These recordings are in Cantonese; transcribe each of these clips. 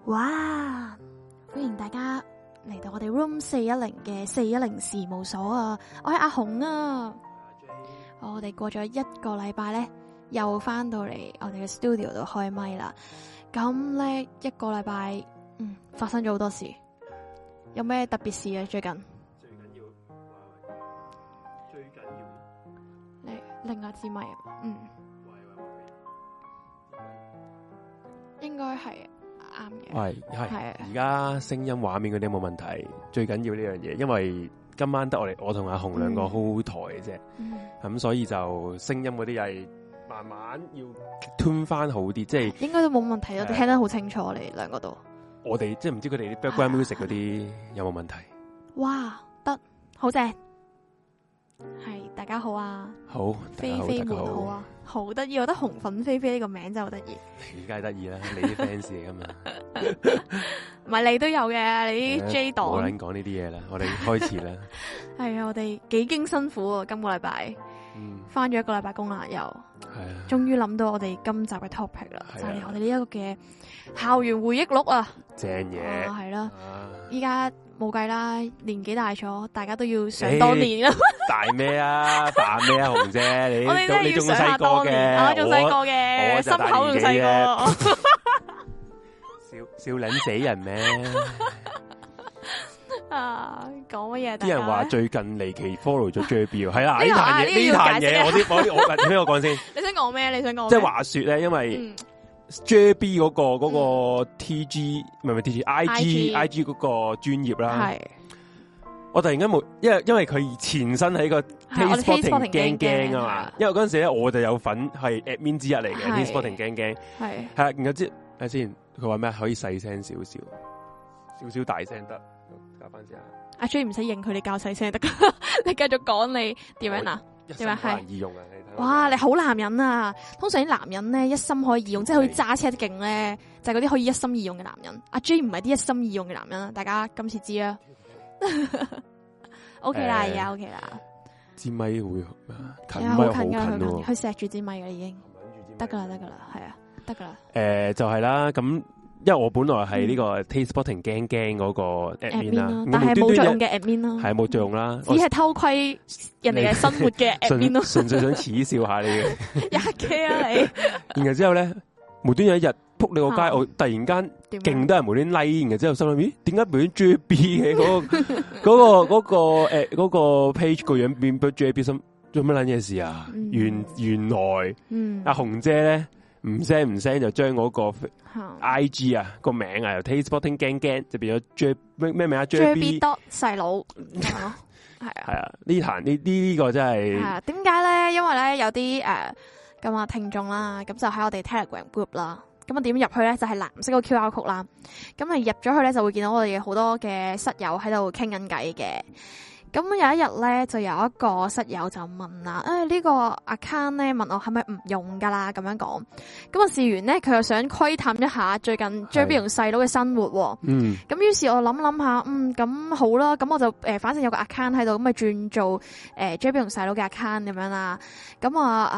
哇！歡迎大家嚟到我哋 Room 410嘅410事務所啊！我係阿紅啊！我哋過咗一個禮拜咧，又翻到嚟我哋嘅 studio 度開咪啦。咁咧一個禮拜，發生咗好多事。有咩特別事啊？最近你另一支咪，應該係啱嘅。 係而家聲音畫面嗰啲冇問題，最緊要呢樣嘢，因為今晚得我同阿紅兩個 hold 台嘅啫，咁所以就聲音嗰啲係慢慢要 tune 翻好啲，即係應該都冇問題，我哋聽得好清楚，你兩個都。 我哋即係唔知佢哋啲 background music 嗰啲有冇問題？ 哇，得好正，係大家好啊！ 好， 菲菲們好啊！好得意，我覺得紅粉菲菲呢個名真係好得意。 你梗係得意啦，你啲 fans 嚟噶嘛？ 唔係你都有嘅，你啲 J 黨。 冇撚講呢啲嘢啦，我哋開始啦。 係啊，我哋幾經辛苦啊，今個禮拜，翻咗一個禮拜工啦，又終於諗到我哋今集嘅 topic 啦，就係我哋呢一個嘅校園回憶錄啊！ 正嘢係啦，依家冇計啦，年紀大咗，大家都要想當年啦。 大咩啊？扮咩啊？紅姐，你仲細個嘅， 我仲細個嘅，心口仲細個。 笑撚死人咩？ 啊，講乜嘢？ 啲人話最近離奇 follow 咗 JB， 係啦，呢壇嘢，我聽我講先。 你想講咩？你想講？ 即係話說咧，因為 JB 嗰個 TG 唔係 TG，IG 嗰個專頁啦。係。我突然間冇，因為佢前身喺個 TasteSpotting 驚驚啊嘛。因為嗰陣時咧，我就有份係 admin 之一嚟嘅 TasteSpotting 驚驚。係。係啊，然後睇先，佢話咩？可以細聲少少大聲得。教翻先啊！阿 J 唔使認佢，你教細聲得噶。你繼續講你點樣啊？點樣係？易用啊！哇！你好男人啊！通常啲男人咧一心可以二用，即係好似揸車勁咧，就係嗰啲可以一心二用嘅男人。阿 J 唔係啲一心二用嘅男人啊！大家今次知啦。OK 啦，而家 OK 啦。支咪會近咪好近㗎，佢錫住支咪㗎已經。得噶啦，係啊，得噶啦。 就係啦，咁。因為我本來係呢個 TasteSpotting 驚驚嗰個 admin 啦， 但係冇作用嘅 admin 啦， 係冇作用啦， 只係偷窺人哋嘅生活嘅 admin 咯， 純粹想恥笑下你嘅。 一 K 啊你！ 然後之後咧，無端有一日撲你個街，我突然間勁多人無端 like，然後之後心諗咦，點解無端 JB 嘅嗰個 page 個樣變咗 JB 心做乜撚嘢事啊？原來阿紅姐咧。唔聲就將嗰個 IG 啊個名啊由 TasteSpotting 驚驚就變咗 J 咩名啊 JB 細佬係啊呢個真係點解咧？因為咧有啲咁啊聽眾啦，咁就喺我哋 Telegram group 啦，咁啊點入去咧就係藍色個 QR code 啦，咁啊入咗去咧就會見到我哋好多嘅室友喺度傾緊偈嘅。咁有一日咧，就有一個室友就問啦，呢個 account 咧問我係咪唔用噶啦？咁樣講，咁啊試完咧，佢又想窺探一下最近 JB 同細佬嘅生活。咁於是我諗下，咁好啦，咁我就反正有個 account 喺度，咁咪轉做JB 同細佬嘅 account 咁樣啦。咁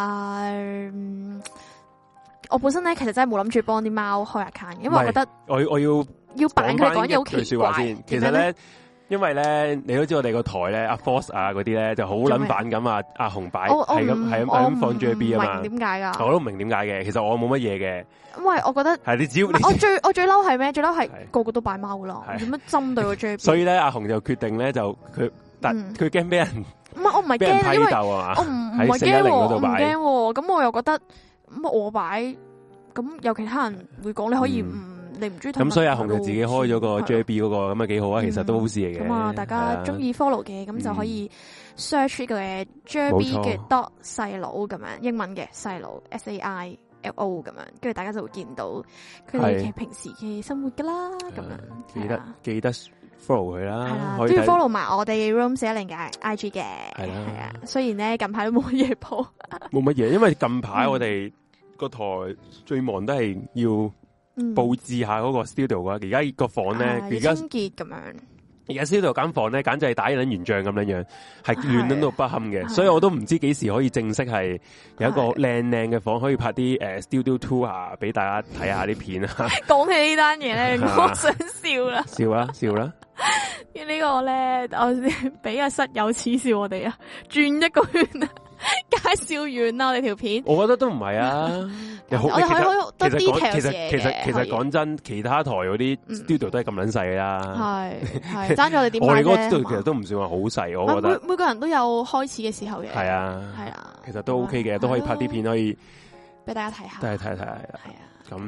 我本身咧其實真係冇諗住幫啲貓開 account，因為我覺得我要扮佢講嘢好奇怪先。其實咧。因為咧，你都知我哋個台咧，阿 Force 啊嗰啲咧就好撚反咁啊，阿紅擺係咁放 JB 啊嘛。點解噶？我都唔明點解嘅。其實我冇乜嘢嘅。因為我覺得係你只要我最嬲係咩？最嬲係個個都擺貓噶啦，點樣針對個 JB？所以咧，阿紅就決定咧就佢驚俾人唔係我唔係驚，因為我唔係驚我唔驚。咁我又覺得咁我擺咁有其他人會講你可以你唔中意咁，所以阿紅就自己開咗個 JB 嗰個咁啊幾好啊，其實都好事嚟嘅。咁啊，大家中意 follow 嘅咁就可以 search 嘅 JB 嘅 dot 細佬咁樣，英文嘅細佬 SAILO 咁樣，跟住大家就會見到佢哋嘅平時嘅生活噶啦，咁樣記得 follow 佢啦，係啦，都要 follow 埋我哋 Room 410嘅 IG 嘅，係啊。雖然咧近排都冇乜嘢鋪，冇乜嘢，因為近排我哋個台最忙都係要。布置下嗰個 studio 啊！而家個房咧，而家清潔咁樣， 而家 studio 間房咧，簡直係打緊圓仗咁樣樣，係亂到不堪嘅，所以我都唔知幾時可以正式係有一個靚嘅房，可以拍啲studio tour 啊，俾大家睇下啲片啊。 講起呢單嘢咧，我想笑啦， 笑啦。 呢個咧，我俾阿室友恥笑我哋啊，轉一個圈啊。介紹完啦，我哋條片，我覺得都唔係啊。我哋可以多 detail 嘢嘅。其實講真，其他台嗰啲 studio 都係咁撚細㗎啦。係爭咗我哋點買啫？我哋嗰個 studio 其實都唔算話好細，我覺得。每個人都有開始嘅時候嘅。係啊，其實都 OK 嘅，都可以拍啲片，可以俾大家睇下。都係睇下。係啊。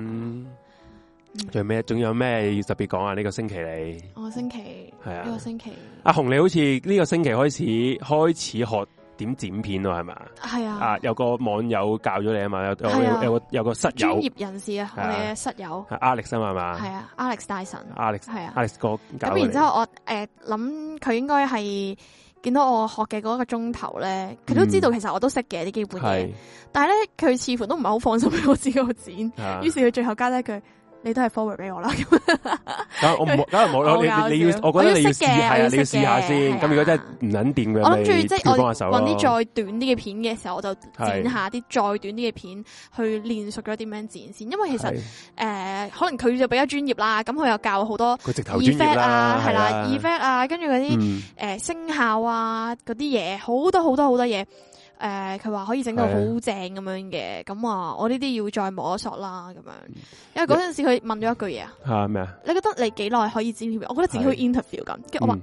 咁仲有咩要特別講啊？呢個星期你？我星期係啊，呢個星期。阿紅，你好似呢個星期開始學點剪片咯，係咪？係啊，有個網友教咗你啊嘛，有個室友專業人士啊，我哋嘅室友 Alex 啊嘛，係啊 ，Alex 大神 ，Alex 係啊 ，Alex 哥教。咁然之後我諗佢應該係見到我學嘅嗰個鐘頭咧，佢都知道其實我都識嘅啲基本嘢，但係咧佢似乎都唔係好放心俾我自己剪，於是佢最後加咗一句。你都係 forward 俾我啦，咁我唔，梗係冇咯。你要，我覺得你要試係啊，你要試下先。咁如果真係唔捻掂嘅，我諗住即係我搵啲再短啲嘅片嘅時候，我就剪下啲再短啲嘅片，去練熟咗點樣剪先。因為其實可能佢就比較專業啦，咁佢又教好多 effect 啊，係啦 effect 啊，跟住嗰啲聲效啊，嗰啲嘢好多嘢。佢話可以整到好正咁樣嘅，咁我呢啲要再摸索啦，咁樣。因為嗰陣時佢問咗一句嘢啊，咩啊？你覺得你幾耐可以剪片？我覺得自己好 interview 咁，跟住我話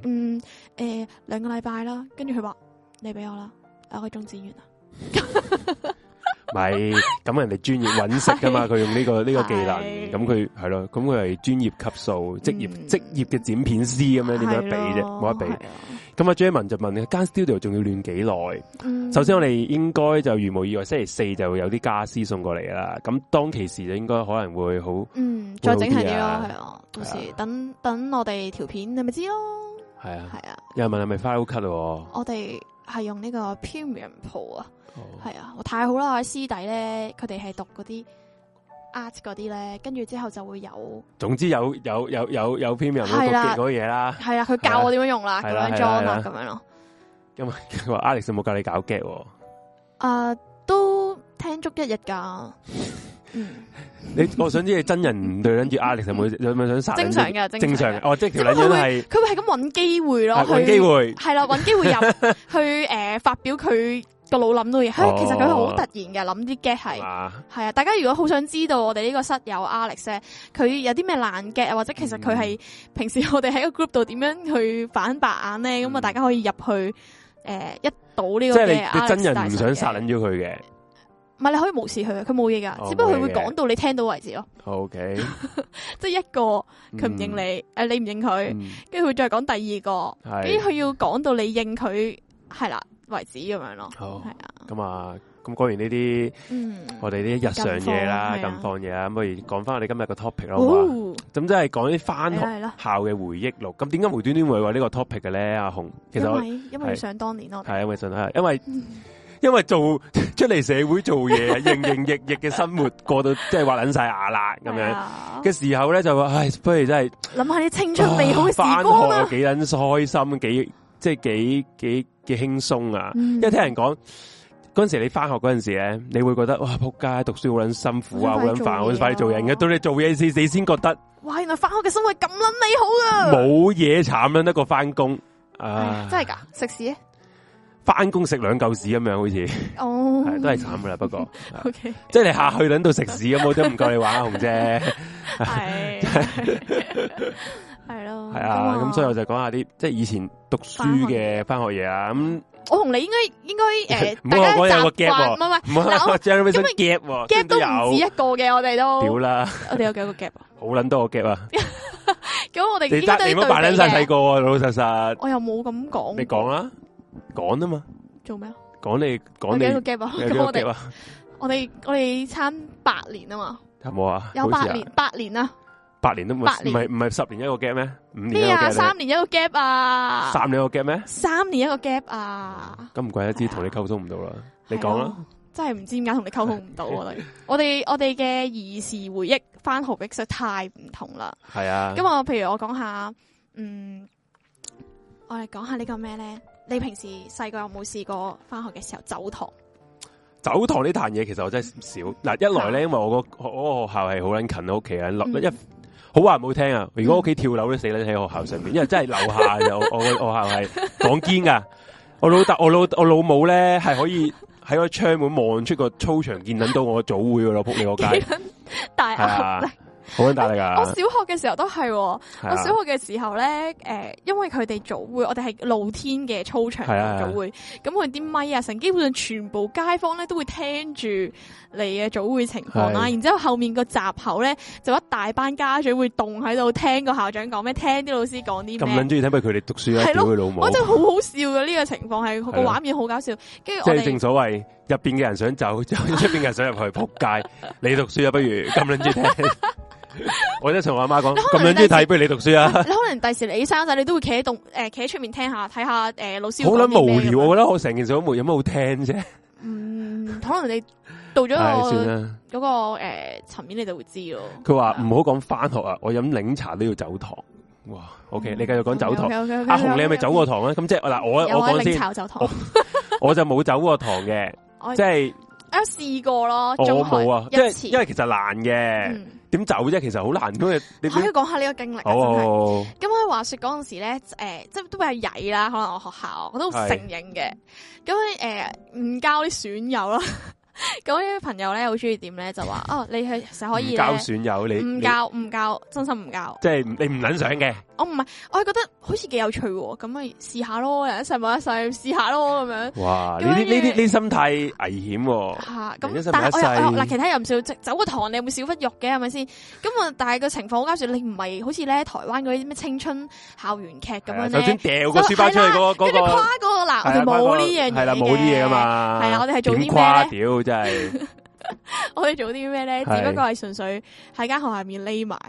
2個禮拜啦，跟住佢話你俾我啦，2個鐘剪完啦。咪咁人哋專業揾食噶嘛，佢用呢個技能，咁佢係咯，咁佢係專業級數，職業嘅剪片師咁樣，點樣比啫？冇得比。咁阿 Jerman 就問你間 studio 仲要亂幾耐？首先我哋應該就如無意外，星期4就有啲家私送過嚟啦。咁當其時就應該可能會好，再整係啲咯，係啊。到時等我哋條片，你咪知咯。係啊。有人問係咪 Final Cut 咯？我哋係用呢個 Premium Pro 啊。係啊，太好啦！我師弟咧，佢哋係讀嗰啲 art 嗰啲咧，跟住之後就會有，總之有 Premium 嗰個嘢啦。係啊，佢教我點樣用啦，咁樣裝啦，咁樣咯。咁佢話 Alex 有冇教你搞 gag？都聽足一日噶。我想知你真人對跟住 Alex 有冇想殺？正常嘅，正常嘅。哦，即係條撚樣係，佢會係咁搵機會咯，搵機會係啦，搵機會入去發表佢個腦諗到嘢。其實佢係好突然嘅，諗啲 gag 係啊。大家如果好想知道我哋呢個室友 Alex 咧，佢有啲咩爛 gag 啊，或者其實佢係平時我哋喺個 group 度點樣去反白眼咧，咁啊大家可以入去一睹呢個嘅。即係你真人唔想殺撚咗佢嘅。唔係，你可以無視佢，佢冇嘢噶，只不過佢會講到你聽到為止咯。OK，即係一個佢唔認你，你唔認佢，跟住佢再講第二個，跟住佢要講到你認佢係啦為止咁樣咯。好，係啊。咁講完呢啲，我哋啲日常嘢啦，近況嘢啦，咁不如講翻我哋今日個 topic 咯。咁即係講啲翻學校嘅回憶錄。咁點解無端端會話呢個 topic 嘅咧？阿紅，其實因為想當年咯，係因為想係因為做出嚟社會做嘢，營營役役嘅生活過到即係話撚晒牙啦咁樣嘅時候咧，就話唉，不如真係諗下啲青春美好嘅時光啊！幾撚開心，幾輕鬆啊！因為聽人講嗰陣時你翻學嗰陣時咧，你會覺得哇仆街，讀書好撚辛苦啊，好撚煩，好快啲做人嘅。到你做嘢時，你先覺得哇，原來翻學嘅生活咁撚美好噶，冇嘢慘撚得過翻工啊！真係噶，食屎！翻工食2嚿屎咁樣，好似都係慘噶啦。不過，即係你下去等到食屎咁，我都唔夠你玩啊，紅姐。係咯，係啊。咁所以我就講下啲即係以前讀書嘅翻學嘢啊。咁我同你應該唔好我有個 gap，唔好我將咩 gap 都唔止一個嘅，我哋都屌啦。我哋有幾個 gap 啊？好撚多個 gap 啊！咁我哋你唔好扮撚晒細個喎，老老實實。我又冇咁講。你講啦。講啊嘛，做咩啊？講你幾個 gap 啊？咁我哋差8年啊嘛，有冇啊？有8年啊，8年都唔係10年一個 gap 咩？5年一個 gap 3年一個 gap 啊？3年一個 gap 咩？3年一個 gap 啊？咁唔怪得知同你溝通唔到啦，你講啦。真係唔知點解同你溝通唔到啊！我哋嘅兒時回憶，翻學嘅實在太唔同啦。係啊。咁譬如我講下， 我哋講下呢個咩咧？你平時細個有冇試過翻學嘅時候走堂？ 走堂呢壇嘢其實我真係少。嗱，一來咧，因為我個學校係好撚近屋企啊，好話唔好聽啊！如果屋企跳樓都死啦喺學校上面，因為真係樓下就我學校係講堅噶。我老母咧係可以喺個窗門望出個操場見到我早會噶咯，仆你個街。 大壓力。 好大力噶！ 我小學嘅時候都係，我小學嘅時候咧，因為佢哋早會，我哋係露天嘅操場早會，咁佢啲咪啊，成基本上全部街坊咧都會聽住你嘅早會情況啦。然之後後面個閘口咧就一大班家長會動喺度聽個校長講咩，聽啲老師講啲咩。咁撚中意睇，不如佢哋讀書啊！屌佢老母！我真係好好笑嘅呢個情況，係個畫面好搞笑。跟住即係正所謂入邊嘅人想走，出邊嘅人想入去，仆街！你讀書啊，不如咁撚中意聽。我真係同我阿媽講，咁樣中意睇，不如你讀書啊！你可能第時你生仔，你都會企喺出面聽下，睇下老師。好撚無聊，我覺得我成件事都冇有乜好聽啫。可能你到咗嗰個層面，你就會知咯。佢話唔好講翻學啊，我飲檸茶都要走堂。哇！OK，你繼續講走堂。阿紅，你係咪走過堂啊？咁即係嗱，我講先。我就冇走過堂嘅，即係我試過咯。我冇啊，因為其實難嘅。點走啫？其實好難，因為你可以講下呢個經歷。咁我話說嗰陣時咧，即係都比較曳啦。可能我學校我都承認嘅。咁唔交啲損友啦。咁啲朋友咧好中意點咧，就話哦，你係成日可以交損友，你唔交，真心唔交。即係你唔撚想嘅。我唔係，我係覺得好似幾有趣，咁咪試下咯，人一世冇一世，試下咯咁樣。哇！呢啲心態危險。吓咁，但係我嗱，其他又唔少，走個堂你有冇少忽肉嘅係咪先？咁啊，但係個情況好搞笑，你唔係好似咧台灣嗰啲咩青春校園劇咁樣咧，首先掉個書包出去嗰個，跟住跨嗰個嗱，我哋冇呢樣嘢嘅，係啦，冇啲嘢噶嘛。係啊，我哋係做啲咩咧？真係，我哋做啲咩咧？只不過係純粹喺間學校入面匿埋。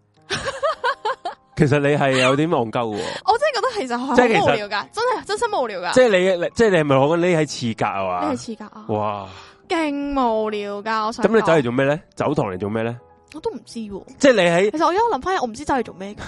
其實你係有啲戇鳩喎。我真係覺得其實好無聊噶，真心無聊噶。即係你係咪講緊匿喺廁格啊？嘛，匿喺廁格啊！哇，勁無聊噶！我想咁你走嚟做咩咧？走堂嚟做咩咧？我都唔知。即係你喺，其實我而家諗翻，我唔知走嚟做咩。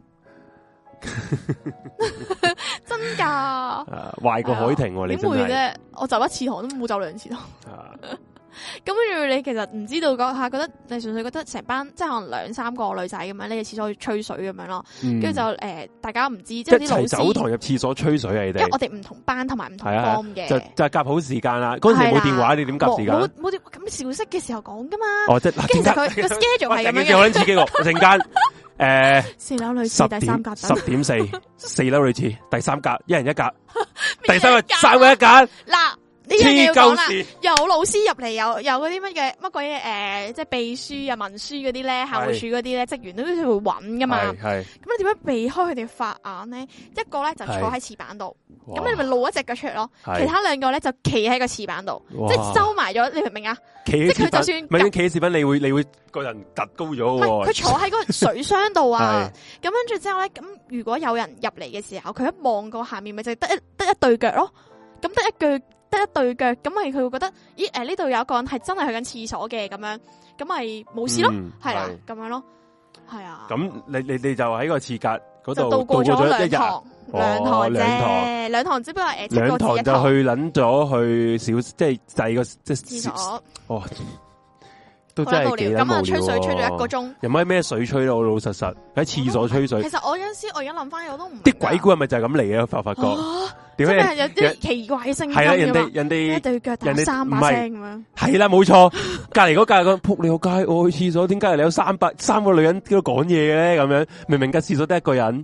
真噶，壞過海婷，你點會啫？我走一次堂都冇走兩次堂。咁跟住你其實唔知道嗰下，覺得你純粹覺得成班即係可能2、3個女仔咁樣，你喺廁所去吹水咁樣咯。跟住就大家唔知即係啲老師走堂入廁所吹水啊！你哋因為我哋唔同班同埋唔同方嘅，就夾好時間啦。嗰陣時冇電話，你點夾時間？冇咁小息嘅時候講噶嘛。哦，即係嗱，其實佢個 schedule 係咁樣嘅。我諗自己個陣間。4樓女廁第3格10.4， 4樓女廁第3格，一人一格，第3個3個一格。嗱，呢樣嘢要講啦，有老師入嚟，有嗰啲乜鬼嘢即係秘書啊、文書嗰啲咧，校務處嗰啲咧，職員都會揾噶嘛。係咁你點樣避開佢哋法眼咧？一個咧就坐喺廁板度，咁你咪露一隻腳出嚟咯。其他2個咧就企喺個廁板度，即係收埋咗。你明唔明啊？即係佢就算唔係企喺廁板，你會個人突高咗喎。佢坐喺嗰個水箱度啊。咁跟住之後咧，咁如果有人入嚟嘅時候，佢一望過下面，咪就得一對腳咯。咁得一對腳，咁咪佢會覺得，咦？呢度有一個人係真係去緊廁所嘅，咁樣，咁咪冇事咯，係啦，咁樣咯，係啊。咁你就喺個廁格嗰度度過咗2堂，兩堂，只不過2堂就去撚咗去小，即係第二個即係廁所。哦，都真係幾無聊。咁啊，吹水吹咗1個鐘，有冇咩水吹咯？老老實實喺廁所吹水。其實我有陣時，我而家諗翻，我都唔啲鬼故係咪就係咁嚟嘅？發覺點解有啲奇怪聲音？係啦，人哋一對腳打3把聲咁樣。係啦，冇錯。隔籬嗰個扑你個街，我去廁所，點解你有3個女人喺度講嘢嘅咧？咁樣明明間廁所得1個人。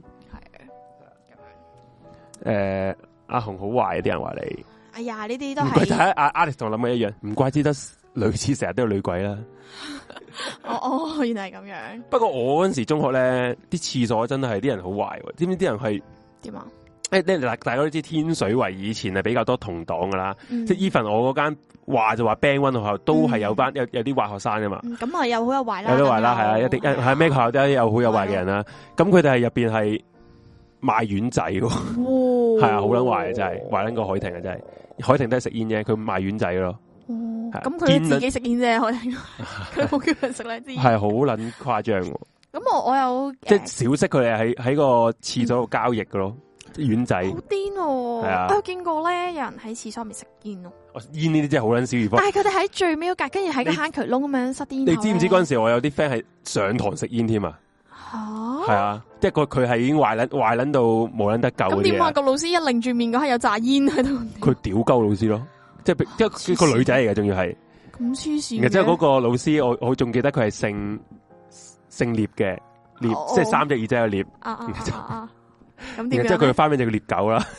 係阿紅好壞，啲人話你。哎呀，呢啲都係。唔怪得阿 Alex 同我諗嘅一樣，唔怪之得女廁成日都有女鬼啦。哦，原來係咁樣。不過我嗰陣時中學咧，啲廁所真係啲人好壞，知唔知啲人係點啊？大家都知天水圍以前係比較多同黨噶啦，即係 even 我嗰間話就話 Band 1學校都係有班有啲壞學生噶嘛。咁啊有好有壞啦，有啲壞啦，係啊，一定係咩學校都有好有壞嘅人啦。咁佢哋係入邊係賣丸仔喎，係啊，好撚壞啊，真係壞撚過海婷啊，真係海婷都係食煙啫，佢賣丸仔咯。咁佢自己食煙啫，海婷佢冇叫人食咧，係好撚誇張。咁我有即係小息，佢哋喺個廁所度交易噶咯。 丸仔， 好癲喎！係啊，我見過咧，有人喺廁所入面食煙咯。 煙呢啲真係好撚小兒科。 但係佢哋喺最尾嗰格，跟住喺個坑渠窿咁樣塞煙。 你知唔知嗰陣時我有啲 friend 係上堂食煙添啊？係啊，即係佢係已經壞撚到冇撚得救。咁點啊？個老師一擰住面嗰刻有炸煙喺度。佢屌鳩老師咯，即係個女仔嚟嘅，仲要係咁黐線。然之後嗰個老師，我仲記得佢係姓聶嘅，聶即係3隻耳仔嘅聶。咁點？然之後佢花名就叫聶狗啦。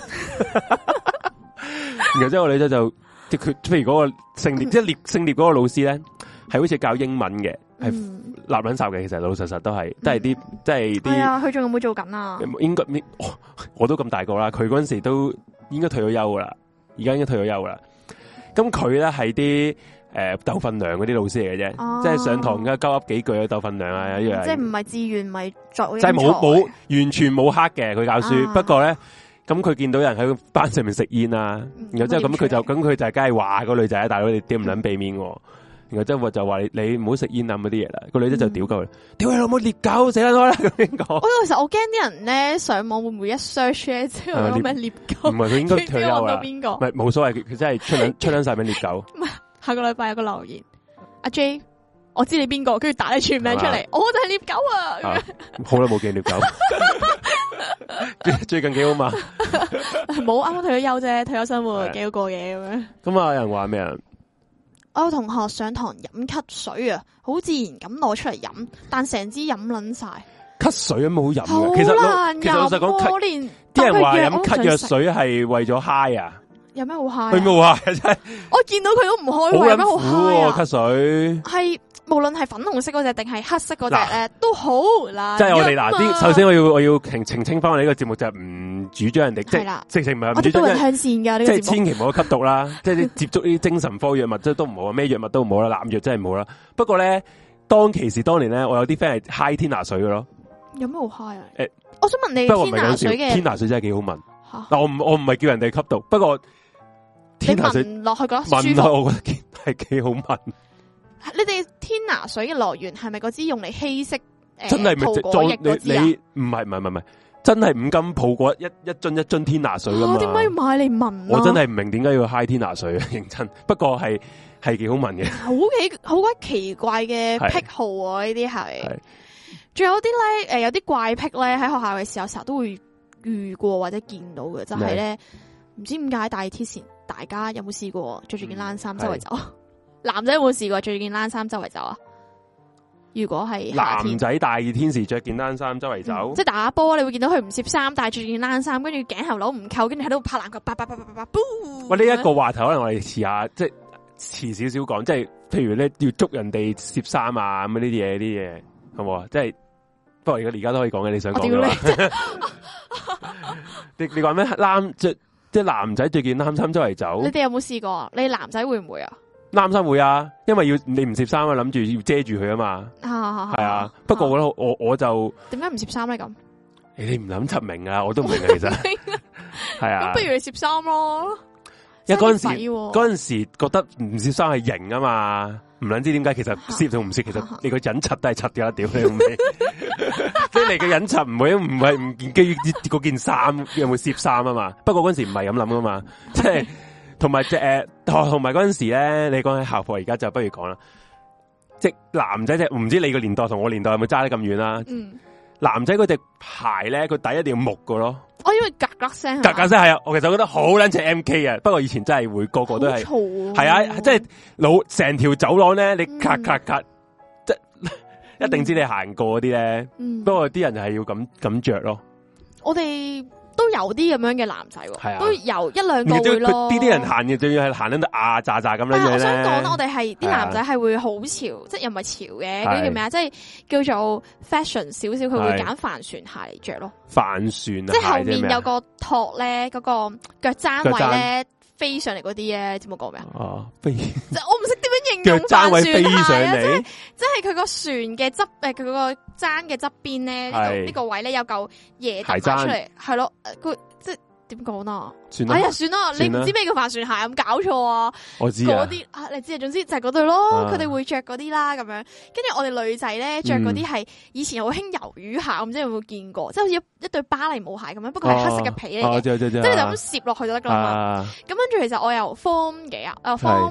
然後之後個女仔就即係佢，譬如嗰個姓聶，即係姓聶嗰個老師咧，係好似教英文嘅。係立撚哨嘅，其實老老實實都係啲，即係啲。係啊，佢仲有冇做緊啊？應該我都咁大個啦，佢嗰陣時都應該退咗休噶啦，而家應該退咗休噶啦。咁佢咧係啲鬥份糧嗰啲老師嚟嘅啫，即係上堂嘅鳩噏幾句啊，鬥份糧啊，一樣。即係唔係自願，咪作。即係冇完全冇黑嘅佢教書，不過咧咁佢見到人喺班上面食煙啊，然後之後咁佢就梗係話個女仔大佬你點唔撚避免我。然後即係就話你唔好食煙啊嗰啲嘢啦，個女仔就屌鳩佢，屌你老母獵狗死啦我啦咁樣講。其實我驚啲人咧上網會唔會一 search 咧，即係攞咩獵狗？唔係佢應該退休啦。邊個？唔係冇所謂，佢真係出撚晒名獵狗。唔係下個禮拜有個留言，阿 J， 我知你邊個，跟住打你全名出嚟，我就係獵狗啊！好耐冇見獵狗，最近幾好嘛？冇啱啱退咗休啫，退休生活幾好過嘢咁樣。咁啊有人話咩啊？我有同學上堂飲咳水啊，好自然咁攞出嚟飲，但成支飲撚晒。咳水有冇好飲嘅？其實老實講，啲人話飲咳藥水係為咗 high 啊。有咩好 high？佢冇 high 真係。我見到佢都唔開胃，有咩好 high 啊？咳水係無論係粉紅色嗰隻定係黑色嗰隻咧，都好啦。即係我哋嗱，首先我要澄清翻我哋呢個節目就係唔主張人哋，即係直情唔係唔主張。我哋都向善噶呢個節目，即係千祈唔好吸毒啦，即係你接觸呢啲精神科藥物即係都唔好啊，咩藥物都唔好啦，濫藥真係唔好啦。不過咧，當年咧，我有啲 friend 係 high 天拿水嘅咯。有咩好 high 啊？我想問你，天拿水嘅天拿水真係幾好聞。嗱，我唔係叫人哋吸毒，不過天拿水聞落去覺得舒服，我覺得係幾好聞。你哋天拿水嘅來源係咪嗰支用嚟稀釋真係泡果液嗰支啊？唔係，真係五金泡果一樽天拿水噶嘛？點解要買嚟聞？我真係唔明點解要 high 天拿水啊！認真，不過係幾好聞嘅。好鬼奇怪嘅癖好啊！呢啲係，仲有啲咧有啲怪癖咧喺學校嘅時候成日都會遇過或者見到嘅，就係咧唔知點解大熱天前大家有冇試過着住件冷衫周圍走？男仔有冇試過着件冷衫周圍走啊？如果係男仔大熱天時着件冷衫周圍走，即係打波，你會見到佢唔攝衫，但係着件冷衫，跟住頸後佬唔扣，跟住喺度拍籃球，叭。喂，呢一個話題可能我哋遲下，即係遲少少講，即係譬如咧要捉人哋攝衫啊咁呢啲嘢，好冇啊？即係不過而家都可以講嘅，你想講嘅話，你講咩？即係男仔着件冷衫周圍走，你哋有冇試過啊？你男仔會唔會啊？冷衫會啊，因為你唔攝衫啊，諗住要遮住佢啊嘛。係啊。不過我覺得我就點解唔攝衫咧咁？你唔諗出明啊，我都唔明啊，其實係啊。咁不如你攝衫咯。因為嗰陣時覺得唔攝衫係型啊嘛，唔諗知點解其實攝同唔攝，其實你個隱柒都係柒嘅啦，屌你老味。即係你嘅隱柒唔係唔建基於嗰件衫有冇攝衫啊嘛。不過嗰陣時唔係咁諗噶嘛，即係。同埋同埋嗰陣時咧，你講起校服，而家就不如講啦。即男仔唔知你個年代同我年代有冇揸得咁遠啦？男仔嗰隻鞋咧，佢底一定要木㗎咯。我因為格格聲係啊，我其實覺得好撚似 MK 啊。不過以前真係會個個都係係啊，即係成條走廊咧，你咔，即係一定知你行過嗰啲咧。不過啲人就係要咁着咯。我哋都有啲咁樣嘅男仔，都有一兩個會咯。啲人行嘅，仲要係行得炸咁樣咧。我想講咧，我哋係啲男仔係會好潮，即係又唔係潮嘅，嗰啲叫咩啊？即係叫做 fashion 少少，佢會揀帆船鞋嚟着咯。帆船即係後面有個托咧，嗰個腳踭位咧飛上嚟嗰啲咧，你知冇講咩啊？哦，飛！即係我唔識點樣形容帆船鞋啊！即係佢個船嘅側佢個踭嘅側邊咧，呢個位咧有嚿嘢凸出嚟，係咯，佢即係點講啊？ 算啦， 哎呀，算啦，你唔知咩叫帆船鞋咁搞錯啊？ 我知啊， 嗰啲啊，你知啊，總之就係嗰對咯，佢哋會着嗰啲啦，咁樣。跟住我哋女仔咧着嗰啲係以前好興魷魚鞋，唔知有冇見過？即係好似一對芭蕾舞鞋咁樣，不過係黑色嘅皮嚟嘅，即係你就咁攝落去就得噶啦嘛。咁跟住其實我由 Form 幾啊，Form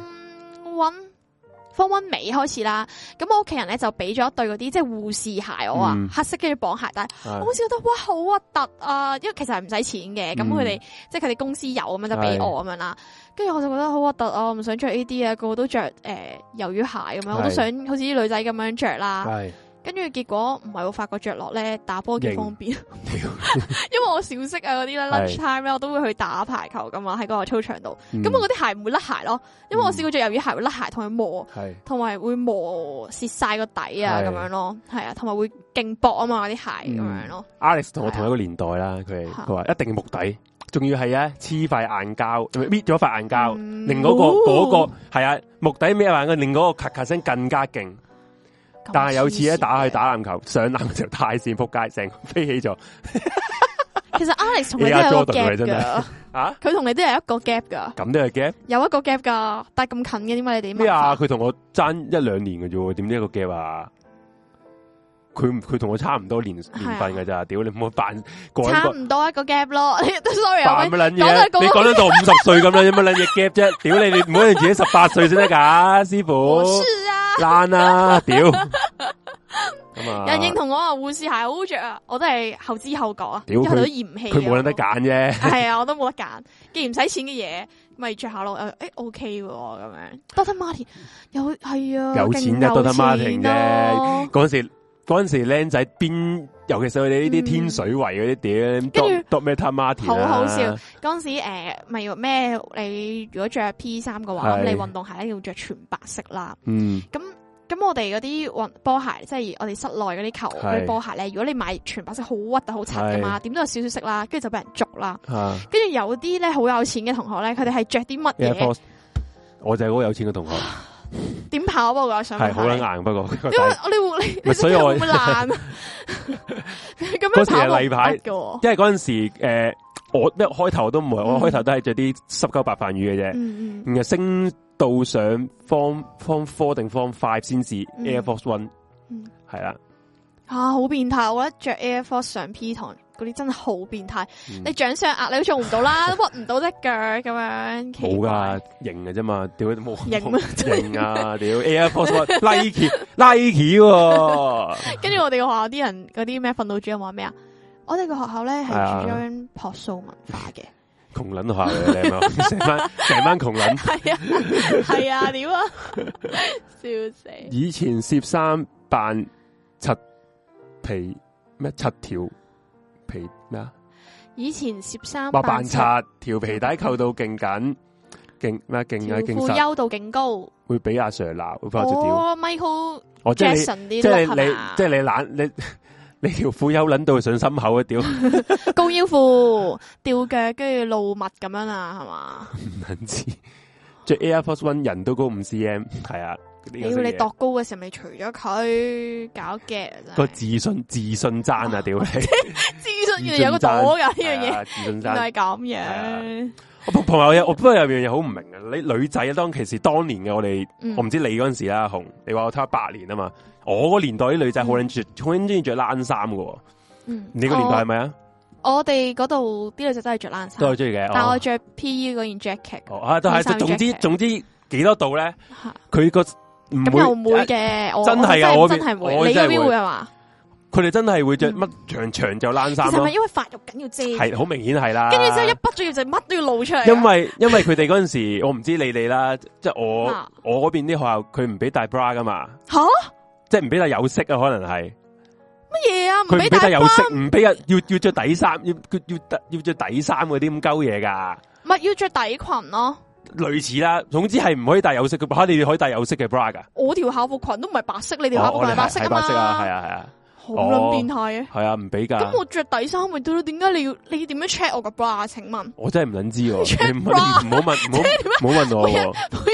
1尾開始啦，咁我屋企人咧就俾咗一對嗰啲即係護士鞋我啊，黑色跟住綁鞋帶，我好似覺得哇好核突啊，因為其實係唔使錢嘅，咁佢哋即係佢哋公司有咁樣就俾我咁樣啦，跟住我就覺得好核突啊，我唔想着呢啲啊，個個都着魷魚鞋咁樣，我都想好似啲女仔咁樣着啦。跟住結果唔係我發覺着落咧打波幾方便，因為我小息啊嗰啲咧 lunch time 咧我都會去打排球噶嘛，喺嗰個操場度，咁我嗰啲鞋唔會甩鞋咯，因為我試過着魷魚鞋會甩鞋同佢磨，同埋會磨蝕晒個底啊咁樣咯，係啊，同埋會勁薄啊嘛嗰啲鞋咁樣咯。 Alex 同我同一個年代啦，佢話一定木底，仲要係啊黐塊硬膠，搣咗塊硬膠，令嗰個係啊木底搣塊硬膠，令嗰個咔咔聲更加勁。但係有次咧打籃球，上籃就太線撲街，成個飛起咗。 其實 Alex 同你都有一個 gap 噶，啊，佢同你都有一個 gap 噶。 咁都係 gap？有一個 gap 噶，但係咁近嘅，點解你哋咩啊？佢同我爭1-2年嘅啫，點知一個 gap 啊？佢同我差唔多年份嘅咋？屌你唔好扮差唔多一個 gap 咯。Sorry 啊， 扮乜撚嘢？你講得到50歲咁啦，有乜撚嘢 gap 啫？屌你唔好你自己18歲先得噶，師傅。 是啊。 爛啊！屌， 人認同我啊，護士鞋好着啊，我都係後知後覺啊，因為佢都嫌棄。 佢冇得揀啫。係啊，我都冇得揀。既然唔使錢嘅嘢，咪着下咯。OK 喎，咁樣。Dr. Martin 係啊， 有錢嘅 Dr. Martin 啫。嗰陣時僆仔邊，尤其是佢哋呢啲天水圍嗰啲點，Dr. Martin 好好笑。嗰陣時咪咩？你如果着 P3嘅話，咁你運動鞋咧要着全白色啦。咁我哋嗰啲波鞋，即係我哋室內嗰啲球嗰啲波鞋咧，如果你買全白色，好核突好柒噶嘛，點都有少少色啦，跟住就俾人捉啦。跟住有啲咧好有錢嘅同學咧，佢哋係着啲乜嘢？ 我就係嗰個有錢嘅同學。 點跑步噶？想係好撚硬，不過因為你所以我會爛。嗰時係例牌嘅，因為嗰陣時我一開頭都唔係，我開頭都係着啲濕鳩白飯魚嘅啫，然後升到上 Form 4定 Form 5先至 Air Force One， 係啦。 好變態！我覺得着 Air Force 上 P 堂嗰啲真係好變態。你掌上壓你都做唔到啦，屈唔到隻腳咁樣。 冇噶，型嘅啫嘛，屌都冇型啊！屌 Air Force One Nike 跟住我哋個學校啲人嗰啲咩訓導主任話咩啊？我哋個學校咧係主張樸素文化嘅。 窮撚學校嘅你係成班窮撚。 係啊，屌啊！笑死！ 以前攝衫扮七皮咩七條皮咩啊？ 以前攝衫扮柒條皮帶扣到勁緊，勁咩勁啊勁實， 褲優度勁高， 會俾阿 Sir 鬧，會翻我隻屌。 Michael Jackson 啲，即係你懶你條褲優撚到上心口啊屌！ 高腰褲吊腳跟住露襪咁樣啊，係嘛？ 唔撚知，着 Air Force One 人都高5 cm， 係啊。 屌你度高嘅時候，咪除咗佢搞嘅個自信爭啊！屌你， 自信原來有個朵噶呢樣嘢， 自信爭就係咁樣。 同埋我不過有樣嘢好唔明啊！你女仔當其時當年嘅我哋，我唔知你嗰陣時啦，紅你話我差8年啊嘛，我個年代啲女仔好撚中意着冷衫噶，你個年代係咪啊？ 我哋嗰度啲女仔真係着冷衫， 都係中意嘅， 但我着 P.E. 嗰件 jacket， 都係總之幾多度咧？佢個咁又唔會嘅， 真係啊！我真係會，你嗰邊會係嘛？ 佢哋真係會着乜長就冷衫咯。 其實係咪因為發育緊要遮？ 係好明顯係啦。 跟住之後一畢咗業就乜都要露出嚟。 因為佢哋嗰陣時，我唔知你哋啦，即係我嗰邊啲學校，佢唔俾戴 bra 噶嘛。吓！即係唔俾戴有色啊，可能係乜嘢啊？ 佢唔俾戴有色，唔俾要着底衫，要着底衫嗰啲咁鳩嘢噶。 咪要着底裙咯。 類似啦，總之係唔可以戴有色嘅，你哋可以戴有色嘅 bra 噶。 我條校服裙都唔係白色，你條校服裙係白色啊嘛。 係啊， 好撚變態嘅。 係啊，唔俾噶。 咁我着底衫咪得咯？點解你要點樣 check 我個 bra？請問？ 我真係唔撚知喎。唔好問我。 每日翻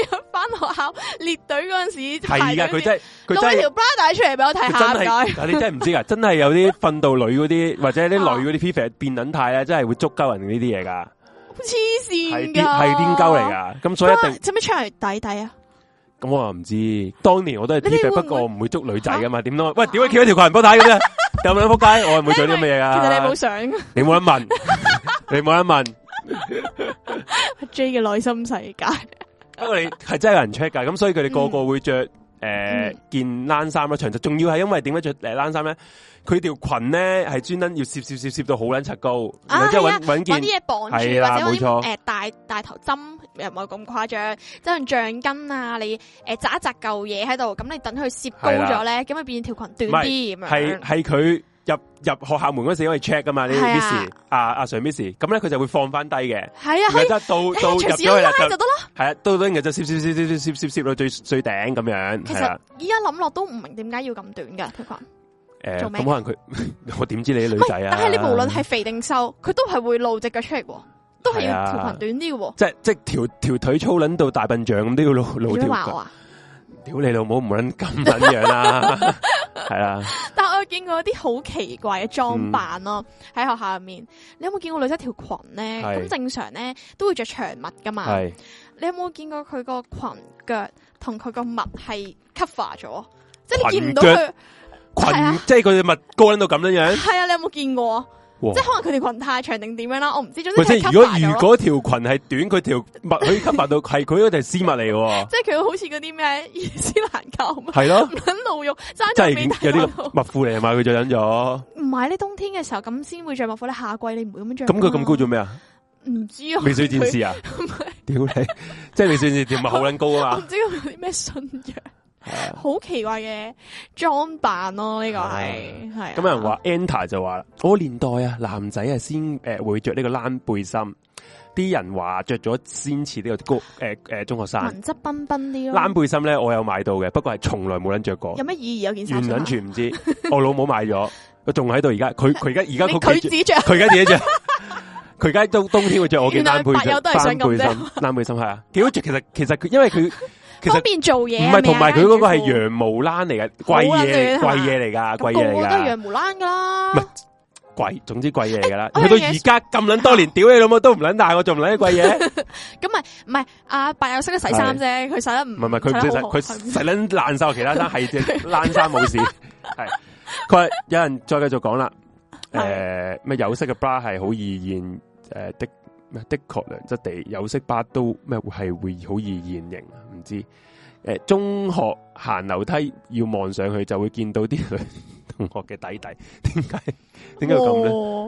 學校列隊嗰陣時係噶，佢真係攞條 bra 帶出嚟俾我睇下， 你真係唔知噶，真係有啲訓導女嗰啲或者啲女嗰啲 P.F. 變撚態咧，真係會捉鳩人呢啲嘢噶， 黐線噶， 係癲鳩嚟噶，咁所以一定使唔使出嚟抵抵啊？ 咁我又唔知，當年我都係 P.F. 不過我唔會捉女仔噶嘛，點都喂，屌你翹一條裙波睇咁啫，有冇得仆街？我係唔會做啲乜嘢噶。 其實你冇想， 你冇得問，你冇得問。 阿 J 嘅內心世界， 不過你係真係有人 check 噶，咁所以佢哋個個會着件冷衫咯，長袖。仲要係因為點解着冷衫咧？佢條裙咧係專登要攝到好撚柒高，然後之後揾件啲嘢綁住，或者啲大頭針又唔係咁誇張，即係橡筋啊，你紮一紮舊嘢喺度，咁你等佢攝高咗咧，咁咪變條裙短啲咁樣。係佢。入學校門嗰時因為 check 噶嘛，你 miss 阿 Sir miss， 咁咧佢就會放翻低嘅。係啊，然之後到入咗去啦就得咯。係啊，到然後就攝到最頂咁樣。 其實依家諗落都唔明點解要咁短噶條裙。做咩？ 咁可能佢我點知你啲女仔啊？ 但係你無論係肥定瘦，佢都係會露隻腳出嚟，都係要條裙短啲嘅。 即係條腿粗撚到大笨象咁都要露條腳。屌你老母唔撚咁撚樣啦，係啦。 但係我有見過一啲好奇怪嘅裝扮咯，喺學校入面。你有冇見過女仔條裙咧？咁正常咧都會着長襪噶嘛。你有冇見過佢個裙腳同佢個襪係 cover 咗？即係你見唔到佢裙，即係佢嘅襪高撚到咁樣樣。係啊，你有冇見過？即係可能佢條裙太長定點樣啦，我唔知。總之即係如果條裙係短，佢條襪可以 cover 到，係佢嗰條絲襪嚟嘅。即係佢好似嗰啲咩伊斯蘭教咁。 係咯， 唔肯露肉， 爭咗面有啲襪褲嚟啊嘛，佢就忍咗。 唔係你冬天嘅時候咁先會着襪褲，你夏季你唔會咁樣着。 咁佢咁高做咩啊？ 唔知啊。 美少女戰士啊？屌你！即係美少女戰士條襪好撚高啊嘛。 我唔知佢有啲咩信仰。好奇怪嘅裝扮咯，呢個係。 咁有人話 Enter 就話，嗰年代啊，男仔啊先會着呢個冷背心，啲人話着咗先似呢個中學生。 文質彬彬啲咯。 冷背心咧，我有買到嘅，不過係從來冇人着過。 有咩意義？有件衫。 完全唔知，我老母買咗，佢仲喺度而家，佢而家佢自己着， 佢而家自己着。佢而家冬天會着我件冷背心。冷背心係啊，幾好着。其實佢因為佢。 方便做嘢， 唔係，同埋佢嗰個係羊毛冷嚟嘅，貴嘢嚟噶，貴嘢嚟噶， 都係羊毛冷噶啦， 唔係貴，總之貴嘢嚟噶啦。去到而家咁撚多年，屌你老母都唔撚大，我仲唔撚啲貴嘢？咁唔係阿伯有識得洗衫啫，佢洗得唔係佢唔識洗，佢洗撚爛晒其他衫，係隻冷衫冇事。係佢話有人再繼續講啦，咩有色嘅 bra 係好易現的確良質地有色bra都咩係會好易現形啊？唔知中學行樓梯要望上去就會見到啲女同學嘅底底，點解咁咧？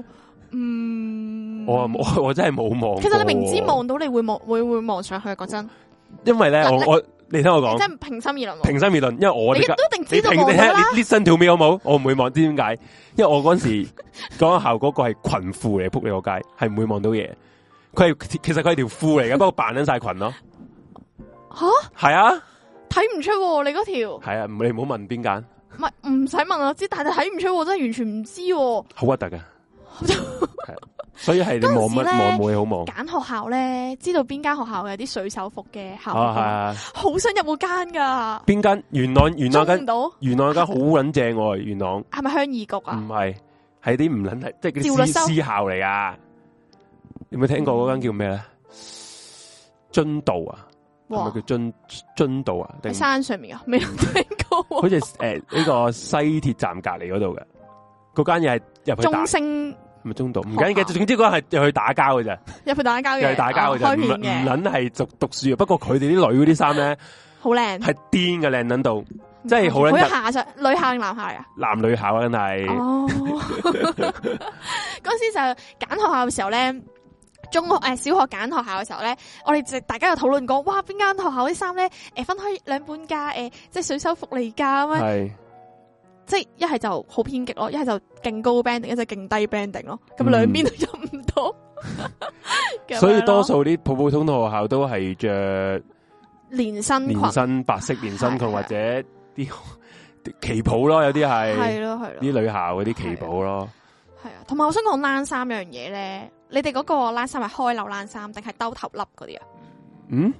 我真係冇望。其實你明知望到你會望上去，講真。因為咧，你聽我講，即係平心而論。平心而論，因為我哋都一定知道望啦。你 listen to me 好冇？我唔會望，知點解？因為我嗰時講校嗰個係裙褲嚟，扑你個街，係唔會望到嘢。其實佢係條褲嚟嘅，不過扮緊晒裙咯。吓，係啊，睇唔出你嗰條。係啊，你唔好問邊間。唔係，唔使問我知，但係睇唔出，真係完全唔知。好核突噶，所以係你望乜望冇嘢好望。揀學校咧，知道邊間學校有啲水手服嘅校服，好想入嗰間噶。邊間？元朗間元朗間好撚正喎，元朗。係咪鄉議局啊？唔係，係啲唔撚係，即係啲私校嚟噶。有冇聽過嗰間叫咩咧？津道啊，係咪叫津道啊？喺山上面啊，未聽過。好似呢個西鐵站隔籬嗰度嘅，嗰間嘢係入去中升，唔係中道，唔緊要嘅。總之嗰間係入去打交嘅啫，入去打交嘅，入去打交嘅啫，唔撚係讀書啊。不過佢哋啲女嗰啲衫咧，好靚，係癲嘅靚撚到，即係好撚。好下女校定男校啊？男女校真係。哦，嗰時就揀學校嘅時候咧。中學小學揀學校嘅時候咧，我哋大家有討論過，哇邊間學校啲衫咧，分開兩半價，即係水手服嚟噶咁樣，即係一係就好偏激咯，一係就勁高 banding，一係勁低 banding 咯，咁兩邊都入唔到。所以多數啲普普通通學校都係着連身白色連身裙或者啲旗袍咯，有啲係咯啲女校嗰啲旗袍咯。係啊，同埋我想講冷衫樣嘢咧。你哋嗰個冷衫係開鈕冷衫定係兜頭笠嗰啲啊？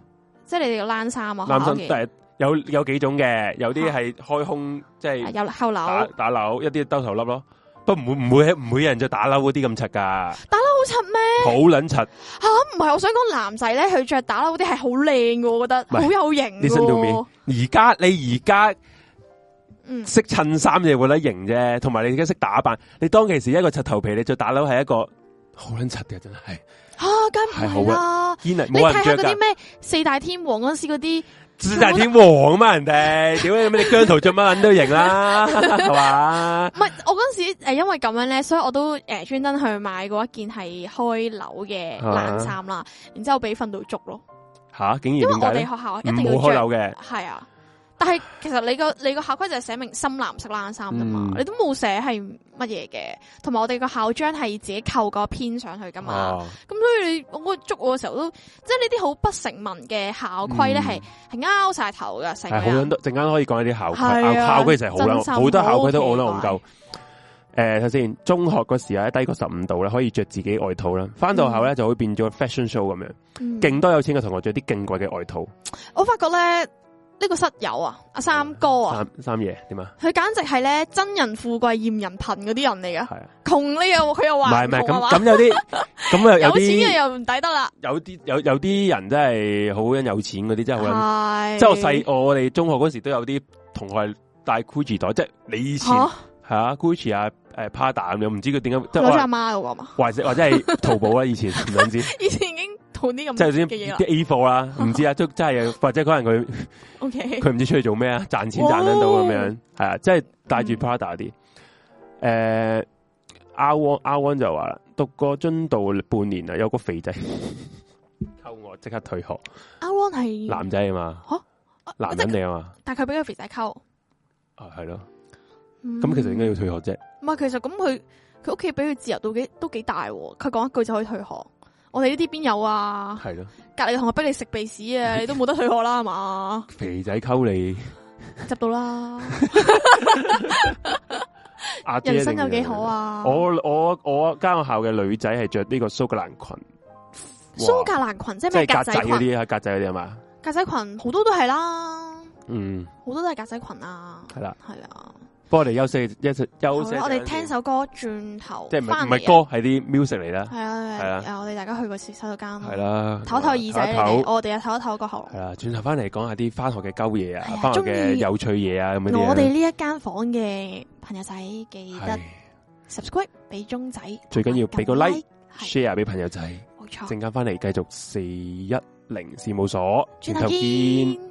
即係你哋個冷衫啊？ 冷衫但係有幾種嘅，有啲係開胸，即係有後褸打褸，一啲兜頭笠咯。不過唔會有人着打褸嗰啲咁柒噶。 打褸好柒咩？ 好撚柒吓， 唔係，我想講男仔咧，佢着打褸嗰啲係好靚嘅，我覺得好有型。 你信到面？你而家識襯衫就會得型啫，同埋你而家識打扮。你當其時一個柒頭皮，你着打褸係一個好撚柒嘅，真係梗唔係啦。 你睇下嗰啲咩四大天王嗰陣時嗰啲。 四大天王啊嘛，人哋屌你姜濤着乜撚都型啦，係嘛？ 唔係，我嗰陣時因為咁樣咧，所以我都專登去買過一件係開鈕嘅冷衫啦，然之後俾訓導捉咯。 吓，竟然因為我哋學校一定要冇開鈕嘅。 係啊，但係其實你個校規就係寫明深藍色冷衫噶嘛，你都冇寫係乜嘢嘅，同埋我哋個校章係自己扣個編上去噶嘛，咁所以我捉我嘅時候都，即係呢啲好不成文嘅校規咧，係拗晒頭噶，成日。係好多陣間可以講一啲校規，校規其實好多校規都好戇鳩。睇先，中學嗰時啊，低過15度咧，可以着自己外套啦。翻到校咧就會變咗 fashion show 咁樣，勁多有錢嘅同學着啲勁貴嘅外套。我發覺咧。呢個室友啊，阿三哥啊， 三爺點啊？ 佢簡直係咧真人富貴嫌人貧嗰啲人嚟噶，窮呢又佢又話唔係咁有啲咁啊有錢嘅又唔抵得啦。有啲人真係好有錢嗰啲真係好，即係我哋中學嗰時都有啲同學係帶 Gucci 袋，即係你以前係啊 Gucci 啊Prada 咁樣，唔知佢點解攞咗阿媽嗰個嘛？或者係淘寶啦，以前唔想知。 以前已經淘啲咁即係啲 A 貨啦，唔知啊，都真係或者可能佢。 OK， 佢唔知出去做咩啊？賺錢賺得到咁樣，係啊，即係帶住 Prada 啲。R1 就話啦，讀過津道半年啦，有個肥仔溝我，即刻退學。 R1 係男仔啊嘛，男人嚟啊嘛， 但係佢俾個肥仔溝。 係咯，咁其實應該要退學啫。 唔係，其實咁佢屋企俾佢自由都幾大，佢講一句就可以退學。我哋呢啲邊有啊？係咯，隔籬同學逼你食鼻屎啊，你都冇得退學啦，係嘛？肥仔溝你，執到啦！人生有幾好啊？ 我間學校嘅女仔係着呢個蘇格蘭裙， 蘇格蘭裙即係咩？格仔嗰啲啊，格仔嗰啲係嘛？ 格仔裙好多都係啦，好多都係格仔裙啊，係啦，係啊。 不過我哋休息，我哋聽首歌，轉頭即係唔係歌，係啲 music 嚟啦。係啊，我哋大家去個洗手間， 係啦， 唞唞耳仔，我哋又唞一唞個喉嚨。係啦， 轉頭翻嚟講下啲翻學嘅鳩嘢啊，翻學嘅有趣嘢啊，咁樣。 我哋呢一間房嘅朋友仔記得 subscribe 俾鐘仔， 最緊要俾個 like，share 俾朋友仔。冇錯，陣間翻嚟繼續410事務所，轉頭見。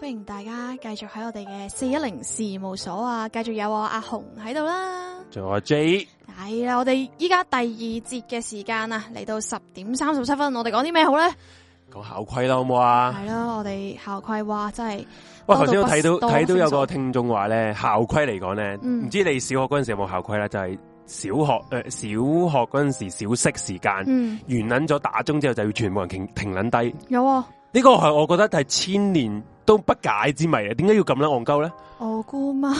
歡迎大家繼續喺我哋嘅410事務所啊，繼續有我阿紅喺度啦， 仲有阿 J。 係啦，我哋依家第二節嘅時間啊，嚟到10:37，我哋講啲咩好咧？ 講校規啦，好唔好啊？係咯，我哋校規哇，真係。 喂，頭先都睇到有個聽眾話咧，校規嚟講咧，唔知你小學嗰陣時有冇校規啦？就係小學嗰陣時小息時間，完撚咗打鐘之後就要全部人停撚低。有啊，呢個係我覺得係千年都不解之謎啊！點解要咁撚戇鳩咧？我姑媽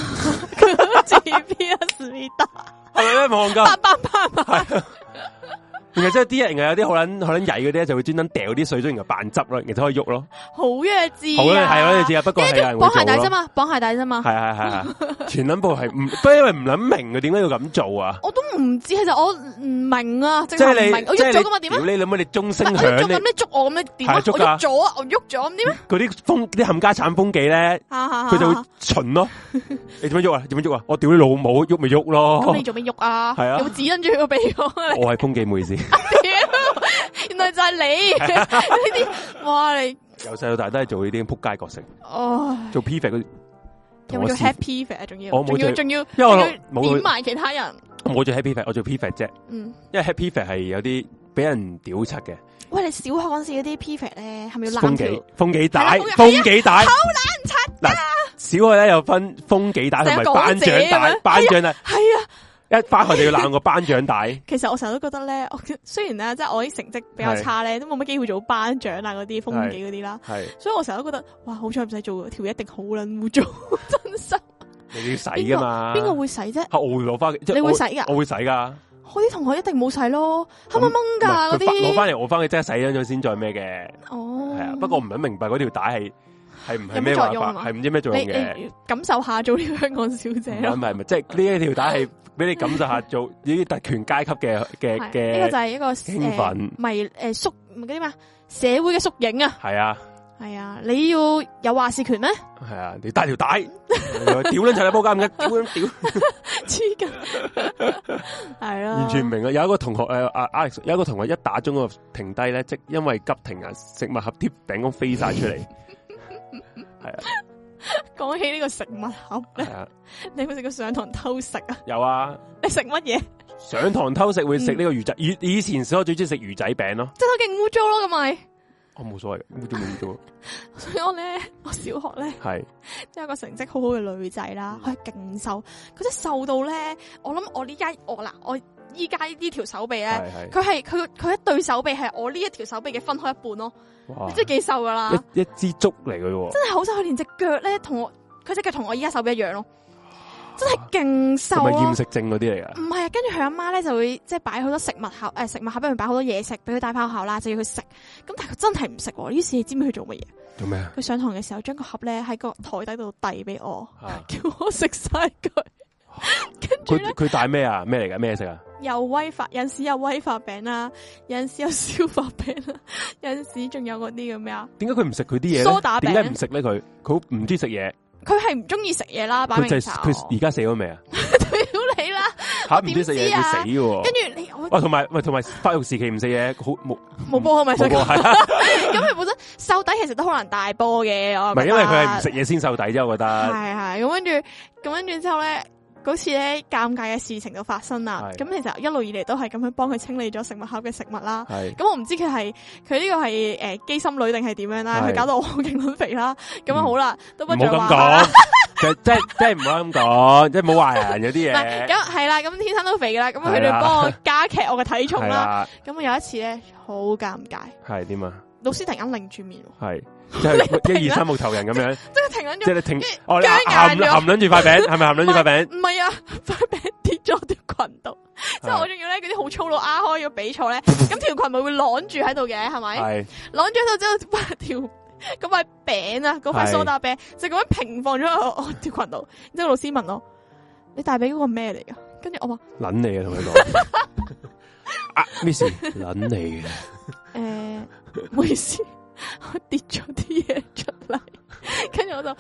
GPS 咪得，係咪咧戇鳩？888。然後即係啲人有啲好撚曳嗰啲就會專登掉啲水樽，然後扮執咯，然後可以喐咯。好弱智啊！係好弱智啊！不過係綁鞋帶啫嘛，綁鞋帶啫嘛。係。全撚部係不因為唔撚明嘅，點解要咁做啊？我都唔知，其實我唔明啊。即係你，我喐咗咁嘛？點啊？你諗下，你鐘聲響咧，咁你捉我咁樣點啊？我喐咗啊！我喐咗咁點啊？嗰啲冚家產風紀咧，佢就會巡咯。你做乜喐啊？做乜喐啊？我屌你老母，喐咪喐咯。咁你做咩喐啊？係啊，有冇指引住佢個鼻我係風紀妹先。原來就係你呢啲，哇！你由細到大都係做呢啲撲街角色，做 prefect 嗰啲，有冇做 head prefect 啊？仲要，因為我冇點埋其他人，我冇做 head prefect，我做 prefect 啫。因為 head prefect 係有啲俾人屌柒嘅。喂，你小學嗰時嗰啲 prefect 咧，係咪要攬條風紀帶？風紀帶好難拆㗎。小學咧有分風紀帶同埋頒獎帶，頒獎帶係啊。一翻學就要攬個頒獎帶。其實我成日都覺得咧，雖然咧即係我啲成績比較差咧，都冇乜機會做頒獎啊嗰啲風紀嗰啲啦。係，所以我成日都覺得，哇，好彩唔使做，條一定好撚污糟，真心。你要洗噶嘛？邊個會洗啫？我會攞翻，你會洗噶？我會洗噶。我啲同學一定冇洗咯，黑掹掹噶嗰啲。攞翻嚟，我翻去即係洗咗先再咩嘅。哦，係啊，不過唔係明白嗰條帶係唔係咩作用？係唔知咩作用嘅？你感受下做呢個香港小姐咯。唔係，即係呢一條帶係。俾你感受下做呢啲特權階級嘅，呢個就係一個興奮，咪縮嗰啲咩社會嘅縮影啊！係啊，係啊，你要有話事權咩？係啊，你帶條帶，屌撚齊你波監嘅，屌撚屌，黐筋，係啊，完全唔明啊！有一個同學Alex 有一個同學一打鐘個停低咧，即因為急停啊，食物盒啲餅乾飛晒出嚟，係啊。講起呢個食物盒咧，你有冇食過上堂偷食啊？有啊。你食乜嘢？上堂偷食會食呢個魚仔，以前小學最中意食魚仔餅咯。即係好勁污糟咯，咁咪？我冇所謂，污糟冇污糟。所以我小學咧係即係一個成績好好嘅女仔啦，佢係勁瘦，佢真係瘦到咧，我諗我依家呢條手臂咧，佢一對手臂係我呢一條手臂嘅分開一半咯。哇！你真係幾瘦噶啦，一支竹嚟嘅喎，真係好瘦。佢連隻腳咧佢隻腳同我依家手臂一樣咯，真係勁瘦。係咪厭食症嗰啲嚟噶？唔係啊，跟住佢阿媽咧就會即係擺好多食物盒，食物盒俾佢擺好多嘢食，俾佢帶翻學校啦，就要佢食。咁但係佢真係唔食喎。於是你知唔知佢做乜嘢？做咩啊？佢上堂嘅時候將個盒咧喺個台底度遞俾我，叫我食晒佢。跟住佢帶咩啊？咩嚟噶？咩食啊？有威化，有陣時有威化餅啦，有陣時有消化餅啦，有陣時仲有嗰啲咁咩啊？點解佢唔食佢啲嘢？梳打餅點解唔食咧？佢唔中意食嘢。佢係唔中意食嘢啦，擺明佢而家死咗未啊？屌你啦！吓唔中意食嘢要死嘅。跟住你同埋發育時期唔食嘢，好冇波係咪？咁佢本身瘦底其實都好難大波嘅，我唔係因為佢係唔食嘢先瘦底啫，我覺得係咁跟住之後咧。嗰次咧尷尬嘅事情就發生啦，咁其實一路以嚟都係咁樣幫佢清理咗食物盒嘅食物啦。咁我唔知佢呢個係機心女定係點樣啦，佢搞到我勁撚肥啦。咁啊好啦，都不像話。唔好咁講，即係唔好咁講，即係冇話人有啲嘢。咁係啦，咁天生都肥噶啦，咁佢哋幫我加劇我嘅體重啦。咁我有一次咧好尷尬。係點啊？老師突然間擰住面，係即係1、2、3木頭人咁樣，即係停緊咗，即係你停，你含撚住塊餅，係咪含撚住塊餅？唔係啊，塊餅跌咗條裙度，即係我仲要咧嗰啲好粗魯開咗比賽咧，咁條裙咪會晾住喺度嘅，係咪？係晾住喺度之後，嗰塊餅啊，嗰塊蘇打餅就咁樣平放咗喺我條裙度，然之後老師問我：你大髀嗰個咩嚟噶？跟住我話：撚你啊，同佢講。啊 ，Miss，撚你嘅。唔好意思，我跌咗啲嘢出嚟，跟住我就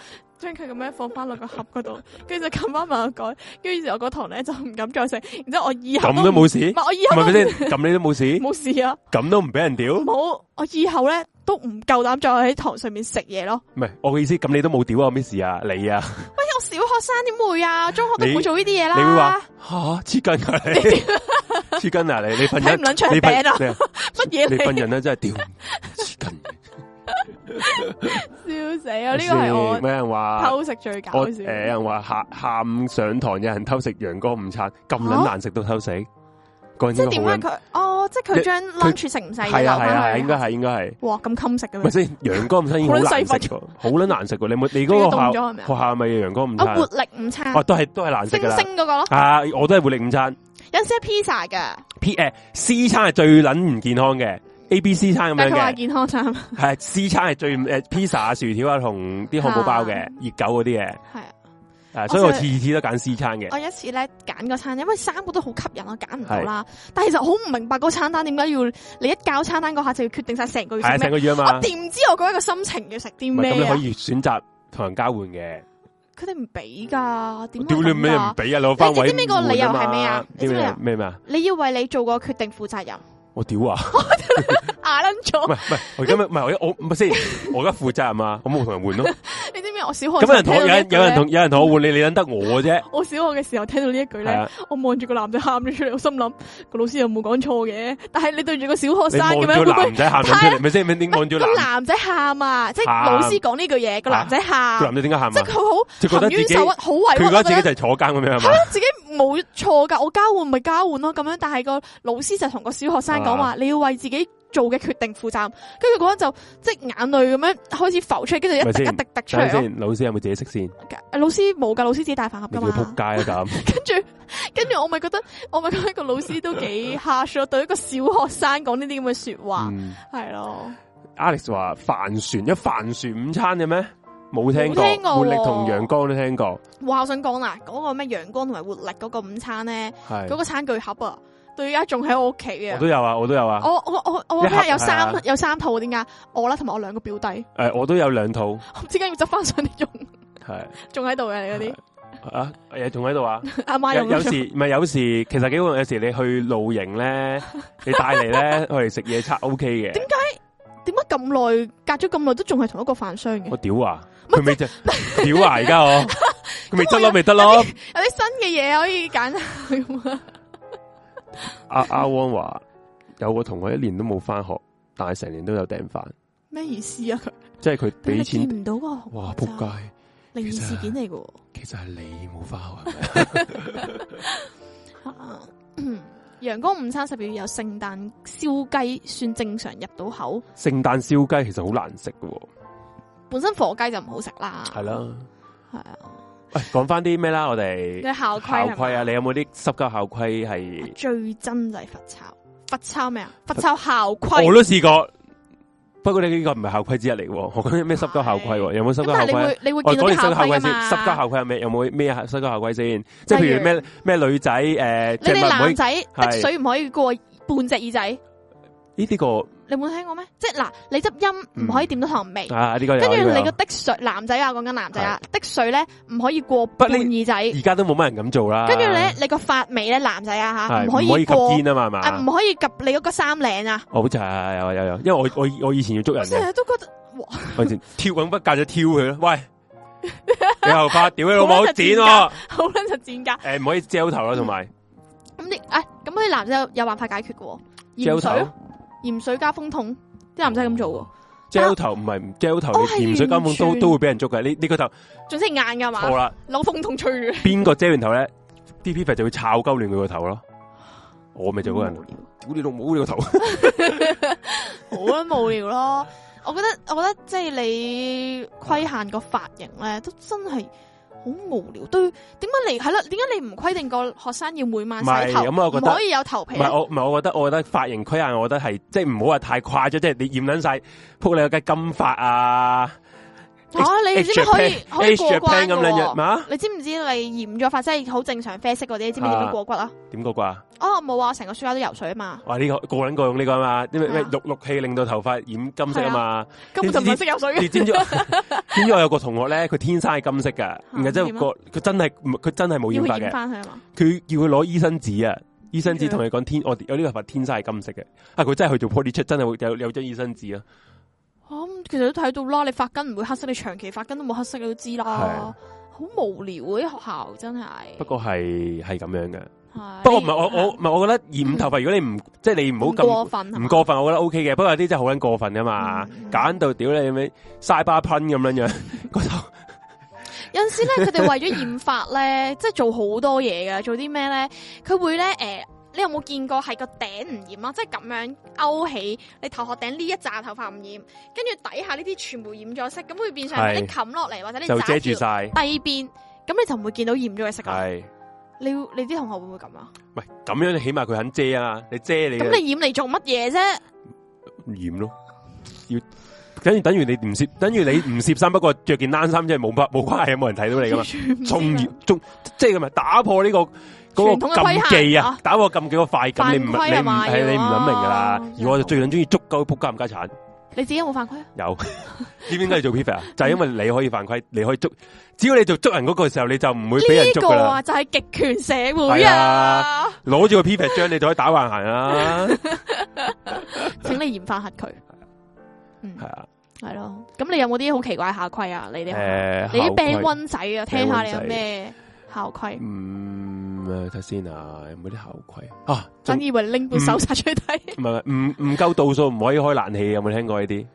將佢咁樣放翻落個盒嗰度，跟住就撳翻埋個蓋，跟住我嗰堂咧就唔敢再食，然之後我以後咁都冇事， 唔係我以後係咪先？咁你都冇事， 冇事啊， 咁都唔俾人屌， 冇，我以後咧都唔夠膽再喺堂上面食嘢咯。唔係我嘅意思，咁你都冇屌啊？咩事啊？你啊？ 喂，我小學生點會啊？中學都唔會做呢啲嘢啦。 你會話吓黐筋啊你？黐筋啊你？你份人唔撚長餅啊？乜嘢？ 你份人咧真係屌黐筋。 笑死啊！呢個係我咩人話偷食最搞笑。 有人話下午上堂有人偷食陽光午餐，咁撚難食都偷食。 即係點解佢？哦，即係佢將 lunch 食唔晒嘅留翻去。 應該係。 哇，咁襟食嘅咩？ 咪先陽光午餐已經好難食㗎，好撚難食㗎。你嗰個學校咪陽光午餐？ 活力午餐。 哦，都係難食㗎啦。 星星嗰個咯。 啊，我都係活力午餐。 有陣時係 pizza 㗎。 C 餐係最撚唔健康嘅。A、B、C 餐咁樣嘅， 但係佢話健康餐係 C 餐係最pizza 啊、薯條啊同啲漢堡包嘅熱狗嗰啲嘅，係啊，所以我次次都揀 C 餐嘅。 我有一次咧揀個餐，因為三個都好吸引，我揀唔到啦。但係其實好唔明白嗰個餐單點解要你一交餐單嗰下就要決定晒成個月食咩？ 成個月啊嘛。 我點知我嗰一個心情要食啲咩？ 咁你可以選擇同人交換嘅。 佢哋唔俾噶，點屌你咩唔俾啊？攞翻位。 你知唔知個理由係咩啊？ 咩啊？ 你要為你做個決定負責任。 我屌啊！ 牙撚咗， 唔係，我今日唔係我唔係先，我而家負責任啊，我冇同人換咯。 你知唔知我小學咁有人同我換，你撚得我啫。 我小學嘅時候聽到呢一句咧，我望住個男仔喊咗出嚟，我心諗個老師又冇講錯嘅，但係你對住個小學生咁樣， 個男仔喊咗出嚟，咪先？點望住個男仔喊啊？即係老師講呢句嘢，個男仔喊。個男仔點解喊啊？ 即係佢好含冤受屈，好委屈。 佢覺得自己就係坐監咁樣係嘛？ 係咯，自己冇錯噶，我交換咪交換咯，咁樣。但係個老師就同個小學生講話，你要為自己做嘅決定負責。跟住嗰陣就即係眼淚咁樣開始浮出嚟，跟住一滴一滴滴出嚟。 先，老師有冇自己識先？ 老師冇噶，老師自己帶飯盒噶嘛。 仆街啊咁。 跟住我咪覺得個老師都幾 harsh 咯，對一個小學生講呢啲咁嘅說話，係咯。 Alex 話帆船有帆船午餐嘅咩？冇聽過，活力同陽光都聽過。 哇！我想講啦，嗰個咩陽光同埋活力嗰個午餐咧，嗰個餐具盒啊，到而家仲喺我屋企嘅。我都有啊。我屋企有三套，點解？我啦，同埋我兩個表弟。 我都有2套。 我唔知點解要執翻上嚟用。係。仲喺度嘅你嗰啲。 啊，仲喺度啊！ 阿媽用。 有時其實幾好，有時你去露營咧，你帶嚟咧，我哋食嘢餐 OK 嘅。點解咁耐隔咗咁耐都仲係同一個飯商嘅？我屌啊！佢未屌啊！而家我佢未得咯，未得咯。有啲新嘅嘢可以揀。阿汪話有個同學1年都冇翻學，但係成年都有訂飯。咩意思啊？佢即係佢俾錢見唔到個哇仆街靈異事件嚟嘅。其實係你冇翻學係咪？陽光午餐12月有聖誕燒雞，算正常入到口。聖誕燒雞其實好難食嘅，本身火雞就唔好食啦。係啦，係啊。喂，講翻啲咩啦？我哋校規啊，你有冇啲濕鳩校規係最憎就係罰抄？罰抄咩啊？罰抄校規我都試過。不過你呢個唔係校規之一嚟喎，我講咩濕鳩校規？有冇濕鳩校規？你會見到啲校規先。濕鳩校規係咩？有冇咩濕鳩校規先？即係譬如咩女仔你哋男仔滴水唔可以過半隻耳仔。呢啲個你冇聽過咩？即係嗱，你執音唔可以掂到糖味。呢個跟住你個滴水男仔啊，講緊男仔啊，滴水咧唔可以過半耳仔。而家都冇乜人咁做啦。跟住咧，你個髮尾咧，男仔啊吓，唔可以及肩啊嘛，係嘛？唔可以及你嗰個衫領啊。好似係有，因為我以前要捉人嘅。成日都覺得哇！我以前挑緊筆架就挑佢咯。喂，你頭髮屌你老母剪喎，好撚就剪噶。唔可以遮頭啦，同埋咁咁啲男仔有辦法解決嘅。鹽水。鹽水加風筒，啲男仔咁做喎。gel 頭唔係 gel 頭，鹽水加風筒都會俾人捉嘅。呢個頭，仲識硬噶嘛？錯啦，攞風筒吹嘅。邊個遮完頭咧？啲 P 就會炒鳩亂佢個頭咯。我咪做嗰人，屌你老母呢個頭，好無聊咯。我覺得即係你規限個髮型咧，都真係好無聊。對，點解你唔規定個學生要每晚洗頭？咁我覺得唔可以有頭皮。我覺得髮型規限，我覺得係即係唔好話太誇張，即係你染捻晒，扑你個雞金髮啊， 你知唔知可以過關咁樣嘛？ 你知唔知你染咗髮即係好正常啡色嗰啲？你知唔知點樣過骨啊？ 點過骨啊？ 冇啊！成個書包都游水啊嘛！ 哇！呢個個人個用呢個啊嘛，因為咩氯氣令到頭髮染金色啊嘛， 根本就唔係識游水嘅。 你知唔知我有個同學咧，佢天生係金色噶，然後之後佢真係冇染髮嘅。佢叫佢攞醫生紙啊，醫生紙同佢講我有呢個髮天生係金色嘅。佢真係去做 poly check，真係有張醫生紙啊。 其實都睇到啦，你髮根唔會黑色，你長期髮根都冇黑色，你都知啦。好無聊啊！啲學校真係。不過係咁樣嘅。不過唔係我覺得染頭髮，如果你唔即係你唔好咁唔過分，我覺得 OK 嘅。不過有啲真係好撚過分噶嘛，揀到屌你咩嘥巴噴咁樣樣個頭。有陣時咧，佢哋為咗染髮咧，即係做好多嘢噶。做啲咩咧？佢會咧你有冇見過係個頂唔染啊？即係咁樣勾起你頭殼頂呢一紮頭髮唔染，跟住底下呢啲全部染咗色，咁會變相你冚落嚟或者你就遮住晒低邊，咁你就唔會見到染咗嘅色啦。你啲同學會唔會咁啊？喂，咁樣你起碼佢肯遮啊！你遮你咁你染嚟做乜嘢啫？染咯，要等於你唔攝衫，不過着件冷衫，即係冇關係，冇人睇到你噶嘛。即係咁啊！打破呢個嗰個禁忌啊！打破禁忌個快感，你唔諗明噶啦。而我就最撚中意捉鳩仆街冚家鏟。你自己有冇犯規啊？有，知唔知點解你做 prefect 啊？就係因為你可以犯規，你可以捉，只要你做捉人嗰個時候，你就唔會俾人捉噶啦。呢個啊，就係極權社會啊！攞住個 prefect 章，你就可以打橫行啊！請你嚴罰佢。係啊，係咯。咁你有冇啲好奇怪校規啊？你啲你啲 band one 仔啊，聽下你有咩校規？睇先啊，有冇啲校規啊？真以為拎本手冊出去睇。唔夠度數唔可以開冷氣，有冇聽過呢啲？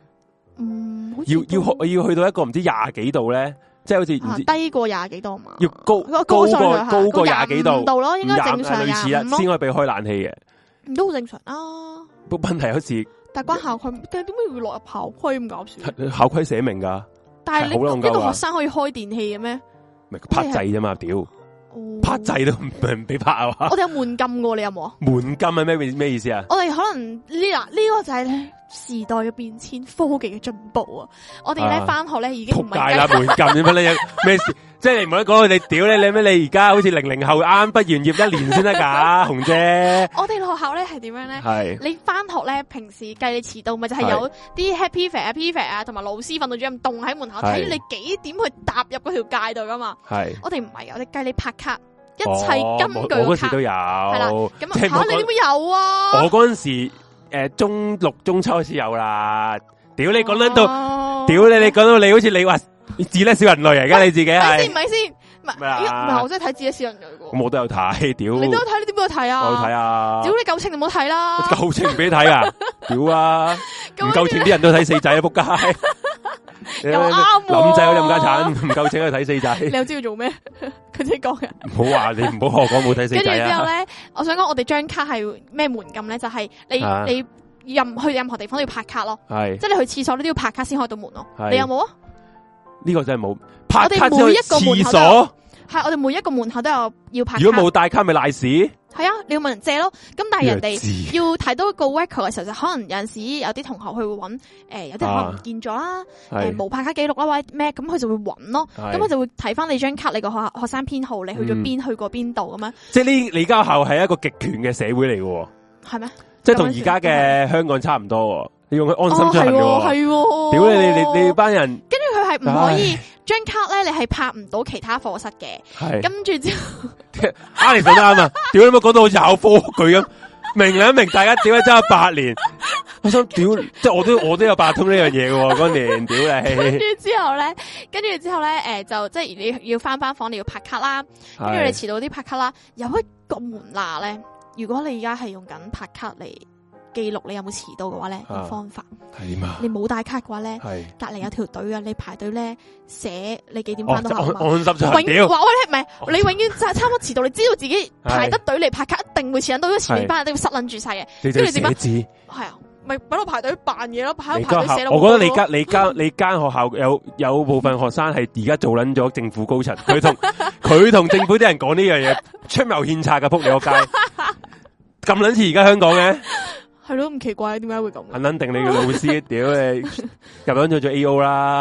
要去到一個唔知廿幾度咧，即係好似唔知低過廿幾度嘛？要高過廿幾度咯，應該正常類似啦，先可以俾開冷氣嘅。唔都好正常啊？不過問題好似但係關校規，但係點解會落入校規咁搞笑？校規寫明噶，但係你呢個學生可以開電器嘅咩？咪拍掣啫嘛，屌！拍掣都唔俾拍啊！我哋有門禁嘅，你有冇啊？門禁係咩意思啊？我哋可能呢個就係咧時代嘅變遷，科技嘅進步啊！我哋咧翻學咧已經唔係啦，門禁點解咧？咩事？即係你唔好講你屌你咩？你而家好似00後啱畢完業1年先得噶，紅姐。我哋學校咧係點樣咧？係你翻學咧，平時計你遲到，咪就係有啲 happy fair 啊、P fair 啊，同埋老師訓導主任凍喺門口睇你幾點去踏入嗰條界度噶嘛？係我哋唔係，我哋計你拍卡，一切根據卡。我嗰時都有，係啦。咁你點會有啊？我嗰陣時中6、中7開始有啦。屌你講緊到，屌你講到你好似你話。自叻小人類而家你自己係，唔係先，唔係我真係睇自叻小人類嘅。咁我都有睇，屌！你都有睇，你點解有睇啊？我有睇啊！屌你夠稱你唔好睇啦！夠稱唔俾你睇啊！屌啊！唔夠稱啲人都睇四仔啊！仆街！又啱，林仔嗰啲冚家鏟唔夠稱去睇四仔。你又知佢做咩？佢自己講嘅。唔好話你唔好學講冇睇四仔啊！跟住之後咧，我想講我哋張卡係咩門禁咧？就係你去任何地方都要拍卡咯，係即係你去廁所你都要拍卡先開到門咯。你有冇啊？呢個真係冇拍卡，每一個廁所係我哋每一個門口都有要拍卡。如果冇帶卡咪賴屎。係啊，你要問人借咯。咁但係人哋要睇到一個 record 嘅時候，就可能有陣時有啲同學佢會揾有啲可能唔見咗啦，冇拍卡記錄啦或者咩，咁佢就會揾咯。咁佢就會睇翻你張卡，你個學生編號，你去咗邊，去過邊度咁樣。即係你間學校係一個極權嘅社會嚟嘅。係咩？即係同而家嘅香港差唔多。你用佢安心出行嘅，係，屌你班人，跟住佢係唔可以張卡咧，你係拍唔到其他課室嘅，係，跟住之後，你講得啱啊，屌你冇講到好似考科舉咁，明大家屌你爭8年，我想屌，即係我都有八通呢樣嘢嘅嗰年，屌你，跟住之後咧，就即係你要翻班房，你要拍卡啦，跟住你遲到啲拍卡啦，有一個門罅咧，如果你而家係用緊拍卡嚟記錄你有冇遲到嘅話咧，有方法係點啊？你冇帶卡嘅話咧，隔籬有條隊啊，你排隊咧寫你幾點翻到學校。安心出行。屌，話喂，唔係你永遠差唔多遲到，你知道自己排得隊嚟拍卡，一定會遲到，因為前面班人都要塞撚住晒嘅。跟住點啊？係啊，咪喺度排隊扮嘢咯，排隊寫咯。我覺得你間學校有部分學生係而家做撚咗政府高層，佢同政府啲人講呢樣嘢出謀獻策嘅，仆你個街咁撚似而家香港嘅。係咯，唔奇怪，點解會咁？肯定你個老師屌你入咗做 A.O. 啦，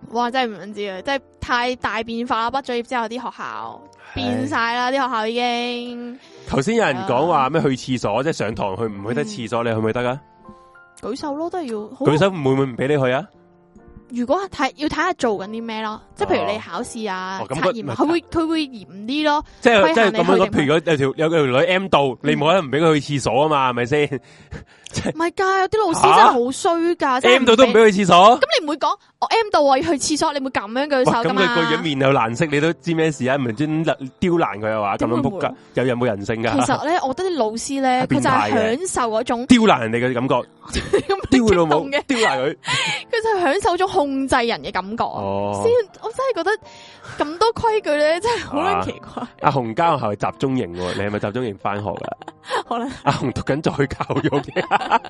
哇！真係唔知啊，即係太大變化啦！畢咗業之後，啲學校變晒啦，啲學校已經。 頭先有人講話咩去廁所，即係上堂去唔去得廁所，你去唔去得啊？ 舉手咯，都係要。 舉手會唔會唔俾你去啊？ 如果要睇下做緊啲咩咯，即係譬如你考試啊、測驗啊，佢會嚴啲咯。即係咁樣，譬如有條女 M 到，你冇可能唔俾佢去廁所啊嘛，係咪先？ 唔係噶，有啲老師真係好衰噶 ，M 到都唔俾去廁所。 咁你唔會講我 M 到我要去廁所，你會咁樣舉手噶嘛？ 咁佢個樣面有難色，你都知咩事啊？唔係專刁難佢啊嘛？咁樣仆街，有冇人性噶？ 其實咧，我覺得啲老師咧，佢就係享受嗰種刁難人哋嘅感覺，刁佢老母，刁難佢。 佢就係享受種控制人嘅感覺。我真係覺得咁多規矩咧，真係好撚奇怪。 阿紅家學校係集中營，你係咪集中營翻學噶？ 可能阿紅讀緊再教育嘅。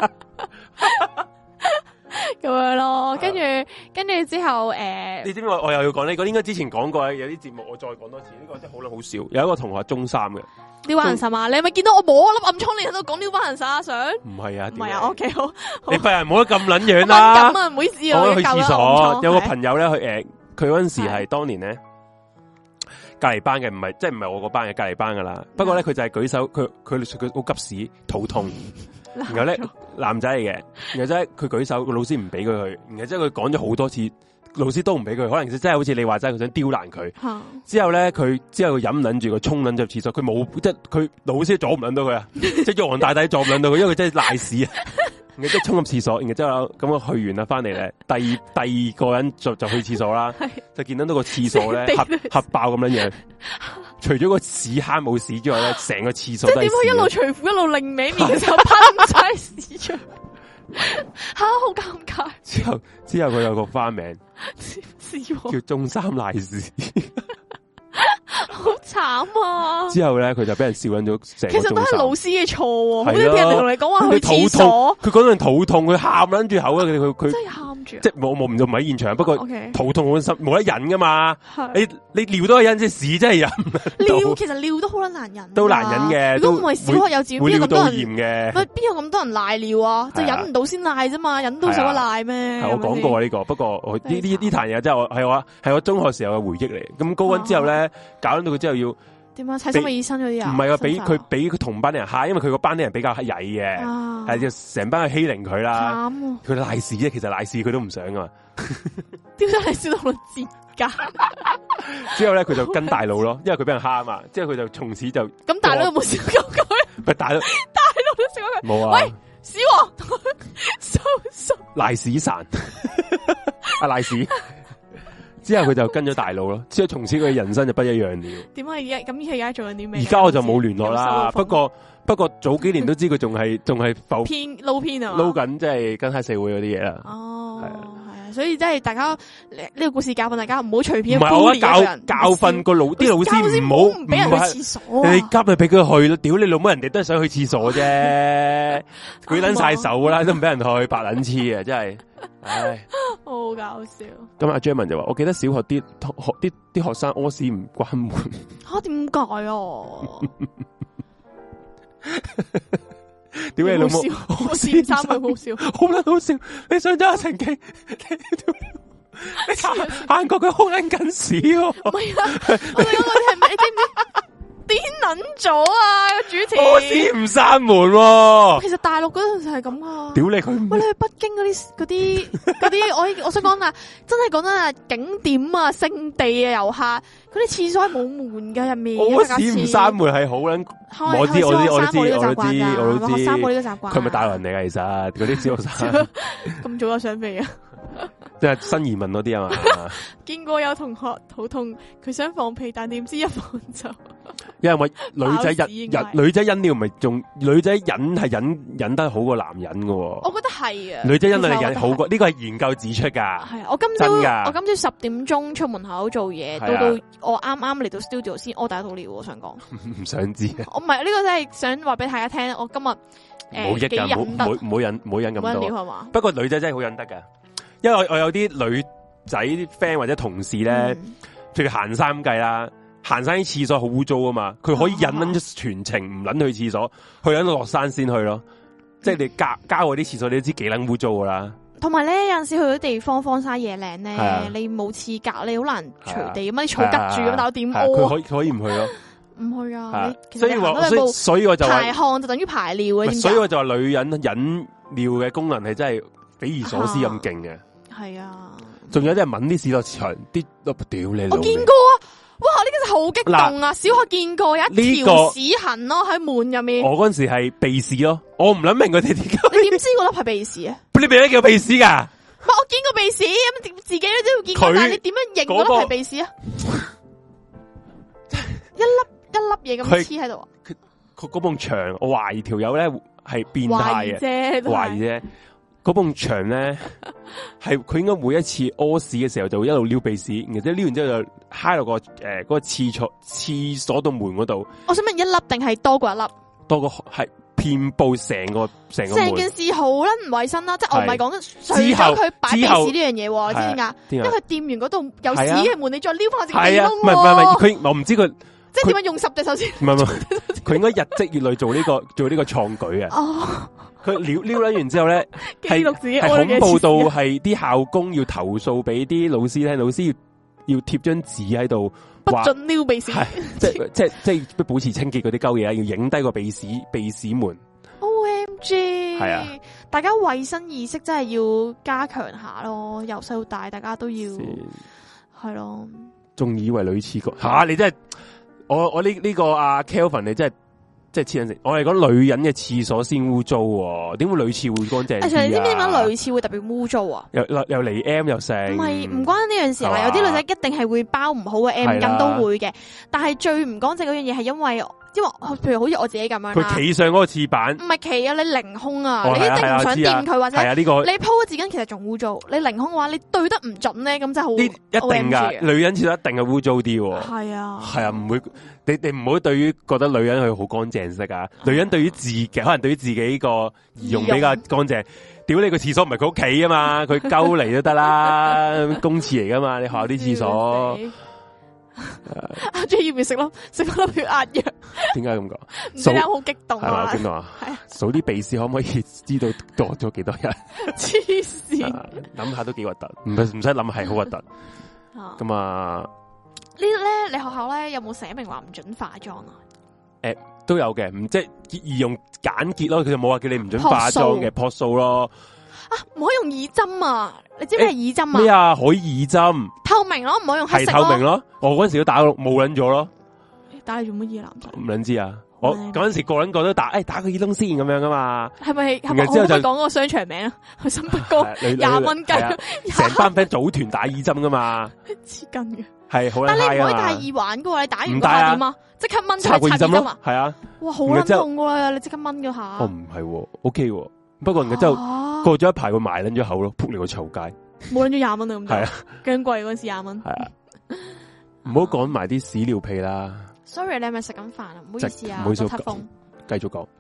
咁樣咯，跟住之後你知唔知我又要講呢個？應該之前講過，有啲節目我再講多次。呢個真係好撚好笑。有一個同學中三嘅撩班人殺嘛，你係咪見到我摸粒暗瘡，你喺度講撩班人殺啊？想唔係啊？ 唔係啊？OK 好， 你份人冇得咁撚樣啦。 咁啊，唔好意思， 我去廁所，有個朋友咧，佢嗰陣時係當年咧隔籬班嘅，唔係我個班嘅隔籬班噶啦。不過咧，佢就係舉手，佢好急屎，肚痛。然後咧男仔嚟嘅，然後即係佢舉手，個老師唔俾佢去，然後即係佢講咗好多次，老師都唔俾佢，可能真係好似你話齋，佢想刁難佢。之後咧佢忍唔忍住，佢衝捻咗入廁所，佢冇即係佢老師阻唔捻到佢啊，即係玉皇大帝阻唔捻到佢，因為佢真係賴屎啊！然後即係衝入廁所，然後之後咁我去完啦，翻嚟咧，第二個人就去廁所啦，就見到個廁所咧核爆咁樣樣。除咗個屎坑冇屎之外咧，成個廁所都係屎。即係點解一路除褲一路擰歪面嘅時候噴晒屎出？吓，好尷尬。之後佢有個花名，叫中三賴屎。好慘啊！之後咧，佢就俾人笑緊咗成。其實都係老師嘅錯，好似啲人同你講話去廁所，佢嗰陣肚痛，佢喊撚住口啊！佢真係喊住，即係我唔喺現場，不過肚痛好心冇得忍噶嘛。你尿都係忍，即係屎真係忍。尿其實尿都好撚難忍，都難忍嘅。如果唔係小學幼稚園，邊有咁多人嘅？邊有咁多人賴尿啊？就忍唔到先賴啫嘛，忍到使乜賴咩？係我講過呢個，不過我呢壇嘢真係係我中學時候嘅回憶嚟。咁高溫之後咧，搞到佢之後要點啊？睇心理醫生嗰啲啊？唔係啊，俾佢同班啲人嚇，因為佢個班啲人比較曳嘅，係就成班去欺凌佢啦。佢賴屎啫，其實賴屎佢都唔想噶嘛。點解你笑到我折㗎？之後咧，佢就跟大佬咯，因為佢俾人蝦啊嘛。之後佢就從此就咁大佬有冇笑過佢？唔係大佬都笑過佢。冇啊！喂，屎王，收賴屎神，阿賴屎。之後佢就跟咗大佬咯，之後從此佢嘅人生就不一樣了。點解而家咁而家做緊啲咩？而家我就冇聯絡啦。不過早幾年都知佢仲係浮偏撈偏啊，撈緊即係跟黑社會嗰啲嘢啦。哦，係啊，所以即係大家呢個故事教訓大家唔好隨便。唔係我教訓個啲老師唔好唔俾人去廁所。你急咪俾佢去咯，屌你老母，人哋都係想去廁所啫，舉捻晒手啦，都唔俾人去，白捻黐啊，真係。唉，好搞笑。咁阿 Jerman 就話，我記得小學啲學生屙屎唔關門。吓，點解啊？點解你老母？我試三句好笑，好撚好笑。你上咗阿陳記，你行過佢好撚緊屎喎。唔係啊，我哋嗰個係咪？你知唔知？癲捻咗啊！個主持屙屎唔閂門。其實大陸嗰陣時係咁啊！屌你佢！喂，你去北京嗰啲，我想講啊，真係講真啊，景點啊、聖地啊、遊客嗰啲廁所係冇門嘅入面。屙屎唔閂門係好撚，我知，閂門呢個習慣噶，閂門呢個習慣。佢咪大陸人嚟噶？其實嗰啲小學生咁早就想飛啊！即係新移民嗰啲啊嘛，見過有同學肚痛，佢想放屁，但點知一放就，因為女仔忍尿唔係仲女仔忍係忍得好過男人噶，我覺得係啊，女仔忍係忍好過，呢個係研究指出噶。係我今朝10點鐘出門口做嘢，到我啱啱嚟到 studio 先屙第一套尿，我想講，唔想知啊，我唔係呢個真係想話俾大家聽，我今日冇益噶，唔好忍咁多係嘛。不過女仔真係好忍得噶。因為我有啲女仔啲 friend 或者同事咧，譬如行山咁計啦，行山啲廁所好污糟啊嘛，佢可以忍咗全程唔捻去廁所，去忍到落山先去咯。即係你郊嗰啲廁所，你都知幾捻污糟噶啦。 同埋咧，有陣時去到啲地方荒山野嶺咧，你冇廁格，你好難隨地咁樣啲草吉住咁，但我點屙？ 佢可以唔去咯？ 唔去啊！ 所以我就排汗就等於排尿嘅。 所以我就話女人忍尿嘅功能係真係匪夷所思咁勁嘅。 係啊， 仲有啲人搵啲屎落牆，啲屌你！ 我見過啊！哇，呢個真係好激動啊！小學見過有一條屎痕咯喺門入面。我嗰陣時係鼻屎咯，我唔諗明佢哋點解。 你點知嗰粒係鼻屎啊？ 你俾得叫鼻屎噶？ 我見過鼻屎，咁自己都會見過，但係你點樣認嗰粒係鼻屎啊？一粒嘢咁黐喺度啊！ 佢嗰埲牆，我懷疑條友咧係變態嘅，懷疑啫。嗰埲牆咧係佢應該每一次屙屎嘅時候就會一路撩鼻屎，然之後撩完之後就揩落個嗰個廁所度門嗰度。 我想問一粒定係多過一粒？ 多過係遍布成個門。成件事好啦，唔衛生啦，即係我唔係講除咗佢擺鼻屎呢樣嘢，你知唔知啊？因為佢掂完嗰度有屎嘅門，你再撩翻自己窿。 唔係佢我唔知佢。 即係點樣用10隻手先？ 唔係，佢應該日積月累做呢個創舉啊！哦，佢撩完之後咧，係恐怖到係啲校工要投訴俾啲老師聽，老師要貼張紙喺度， 不准撩鼻屎， 即係保持清潔嗰啲鳩嘢，要影低個鼻屎門。 OMG！ 係啊， 大家衛生意識真係要加強下咯，由細到大大家都要係咯。 仲以為女廁局吓你真係。我呢個阿 Kelvin 你真係黐緊線，我係講女人嘅廁所先污糟，點會女廁會乾淨？ 你知唔知點解女廁會特別污糟啊？ 又嚟 M 又剩， 唔係唔關呢樣事啦。有啲女仔一定係會包唔好嘅 M 巾都會嘅，但係最唔乾淨嗰樣嘢係因為譬如好似我自己咁樣， 佢企上嗰個廁板， 唔係企啊，你凌空啊，你一定唔想掂佢或者呢個你鋪嘅紙巾其實仲污糟，你凌空嘅話你對得唔準咧，咁真係好一定噶，女人廁所一定係污糟啲。 係啊， 係啊，唔會你唔好對於覺得女人佢好乾淨色啊，女人對於自己可能對於自己個儀容比較乾淨。屌你個廁所唔係佢屋企啊嘛，佢鳩嚟都得啦，公廁嚟噶嘛，你學校啲廁所。 阿 J 要唔要食咯？食翻粒血壓藥？ 點解咁講？ 數好激動啊！ 邊度啊？數啲鼻屎可唔可以知道多咗幾多日？ 黐線！ 諗下都幾核突，唔使諗係好核突。咁啊， 呢咧你學校咧有冇寫明話唔准化妝啊？ 都有嘅，唔即係易用簡潔咯。佢就冇話叫你唔准化妝嘅，樸素咯。 啊，唔可以用耳針啊！你知唔知係耳針啊？ 咩啊？可以耳針， 透明咯，唔可以用黑色。 係透明咯，我嗰陣時都打冇撚咗咯。 打你做乜嘢男仔？ 唔撚知啊！我嗰陣時個撚個都打個耳窿先咁樣噶嘛。 係咪之後就講個商場名啊？去新北高20蚊雞， 成班 friend 組團打耳針噶嘛。黐筋嘅係好撚。 但你唔可以戴耳環噶喎，你打完嗰下點啊？即刻掹插耳針啊！ 係啊！ 哇，好撚痛噶啦！你即刻掹嗰下。 哦，唔係，OK，不過然之後過咗一排，佢埋撚咗口咯，撲你個臭街。 冇撚咗20蚊啊！咁係啊， 咁貴嗰時20蚊。 係啊，唔好講埋啲屎尿屁啦。 Sorry，你係咪食緊飯啊？唔好意思啊， 唔好意思，繼續講。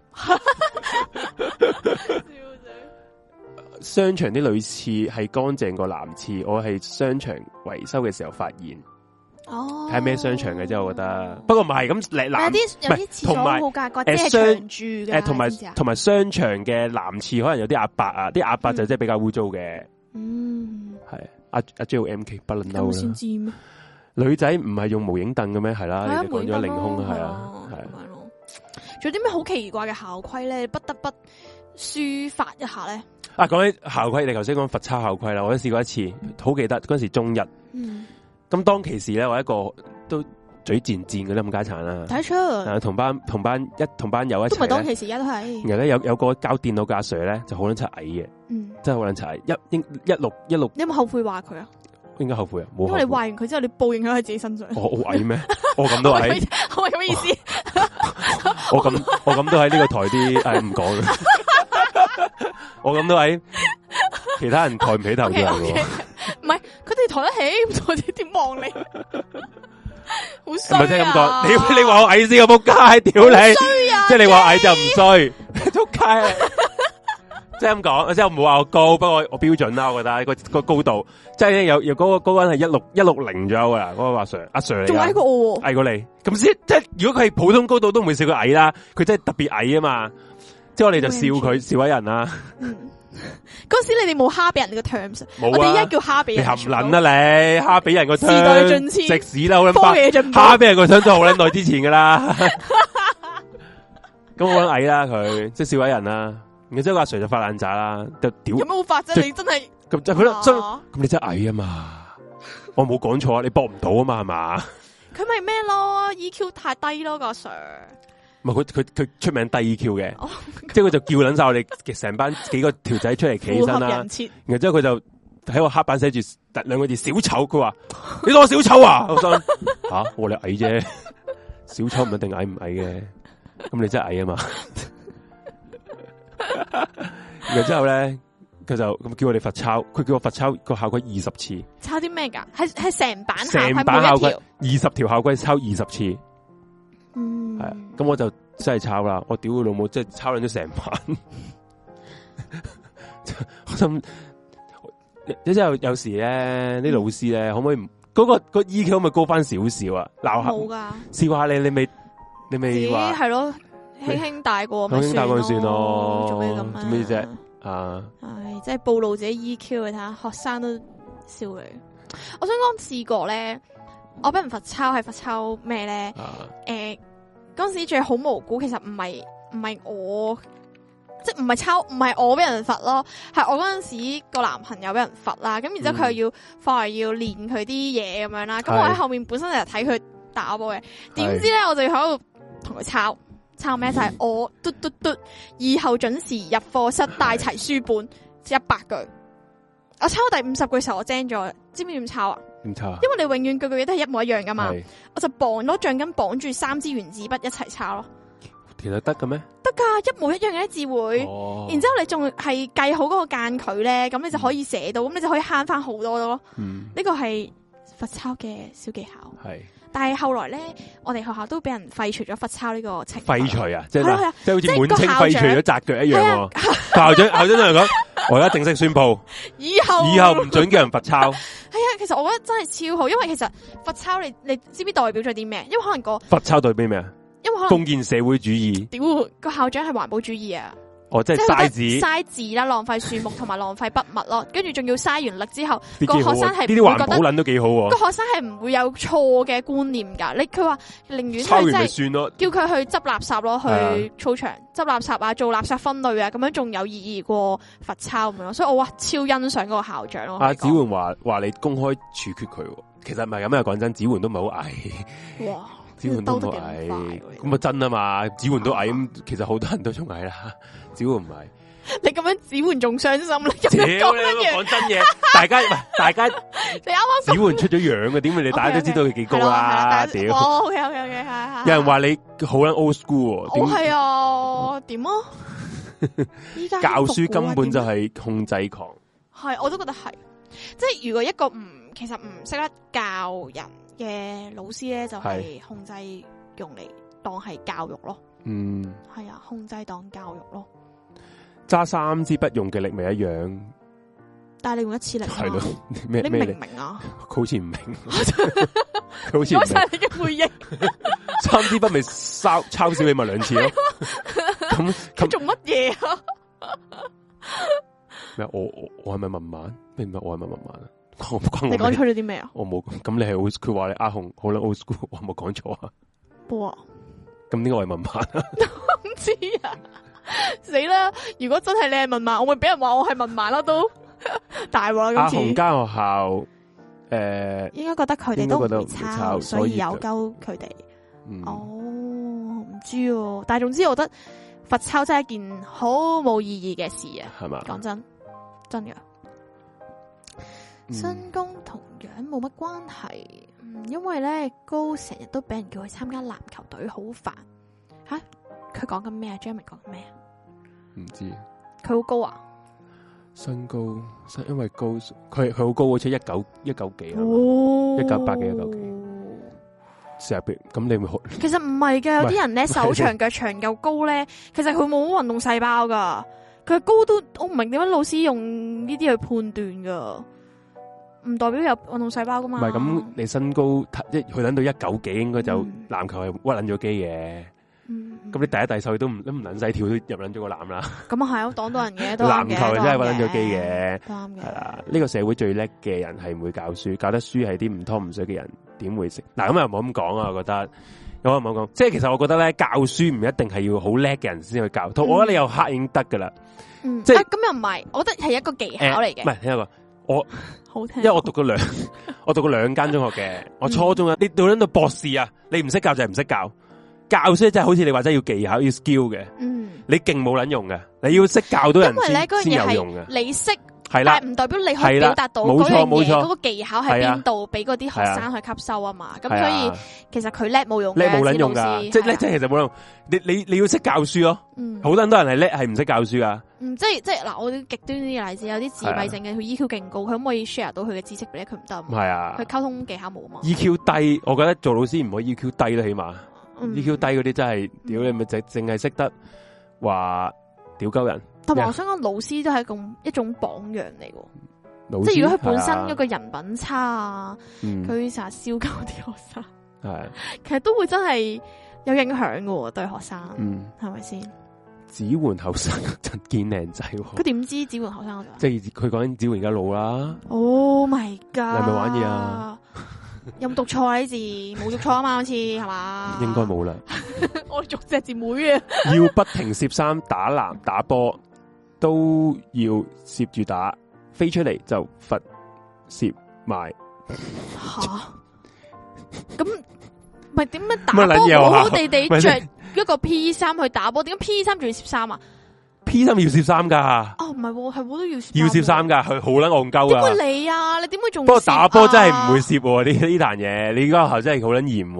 商場啲女廁係乾淨過男廁，我係商場維修嘅時候發現。哦，睇咩商場嘅啫，我覺得。不過唔係咁，有啲廁所好格局，即係長住嘅。同埋商場嘅男廁可能有啲阿伯啊，啲阿伯就真係比較污糟嘅。嗯，係阿 JMK 不能嬲啦。先知咩？女仔唔係用無影凳嘅咩？係啦，你哋講咗凌空係啊，係咯。仲有啲咩好奇怪嘅校規咧？不得不抒發一下咧。啊， 講起校規，你頭先講罰抄校規啦，我都試過一次，好記得嗰陣時中一。咁當其時咧，我一個都嘴賤賤嗰啲咁家產啦。 睇出。同班友一齊。都唔係當其時，而家都係。 然後咧有個教電腦嘅阿 Sir 咧，就好撚柒矮嘅，真係好撚柒矮，166。你有冇後悔話佢啊？ 應該後悔啊，冇。 因為你話完佢之後，你報應喺佢自己身上。 我好矮咩？我咁都矮。 我係咁意思。 我咁都喺呢個台啲唔講啦。我咁都喺其他人抬唔起頭嘅。 唔係，佢哋抬得起，我哋點望你？好衰啊！ 唔係真係咁講，你話我矮先個仆街，屌你！即係你話矮就唔衰，仆街。即係咁講，即係唔好話我高，不過我標準啦，我覺得個高度，即係有嗰個人係160左右噶啦，嗰個阿 Sir 嚟， 仲矮過我， 矮過你，咁先即係如果佢係普通高度都唔會笑佢矮啦，佢真係特別矮啊嘛，即係我哋就笑佢笑位人啦， 嗰時你哋冇蝦俾人哋個 terms，我哋而家叫蝦俾人。 你含撚啊你，蝦俾人個 terms。時代進遷， 食屎啦！好撚科技進步， 蝦俾人個 terms 都好撚耐之前噶啦。咁我撚矮啦佢，即係小矮人啦。然之後阿 Sir 就發爛渣啦，就屌。有冇發啫？你真係咁就佢真咁你真係矮啊嘛！我冇講錯啊，你搏唔到啊嘛係嘛？佢咪咩咯 ？EQ 太低咯個 Sir。唔係佢出名低 EQ 嘅，即係佢就叫撚晒我哋成班幾個條仔出嚟企起身啦。然之後佢就喺個黑板寫住兩個字小丑，佢話你當我小丑啊？我心吓我哋矮啫，小丑唔一定矮唔矮嘅，咁你真係矮啊嘛？然之後咧，佢就咁叫我哋罰抄，佢叫我罰抄個校規20次。抄啲咩噶？係成版校規20條校規抄20次。係咁我就真係抄啦！我屌佢老母，即係抄捻咗成版。我心，你之後有時咧，啲老師咧，可唔可以嗰個 EQ 可唔可以高翻少少啊？鬧下冇噶，試過下你未話係咯，輕輕帶過咪算咯，做咩咁啊？做咩啫？啊，係即係暴露自己 EQ，你睇下學生都笑你。我想講試過咧。我俾人罰抄係罰抄咩咧？嗰陣時仲係好無辜，其實唔係我，即係唔係抄，唔係我俾人罰咯，係我嗰陣時個男朋友俾人罰啦。咁然之後佢又要翻嚟要練佢啲嘢咁樣啦。咁我喺後面本身就係睇佢打波嘅，點知咧我就要喺度同佢抄咩？就係我嘟，以後準時入課室帶齊書本100句。我抄到第50句時候我精咗，知唔知點抄啊？點抄啊？因為你永遠句句嘢都係一模一樣噶嘛，我就綁攞橡筋綁住3支原子筆一齊抄咯。其實得嘅咩？得噶，一模一樣嘅字會。哦。然之後你仲係計好嗰個間距咧，咁你就可以寫到，咁你就可以慳翻好多咯。呢個係罰抄嘅小技巧。係。但係後來咧，我哋學校都俾人廢除咗罰抄呢個情況。廢除啊，即係好似滿清廢除咗紮腳一樣。校長都嚟講，我而家正式宣布，以後唔准叫人罰抄。係啊，其實我覺得真係超好，因為其實罰抄你知唔知代表咗啲咩？因為可能個罰抄代表咩啊？因為可能封建社會主義。屌，個校長係環保主義啊！哦，即係嘥字啦，浪費樹木同埋浪費筆墨咯，跟住仲要嘥完力之後，個學生係呢啲環保撚都幾好。個學生係唔會有錯嘅觀念噶，佢話寧願抄完咪算咯，叫佢去執垃圾咯，去操場執垃圾啊，做垃圾分類啊，咁樣仲有意義過罰抄咁樣咯。所以我哇超欣賞嗰個校長咯。阿子桓話你公開處決佢，其實唔係咁啊，講真，子桓都唔係好矮。哇！子桓都矮，咁啊真啊嘛！子桓都矮，咁其實好多人都仲矮啦。子桓唔係，你咁樣子桓仲傷心啦！講真嘢，大家你啱啱子桓出咗樣嘅，點解你大家都知道佢幾高啦？屌，OK，係。有人話你好撚 old school，我係啊，點啊？依家教書根本就係控制狂，係我都覺得係，即係如果一個其實唔識得教人嘅老師咧，就係控制用嚟當係教育咯。嗯，係啊，控制當教育咯。揸3支筆用嘅力咪一樣，但係你用1次力係咯？你明唔明啊？佢好似唔明，佢好似唔明。攞晒你嘅回應，3支筆咪抄少你咪2次咯。咁佢做乜嘢啊？咩？我係咪文盲？明白我係咪文盲啊？你講錯咗啲咩啊？我冇，咁你係佢話你阿紅好啦 old school，我冇講錯啊？哇！咁點解我係文盲啊？唔知啊！死啦！如果真係你係文盲，我會俾人話我係文盲啦，都大鑊啦！今次阿紅間學校應該覺得佢哋都唔抄，所以有鳩佢哋。哦，唔知喎，但係總之我覺得罰抄真係一件好冇意義嘅事啊！係嘛？講真嘅。身高同樣冇乜關係，因為咧高成日都俾人叫佢參加籃球隊，好煩吓。佢講緊咩啊 Jeremy 講緊咩啊？唔知。佢好高啊？身高，因為高，佢好高，好似190幾啊，198幾190幾。成日咁你咪學？其實唔係嘅，有啲人咧手長腳長又高咧，其實佢冇運動細胞噶。佢高都，我唔明點解老師用呢啲去判斷噶。唔代表有運動細胞噶嘛？唔係咁，你身高即係佢等到190幾，應該就籃球係屈捻咗機嘅。 咁你第一第手都唔撚使跳都入撚咗個籃啦。 咁啊係，我擋到人嘅， 籃球真係搵咗機嘅， 啱嘅。 係啦，呢個社會最叻嘅人係唔會教書，教得書係啲唔湯唔水嘅人，點會識？嗱咁又唔好咁講啊，我覺得。有冇講？即係其實我覺得咧，教書唔一定係要好叻嘅人先去教，我覺得你有黑已經得噶啦。即係咁又唔係，我覺得係一個技巧嚟嘅。 唔係，聽我講，我好聽， 因為我讀過兩間中學嘅，我初中啊，你到到博士啊，你唔識教就係唔識教，教書真係好似你話齋要技巧要 skill 嘅。你勁冇撚用嘅，你要識教到人先有用嘅。 你識。 係啦， 但係唔代表你可以表達到嗰樣嘢，嗰個技巧喺邊度，俾嗰啲學生去吸收啊嘛。咁所以其實佢叻冇用嘅， 叻冇撚用噶，即係叻，即係其實冇用。你要識教書咯。好多人係叻，係唔識教書噶。即係嗱，我啲極端啲嘅例子，有啲自閉症嘅，佢 EQ 勁高，佢可唔可以 share 到佢嘅知識俾咧？佢唔得。係啊，佢溝通技巧冇啊嘛。 EQ 低，我覺得做老師唔可以 EQ 低啦，起碼 EQ 低嗰啲真係屌你咪淨係識得話屌鳩人。 同埋我想講，老師都係一種榜樣嚟喎，即係如果佢本身嗰個人品差啊，佢成日燒鳩啲學生，其實都會真係有影響嘅對學生，係咪先？ 子桓後生真見靚仔， 佢點知子桓後生？ 即係佢講緊子桓而家老啦。 Oh my god！ 你係咪玩嘢啊？ 有冇讀錯啊？啲字冇讀錯啊嘛？好似係嘛？ 應該冇啦。 我讀隻字妹啊！ 要不停攝衫打籃打波。都要攝住打，飛出嚟就罰攝埋。 吓，咁咪點樣打波？好好地地着一個 P3 去打波，點解 P3 仲要攝衫啊 ？P3 要攝衫噶。 哦，唔係，係我都要攝衫噶，佢好撚戇鳩噶。 點會你啊？你點會仲？ 不過打波真係唔會攝呢壇嘢，你而家學校真係好撚嚴，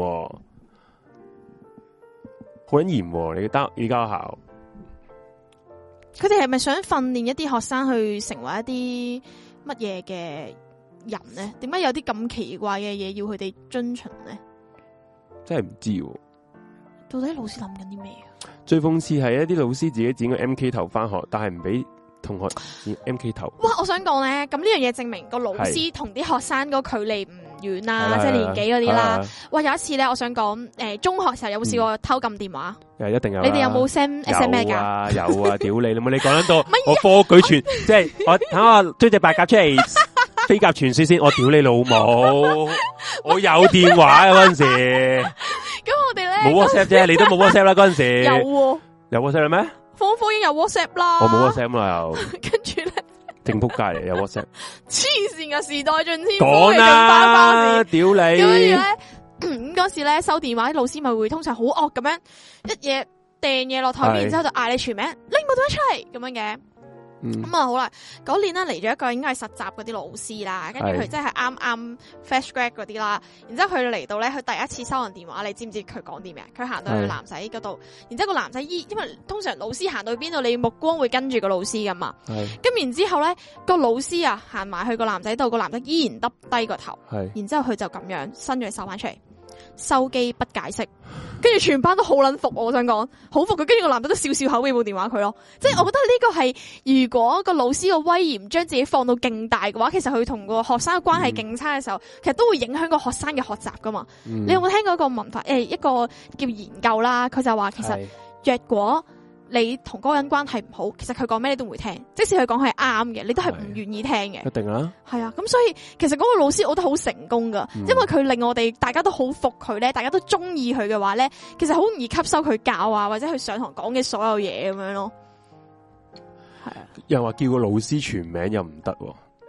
好撚嚴。你而家學校。 佢哋係咪想訓練一啲學生去成為一啲乜嘢嘅人呢？點解有啲咁奇怪嘅嘢要佢哋遵循呢？ 真係唔知。 到底老師諗緊啲咩啊？ 最諷刺係一啲老師自己剪個 MK 頭翻學，但係唔俾同學剪 MK 頭。哇！ 我想講咧，咁呢樣嘢證明個老師同啲學生個距離唔遠啦，即係年紀嗰啲啦。哇！有一次咧，我想講，中學時候有冇試過偷撳電話？ 一定有。 你哋有冇 send SMS 噶？ 有啊！屌你，你講得到我科舉傳，即係我等我追隻白鴿出嚟，飛鴿傳書先。我屌你老母！我有電話啊嗰陣時。 咁我哋咧冇 WhatsApp 啫，你都冇 WhatsApp 啦嗰陣時。有 WhatsApp 咩？ 科已經有 WhatsApp 啦。 我冇 WhatsApp 啦又。 跟住咧。 正仆街嚟，有 WhatsApp。 黐線嘅時代進天。 講啦，屌你！ 跟住咧，嗰時咧收電話啲老師咪會通常好惡咁樣一嘢掟嘢落台面，然之後就嗌你全名，拎部電話出嚟咁樣嘅。咁啊好啦，嗰年咧嚟咗一個應該係實習嗰啲老師啦，跟住佢真係啱 fresh grad 嗰啲啦，然之後佢嚟到咧，佢第一次收人電話，你知唔知佢講啲咩？佢行到去男仔嗰度，然之後個男仔因為通常老師行到去邊度，你目光會跟住個老師噶嘛，咁然之後咧個老師啊行埋去個男仔度，個男仔依然耷低個頭，然之後佢就咁樣伸咗隻手翻出嚟。收機不解釋，跟住全班都好撚服，我想講好服佢，跟住個男仔都笑笑口俾部電話佢咯，即係我覺得呢個係如果個老師個威嚴將自己放到勁大嘅話，其實佢同個學生嘅關係勁差嘅時候，其實都會影響個學生嘅學習噶嘛。你有冇聽過一個文化一個叫研究啦？佢就話其實若果你同嗰個人關係唔好，其實佢講咩你都唔會聽，即使佢講係啱嘅，你都係唔願意聽嘅。 一定啦。係啊， 咁所以其實嗰個老師我覺得好成功噶，因為佢令我哋大家都好服佢咧，大家都中意佢嘅話咧，其實好容易吸收佢教啊，或者佢上堂講嘅所有嘢咁樣咯。係啊。 又話叫個老師全名又唔得。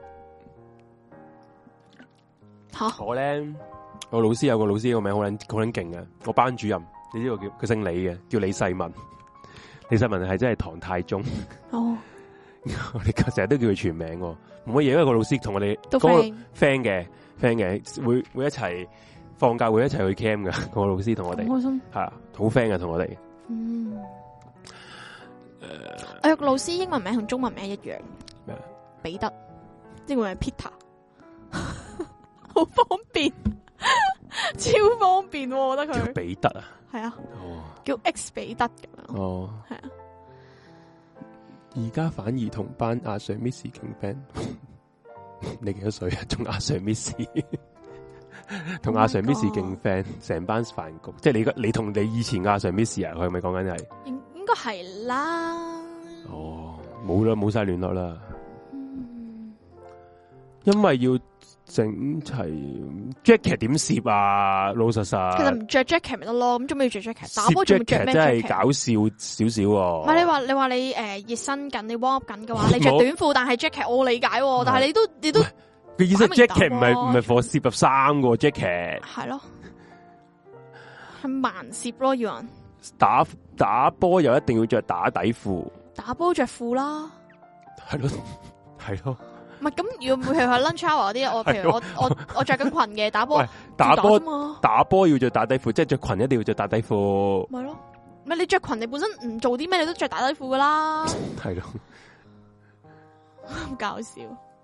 吓？我老師有個老師個名好撚勁嘅，我班主任，你知道佢姓李嘅，叫李世民。李世民係真係唐太宗。哦，我哋成日都叫佢全名，冇乜嘢，因為個老師同我哋嗰個 friend 嘅，會一齊放假會一齊去 camp 噶，個老師同我哋開心係啊，好 friend 嘅同我哋。 我有個老師英文名同中文名一樣，彼得，英文名 Peter， 好方便，超方便，我覺得佢叫彼得啊， 係啊。叫 X 彼得咁樣，係啊。 而家反而同班阿 Sir Miss 傾 friend，你幾多歲啊？仲阿 Sir Miss？ 同阿 Sir Miss 勁 friend，成班飯局，即係你同你以前阿 Sir Miss 啊，佢係咪講緊係？ 應該係啦。 哦，冇啦，冇晒聯絡啦。因為要整齊 jacket 點攝啊，老實實。 其實唔着 jacket 咪得咯，咁做咩要着 jacket？打波仲要着咩 jacket？ 真係搞笑少少喎。 唔係你話你熱身緊，你 warm up 緊嘅話，你着短褲，但係 jacket 我理解，但係你都佢意思 jacket 唔係 for 攝入衫個 jacket。 係咯，係盲攝咯，要人打波又一定要着打底褲。 打波着褲啦。 係咯，係咯。 唔係咁，如果譬如係 lunch hour 嗰啲，譬如我着緊裙嘅打波， 打波要着打底褲，即係着裙一定要着打底褲。 咪咯，咪你着裙你本身唔做啲咩，你都着打底褲噶啦。 係咯， 好搞笑。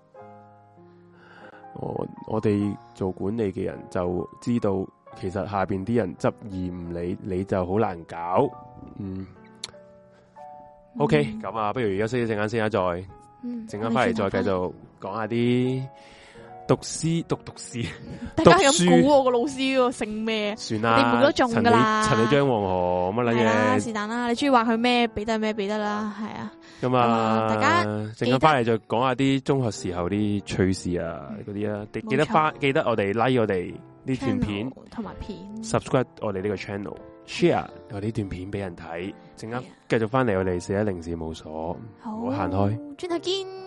我哋做管理嘅人就知道，其實下邊啲人執而唔理，你就好難搞。OK，咁啊，不如休息一陣間先啦，再陣間翻嚟再繼續講下啲讀詩。大家係咁估我個老師個姓咩？算啦，你唔估得中噶啦。陳李張黃河乜撚嘢？是但啦，你中意話佢咩？彼得咩？彼得啦，係啊。咁啊，大家陣間翻嚟就講下啲中學時候啲趣事啊，嗰啲啊，記得我哋 like 我哋呢段片同埋片 ，subscribe 我哋呢個 channel，share 我哋呢段片俾人睇。陣間繼續翻嚟我哋410事務所，唔好行開，轉頭見。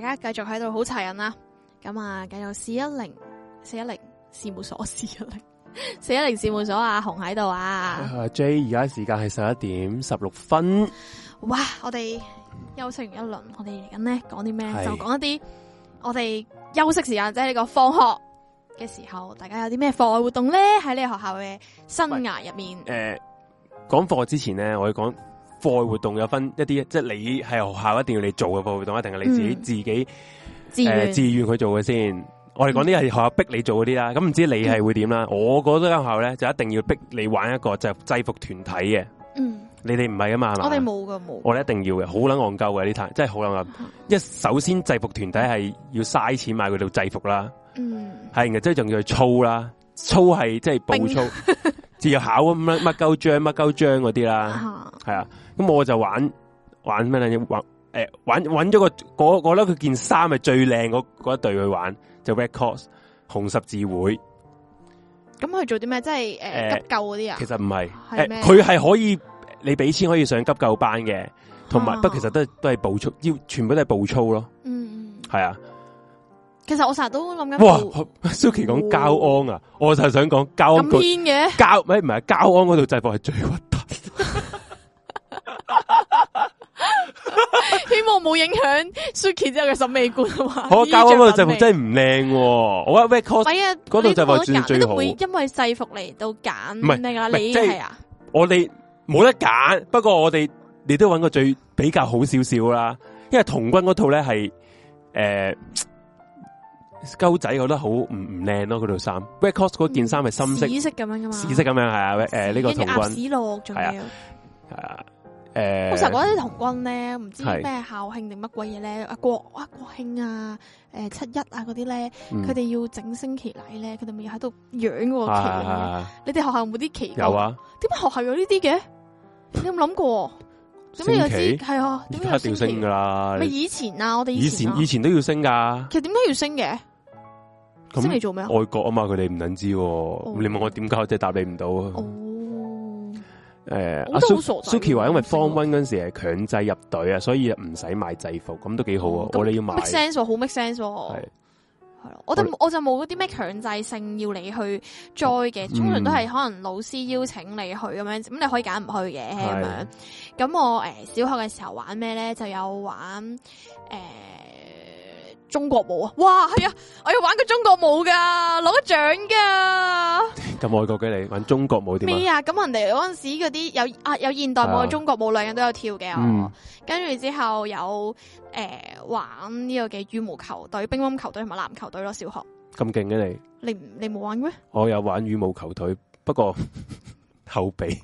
家繼續喺度好齊人啦。咁啊，繼續410事務所410事務所啊，紅喺度啊。 J 而家時間係11:16。 哇！我哋休息完一輪，我哋嚟緊咧講啲咩？就講一啲我哋休息時間，即係呢個放學嘅時候，大家有啲咩課外活動咧？喺你學校嘅生涯入面。 講課之前咧，我要講課外活動有分一啲，即係你係學校一定要你做嘅課外活動，一定係你自己自願去做嘅先。我哋講啲係學校逼你做嗰啲啦，咁唔知你係會點啦？我嗰間學校咧就一定要逼你玩一個就制服團體嘅。你哋唔係啊嘛？係嘛？ 我哋冇噶，冇。我哋一定要嘅，好撚戇鳩嘅呢壇，真係好撚戇。首先制服團體係要嘥錢買佢套制服啦。係，然之後仲要去操啦，操係即係步操，自由考乜鳩章嗰啲啦。係啊，咁我就玩咩咧？揾咗我覺得佢件衫係最靚嗰一隊去玩，就 Red Cross 紅十字會。 咁佢做啲咩？即係急救嗰啲啊？ 其實唔係，佢係可以你俾錢可以上急救班嘅，同埋不過其實都係步操，全部都係步操咯。係啊。 其實我成日都諗緊。 哇 ，Suki 講交安啊，我就係想講交安。 咁偏嘅？ 唔係交安嗰度制服係最核突。 希望冇影響 Suki 之後嘅審美觀啊嘛。 我交安嗰度制服真係唔靚，我覺得 Red Cross 嗰度制服係最好。 會因為制服嚟到揀咩噶？你係啊？ 我哋冇得揀，不過你都揾個最比較好少少啦。因為童軍嗰套咧係鳩仔，覺得好唔靚咯，嗰套衫。Red Cross 嗰件衫係深色、 紫色咁樣噶嘛？ 紫色咁樣係啊，呢個童軍。 鴨屎落仲要係啊。 我成日覺得啲童軍咧，唔知咩校慶定乜鬼嘢咧，國慶啊，7·1啊嗰啲咧，佢哋要整升旗禮咧，佢哋咪要喺度揚嗰個旗。你哋學校有冇啲旗？ 有啊。點解學校有呢啲嘅？你有冇諗過？點解有啲係啊？點解要升噶啦？ 咪以前啊，我哋以前都要升噶。 其實點解要升嘅？升嚟做咩啊？ 外國啊嘛，佢哋唔能知。你問我點解，我真係答你唔到。阿 Suki 話因為 Form 1嗰陣時係強制入隊啊，所以唔使買制服，咁都幾好啊。我哋要買 make sense， 好 make sense。係咯，我就冇嗰啲咩強制性要你去 join 嘅，通常都係可能老師邀請你去咁樣，咁你可以揀唔去嘅咁樣。咁我小學嘅時候玩咩咧？就有玩中國舞啊！哇，係啊，我要玩個中國舞噶，攞咗獎噶。 咁愛國嘅你玩中國舞點咩啊？咁人哋嗰陣時嗰啲有現代舞、有中國舞，兩樣都有跳嘅。跟住之後有玩呢個嘅羽毛球隊、乒乓球隊同埋籃球隊咯。小學咁勁嘅你冇玩咩？ 我有玩羽毛球隊，不過後備。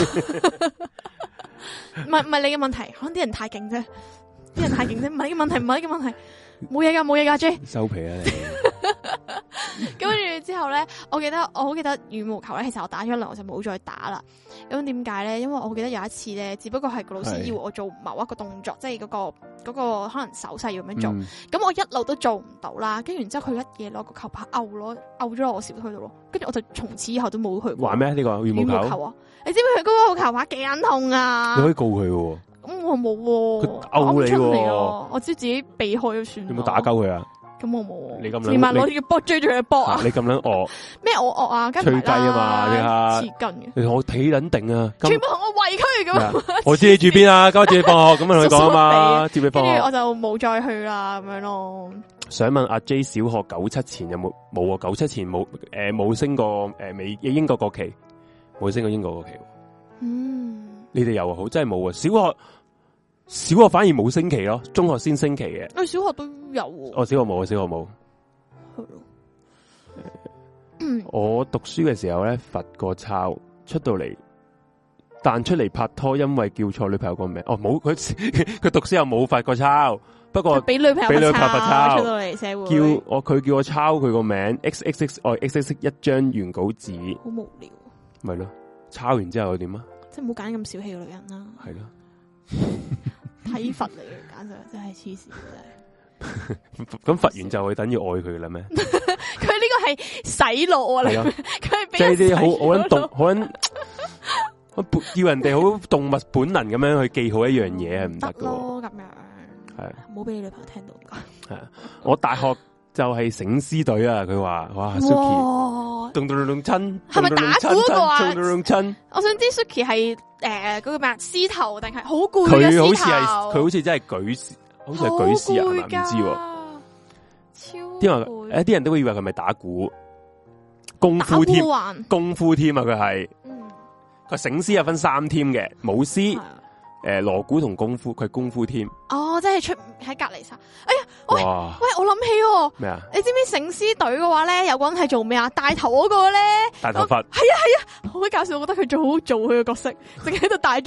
唔係你嘅問題，可能啲人太勁啫。啲人太勁啫，唔係呢個問題，唔係呢個問題，冇嘢噶 J 收皮啊你。 跟住之後咧，我好記得羽毛球咧，其實我打咗一輪我就冇再打啦。咁點解咧？因為我記得有一次咧，只不過係個老師要我做某一個動作，即係嗰個可能手勢要咁樣做。咁我一路都做唔到啦。跟住然之後佢一嘢攞個球拍勾咗落我小腿度咯。跟住我就從此以後都冇去過。 玩咩呢個羽毛球啊？你知唔知佢嗰個球拍幾撚痛啊？ 你可以告佢喎。 咁我冇喎， 佢勾你喎， 我知自己避開就算。 有冇打鳩佢啊？ 咁我冇。 你咁連埋攞住個波追住佢波啊！ 你咁撚惡咩？我惡啊！吹雞啊嘛！你下黐筋嘅， 你同我企撚定啊！ 全部同我圍區咁。 我知你住邊啊？今日接你放學咁樣同佢講啊嘛，接你放學。 跟住我就冇再去啦，咁樣咯。 想問阿 J 小學97前有冇啊？97前冇升過英國國旗，冇升過英國國旗。你哋有啊？好真係冇啊！小學反而冇升旗咯，中學先升旗嘅。 小學都有。 小學冇，小學冇。我讀書嘅時候咧，罰過抄出到嚟，彈出嚟拍拖，因為叫錯女朋友個名。冇佢讀書又冇罰過抄，不過俾女朋友罰抄出到嚟社會。 佢叫我抄佢個名 XXX 一張原稿紙， 好無聊。 咪咯，抄完之後又點啊？ 即係唔好揀咁小氣嘅女人啦。 係咯。 體罰嚟嘅，簡直真係黐線真係。 咁罰完就會等於愛佢啦咩？ 佢呢個係洗腦啊！佢係即係啲好撚叫人哋好動物本能咁樣去記好一樣嘢係唔得噶。 咁樣係唔好俾你女朋友聽到。 係啊，我大學就係醒獅隊啊！佢話哇 ，Suki，咚咚咚親， 係咪打鼓嗰個啊？ 咚咚咚親， 我想知 Suki 係嗰個咩獅頭定係好攰嘅佢好獅似係頭？ 佢好似真係舉，好似係舉獅啊？係咪唔知喎？ 超啲人都會以為佢係咪打鼓功夫添，功夫添啊！佢係，佢醒獅有分3 team 嘅，舞獅。鑼鼓同功夫，佢功夫添。 哦，即係出喺隔籬晒。哎呀，喂，我諗起咩啊？ 你知唔知醒獅隊嘅話咧，有個人係做咩啊？帶頭嗰個咧， 大頭髮。 係啊，好搞笑！我覺得佢最好做佢嘅角色，淨係喺度帶住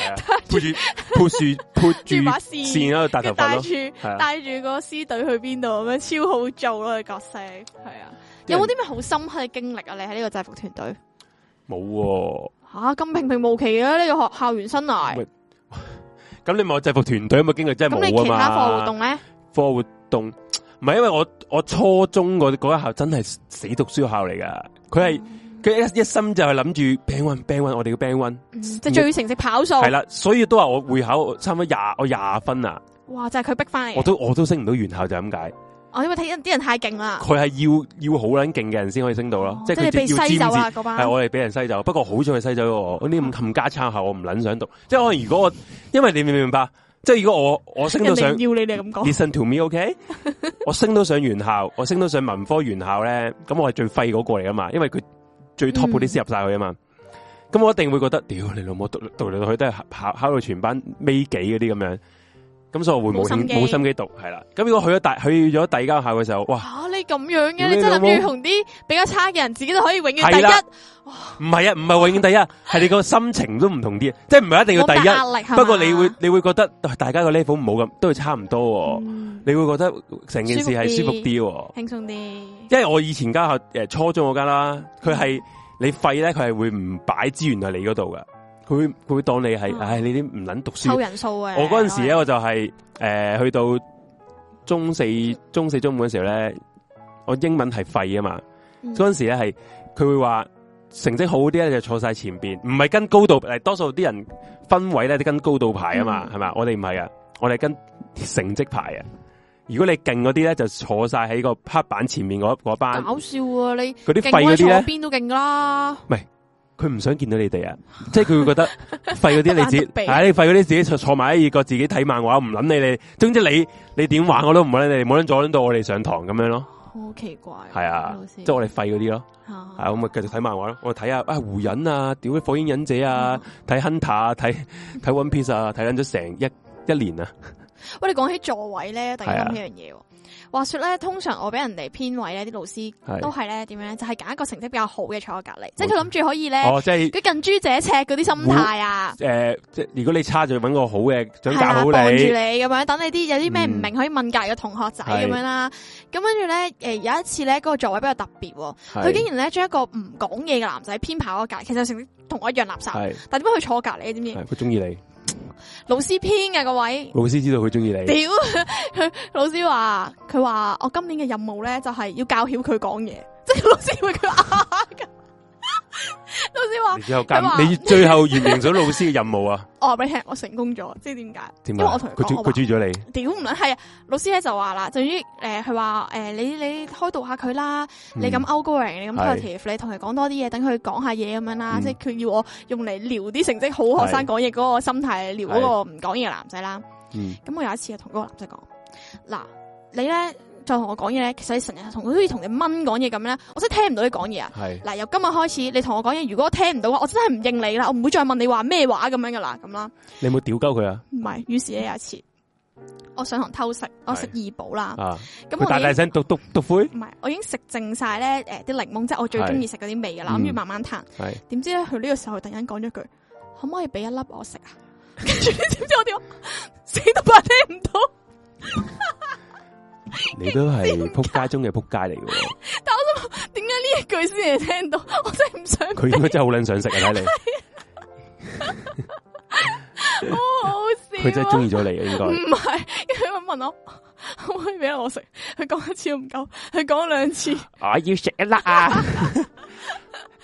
鋪住把線喺度大頭髮咯， 帶住個獅隊去邊度咁樣，超好做咯，佢角色係啊。有冇啲咩好深刻嘅經歷啊？你喺呢個制服團隊冇吓，咁平平無奇嘅呢個校園生涯。 咁你咪制服團隊有冇經歷？真係冇啊嘛。咁你其他課外活動咧？ 課外活動唔係，因為我初中嗰一校真係死讀書校嚟噶，佢係一心就係諗住 band one，我哋嘅 band one， 即係最成績跑數。係啦， 所以都話我會考差唔多20分啊。 哇！就係佢逼翻嚟。 我都升唔到原校就咁解。 因為睇啲人太勁啦。佢係要好撚勁嘅人先可以升到咯，即係佢被篩走啊嗰班。 係我哋俾人篩走，不過好彩佢篩走咗我。嗰啲咁冚家撐校，我唔撚想讀。即係可能如果因為你明唔明白？即係如果我升到上， 要你哋咁講。 Listen to me, OK？ 我升到上原校，我升到上文科原校咧，咁我係最廢嗰個嚟噶嘛，因為佢最 top 嗰啲先入晒去啊嘛。咁我一定會覺得，屌你老母讀嚟讀去都係考到全班尾幾嗰啲咁樣。咁所以我會冇心機讀，係啦。咁如果去咗第二間校嘅時候，哇！ 你咁樣嘅，你真係諗住同啲比較差嘅人，自己都可以永遠第一。 唔係啊，唔係永遠第一，係你個心情都唔同啲，即係唔係一定要第一。壓力，不過你會覺得大家個 level 唔好咁，都係差唔多。你會覺得成件事係舒服啲， 輕鬆啲。 因為我以前間校初中嗰間啦，佢係你廢咧，佢係會唔擺資源喺你嗰度噶。佢會當你係，你啲唔捻讀書。 湊人數嘅。我嗰陣時咧，我就係去到中四、中五嗰時候咧，我英文係廢啊嘛。嗰陣時咧係，佢會話成績好啲咧就坐晒前邊，唔係跟高度，多數啲人分位咧都跟高度排啊嘛，係嘛？我哋唔係啊，我哋跟成績排啊。如果你勁嗰啲咧，就坐晒喺個黑板前面嗰班。 搞笑啊！你嗰啲廢嗰啲咧， 邊都勁啦。 唔係。佢唔想見到你哋啊，即係佢會覺得廢嗰啲你自己，你廢嗰啲自己坐埋一個自己睇漫畫，唔捻你哋。總之你點玩我都唔捻你哋，冇捻阻捻到我哋上堂咁樣咯。 好奇怪。 係啊，即係我哋廢嗰啲咯。係我咪繼續睇漫畫咯。我睇下胡忍啊，屌啲火影忍者啊，睇 Hunter 啊，睇 One Piece 啊，睇緊咗成一年啊。 喂，你講起座位咧，突然諗起樣嘢。話說咧，通常我俾人哋編位咧，啲老師都係咧點樣？就係揀一個成績比較好嘅坐喺隔籬，即係佢諗住可以咧， 即係佢近朱者赤嗰啲心態啊。 即係如果你差就揾個好嘅，想教好你， 幫住你咁樣，等你啲有啲咩唔明可以問隔籬嘅同學仔咁樣啦。咁跟住咧，有一次咧，嗰個座位比較特別，佢竟然咧將一個唔講嘢嘅男仔編排嗰隔籬，其實成績同我一樣垃圾，但點解佢坐隔籬？知唔知？ 佢中意你。 老師編嘅個位， 老師知道佢中意你。 屌，佢老師話，佢話我今年嘅任務咧就係要教曉佢講嘢，即係老師會佢噶。老師話， 你最後完成咗老師嘅任務啊？ 我話俾你聽，我成功咗，即係點解？因為我同佢講， 佢中意咗你。 屌唔係啊！老師咧就話啦，就於佢話你開導下佢啦，你咁 outgoing，你咁 positive，你同佢講多啲嘢，等佢講下嘢咁樣啦。即係佢要我用嚟撩啲成績好學生講嘢嗰個心態，撩嗰個唔講嘢嘅男仔啦。咁我有一次同嗰個男仔講，嗱，你咧。再同我講嘢咧，其實你成日好似同你蚊講嘢咁咧，我真係聽唔到你講嘢啊！嗱，由今日開始，你同我講嘢，如果我聽唔到嘅話，我真係唔應你啦，我唔會再問你話咩話咁樣噶啦，咁啦。 你有冇屌鳩佢啊？ 唔係，於是咧有一次，我上堂偷食，我食二寶啦。咁我大聲篤灰？唔係，我已經食剩晒咧啲檸檬，即係我最中意食嗰啲味噶啦，諗住慢慢彈。點知咧佢呢個時候突然間講咗句，可唔可以俾一粒我食啊？跟住你知唔知我點？死都怕聽唔到。 你都係撲街中嘅撲街嚟嘅， 但我想點解呢一句先係聽到？我真係唔想。 佢應該真係好撚想食啊！睇你， 好好笑。 佢真係中意咗你啊！應該唔係，佢問我可唔可以俾我食？佢講一次都唔夠，佢講2次。 我要食一粒啊！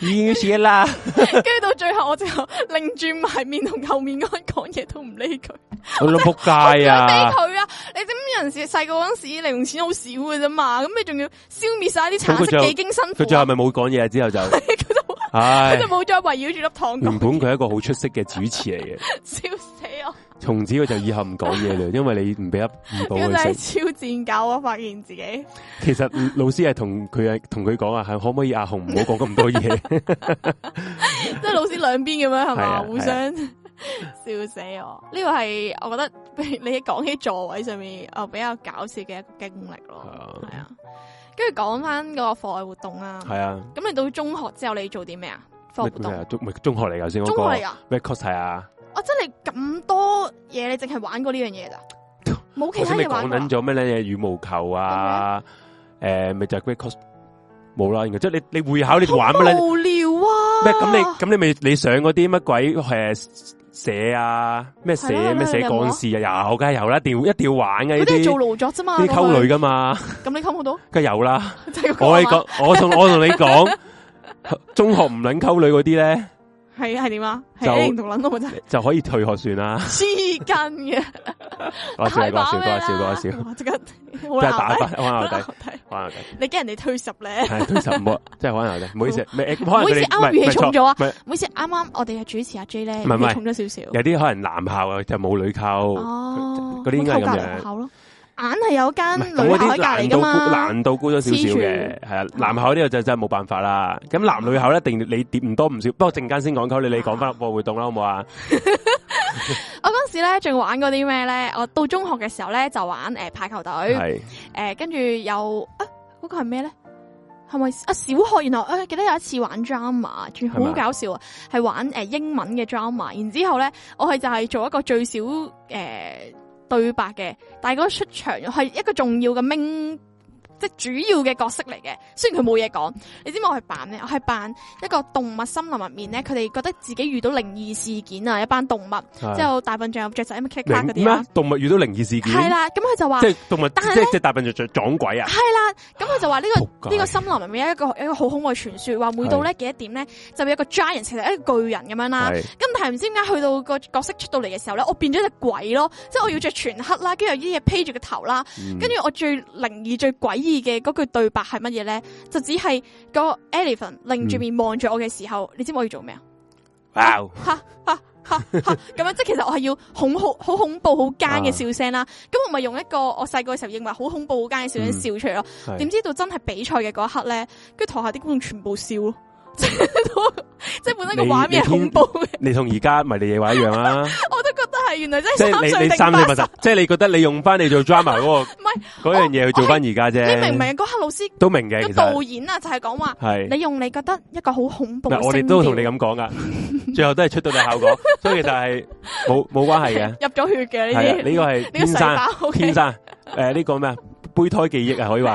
已經寫啦。 跟住到最後，我就擰轉埋面同後面嗰人講嘢都唔理佢。 我諗仆街啊！ 理佢啊！你知唔知有陣時細個嗰陣時零用錢好少嘅啫嘛？咁你仲要消滅晒啲橙色，幾經辛苦。 佢最後咪冇講嘢之後就， 佢就冇再圍繞住粒糖。 原本佢係一個好出色嘅主持嚟嘅， 笑死我！ 從此佢就以後唔講嘢啦，因為你唔俾一唔報佢食。 真係超賤教啊！發現自己。其實老師係同佢講啊，係可唔可以阿紅唔好講咁多嘢？ 即係老師兩邊咁樣係嘛，互相笑死我。呢個係我覺得你講起座位上面比較搞笑嘅一個經歷咯。係啊，跟住講翻嗰個課外活動啦。係啊。咁你到中學之後你做啲咩啊？課外活動中學嚟噶先， 中學嚟噶。 咩 course 係啊？ 我真係咁多嘢，你淨係玩過呢樣嘢咋？冇其他嘢玩過。 講緊咗咩咧？羽毛球啊，咪就係 great course 冇啦。然後即係你會考你玩乜咧？ 無聊啊！ 咩咁你咪你上嗰啲乜鬼社啊？咩社咩社幹事啊？有梗係有啦，一定要玩嘅呢啲。 嗰啲做勞作啫嘛， 啲溝女噶嘛。 咁你溝好多？ 梗係有啦。我同你講，中學唔撚溝女嗰啲咧。 係點啊？係同撚到真就可以退學算啦。 黐筋嘅， 講笑， 即刻即係打翻玩牛仔，玩牛仔。 你驚人哋退十咧？ 係退十唔好，即係玩牛仔。唔好意思， 唔好意思，啱啱語氣重咗啊！唔好意思，啱啱我哋嘅主持阿 J 咧，語氣重咗少少。 有啲可能男校啊，就冇女溝，嗰啲應該係咁樣。 硬係有間女校喺隔籬噶嘛， 難度高咗少少嘅，係啊。男校呢個就真係冇辦法啦。咁男女校一定你跌唔多唔少。不過陣間先講溝你講翻課外活動啦，好唔好啊？ 我嗰時咧仲玩過啲咩咧？我到中學嘅時候咧就玩排球隊，跟住有嗰個係咩咧？係咪小學？然後記得有一次玩 drama， 仲好搞笑啊！係玩英文嘅 drama， 然之後咧我係就係做一個最少對白嘅，但係嗰個出場係一個重要嘅即係主要嘅角色嚟嘅。雖然佢冇嘢講，你知唔知我係扮咩？我係扮一個動物森林入面咧，佢哋覺得自己遇到靈異事件啊，一班動物，之後大笨象有雀仔咁 kick 嗰啲啊。 動物遇到靈異事件係啦， 咁佢就話即係動物，即係大笨象撞鬼啊。 係啦，咁佢就話呢個森林入面有一個好恐怖嘅傳說，話每到咧幾多點咧就有一個 giant， 其實一個巨人咁樣啦。咁但係唔知點解去到個角色出到嚟嘅時候咧，我變咗隻鬼咯，即係我要着全黑啦，跟住有啲嘢披住個頭啦，跟住我最靈異最詭異嘅嗰句對白係乜嘢咧？就只係個 elephant 擰住面望住我嘅時候，你知唔知我要做咩啊？哇！咁樣即係其實我係要好恐怖好奸嘅笑聲啦。咁我咪用一個我細個嘅時候認為好恐怖好奸嘅笑聲笑出嚟咯。點知到真係比賽嘅嗰一刻咧，跟住台下啲觀眾全部笑咯。即係本身個畫面係恐怖嘅。你同而家迷你嘢話一樣啦。我都覺得係，原來真係3歲定8歲。 即係你覺得你用翻你做 drama 嗰個唔係嗰樣嘢去做翻而家啫。 你明唔明？嗰刻老師都明嘅。個導演啊，就係講話，你用你覺得一個好恐怖嘅聲調。 我哋都同你咁講噶，最後都係出到嚟效果，所以其實係冇關係嘅。入咗血嘅呢啲。 呢個係天生呢個咩啊？胚胎記憶啊，可以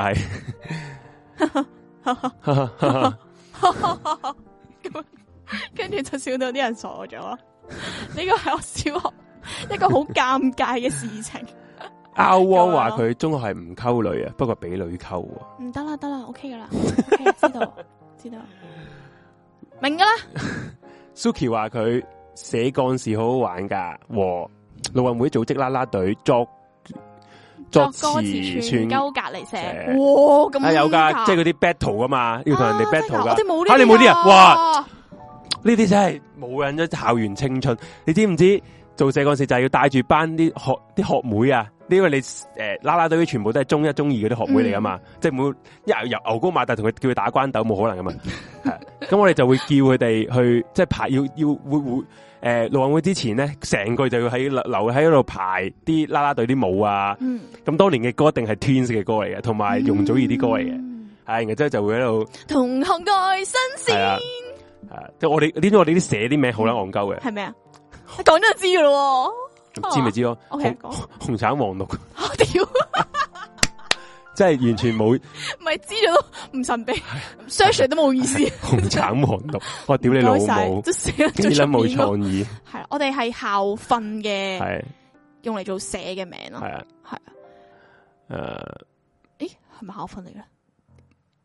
話係。 跟住就笑到啲人傻咗。呢個係我小學一個好尷尬嘅事情。 阿汪話佢中學係唔溝女啊，不過俾女溝。 唔得啦，OK 噶啦，OK，知道，明噶啦。 Suki 話佢寫幹事好好玩噶，和陸運會組織啦啦隊作歌詞串鳩隔籬寫，哇咁有噶，即係嗰啲 battle 噶嘛，要同人哋 battle 噶。你冇啲啊？哇！呢啲真係冇人咗校園青春。你知唔知做社幹事就係要帶住班啲學妹啊？因為你啦啦隊全部都係中一中二嗰啲學妹嚟噶嘛，即係冇由牛高馬大同佢叫佢打關鬥冇可能噶嘛。咁我哋就會叫佢哋去即係排要陸運會之前咧，成個就要喺留喺度排啲啦啦隊啲舞啊。咁當年嘅歌一定係 Twins 嘅歌嚟嘅，同埋容祖兒啲歌嚟嘅。係，然之後就會喺度同學愛新鮮。 即係我哋啲寫啲名好撚戇鳩嘅。 係咩啊？講咗就知噶咯。 知咪知咯？紅橙黃綠。 我屌！ 即係完全冇。唔係知咗都唔神秘 ，search 都冇意思。 紅橙黃綠，我屌你老母！都寫得最出面。冇創意。 係，我哋係校訓嘅，係用嚟做寫嘅名咯。係啊，係啊。誒，係咪校訓嚟嘅？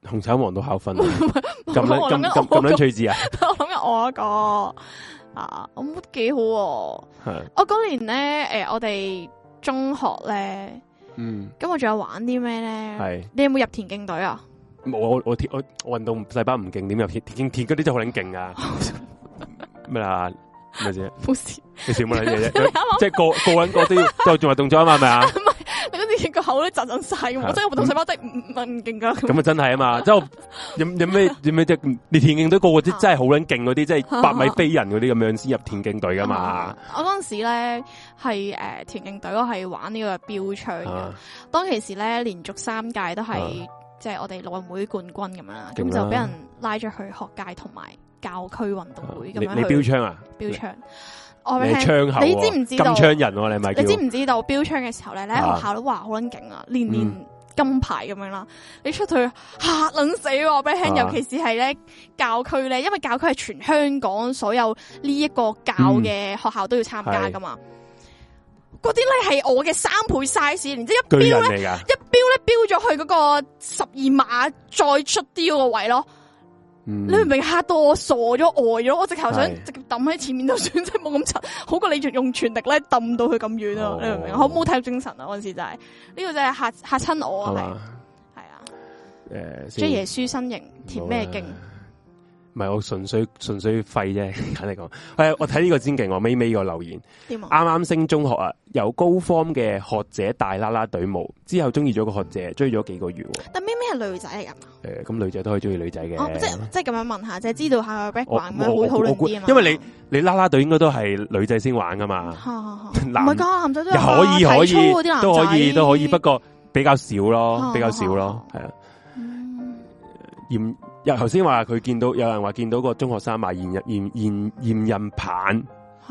紅橙黃都考分，咁撚趣致啊！ 我諗緊我一個啊，我覺得幾好。我嗰年咧，我哋中學咧，咁我仲有玩啲咩咧？係你有冇入田徑隊啊？ 冇，我運動細胞唔勁，點入田嗰啲真係好撚勁啊！咩啊？咩啫？冇事，你笑乜撚嘢啫？即係個人個都要做埋動作啊嘛，係咪啊？ 你嗰啲個口都震晒咁，我真係活動細胞真係唔勁噶。 咁啊真係啊嘛，即係有咩即係你田徑隊個個啲真係好撚勁嗰啲，即係100米飛人嗰啲咁樣先入田徑隊噶嘛。我嗰陣時咧係田徑隊，我係玩呢個標槍嘅。當其時咧連續3屆都係即係我哋奧運會冠軍咁樣啦，咁就俾人拉咗去學界同埋教區運動會咁樣。你標槍啊？標槍。你槍口，你知唔知道金槍人？你咪你知唔知道標槍嘅時候咧，你喺學校都話好撚勁啊，年金牌咁樣啦。你出去嚇撚死我俾你聽，尤其是係咧教區咧，因為教區係全香港所有呢一個教嘅學校都要參加噶嘛。嗰啲咧係我嘅3倍 size， 然之後一標咧標咗去嗰個12碼再出啲嗰個位咯。你明唔明嚇到我傻咗呆咗？我直頭想直接抌喺前面就算，即係冇咁柒，好過你用全力咧抌到佢咁遠啊！你明唔明？好冇體育精神啊！嗰陣時就係呢個就係嚇親我啊！係啊，即係耶穌身形填咩經？ 唔係我純粹廢啫，簡嚟講。我睇呢個先勁，我尾尾個留言。啱啱升中學啊，由高方嘅學姐大啦啦隊舞，之後中意咗個學姐，追咗幾個月。 但咩係女仔嚟噶？ 咁女仔都可以中意女仔嘅。 即係咁樣問下，即係知道下個 background 咁樣會討論啲啊嘛。 因為你啦啦隊應該都係女仔先玩噶嘛。 唔係噶，男仔都可以，都可以，不過比較少咯，係啊。頭先話佢見到有人話見到個中學生賣驗孕棒，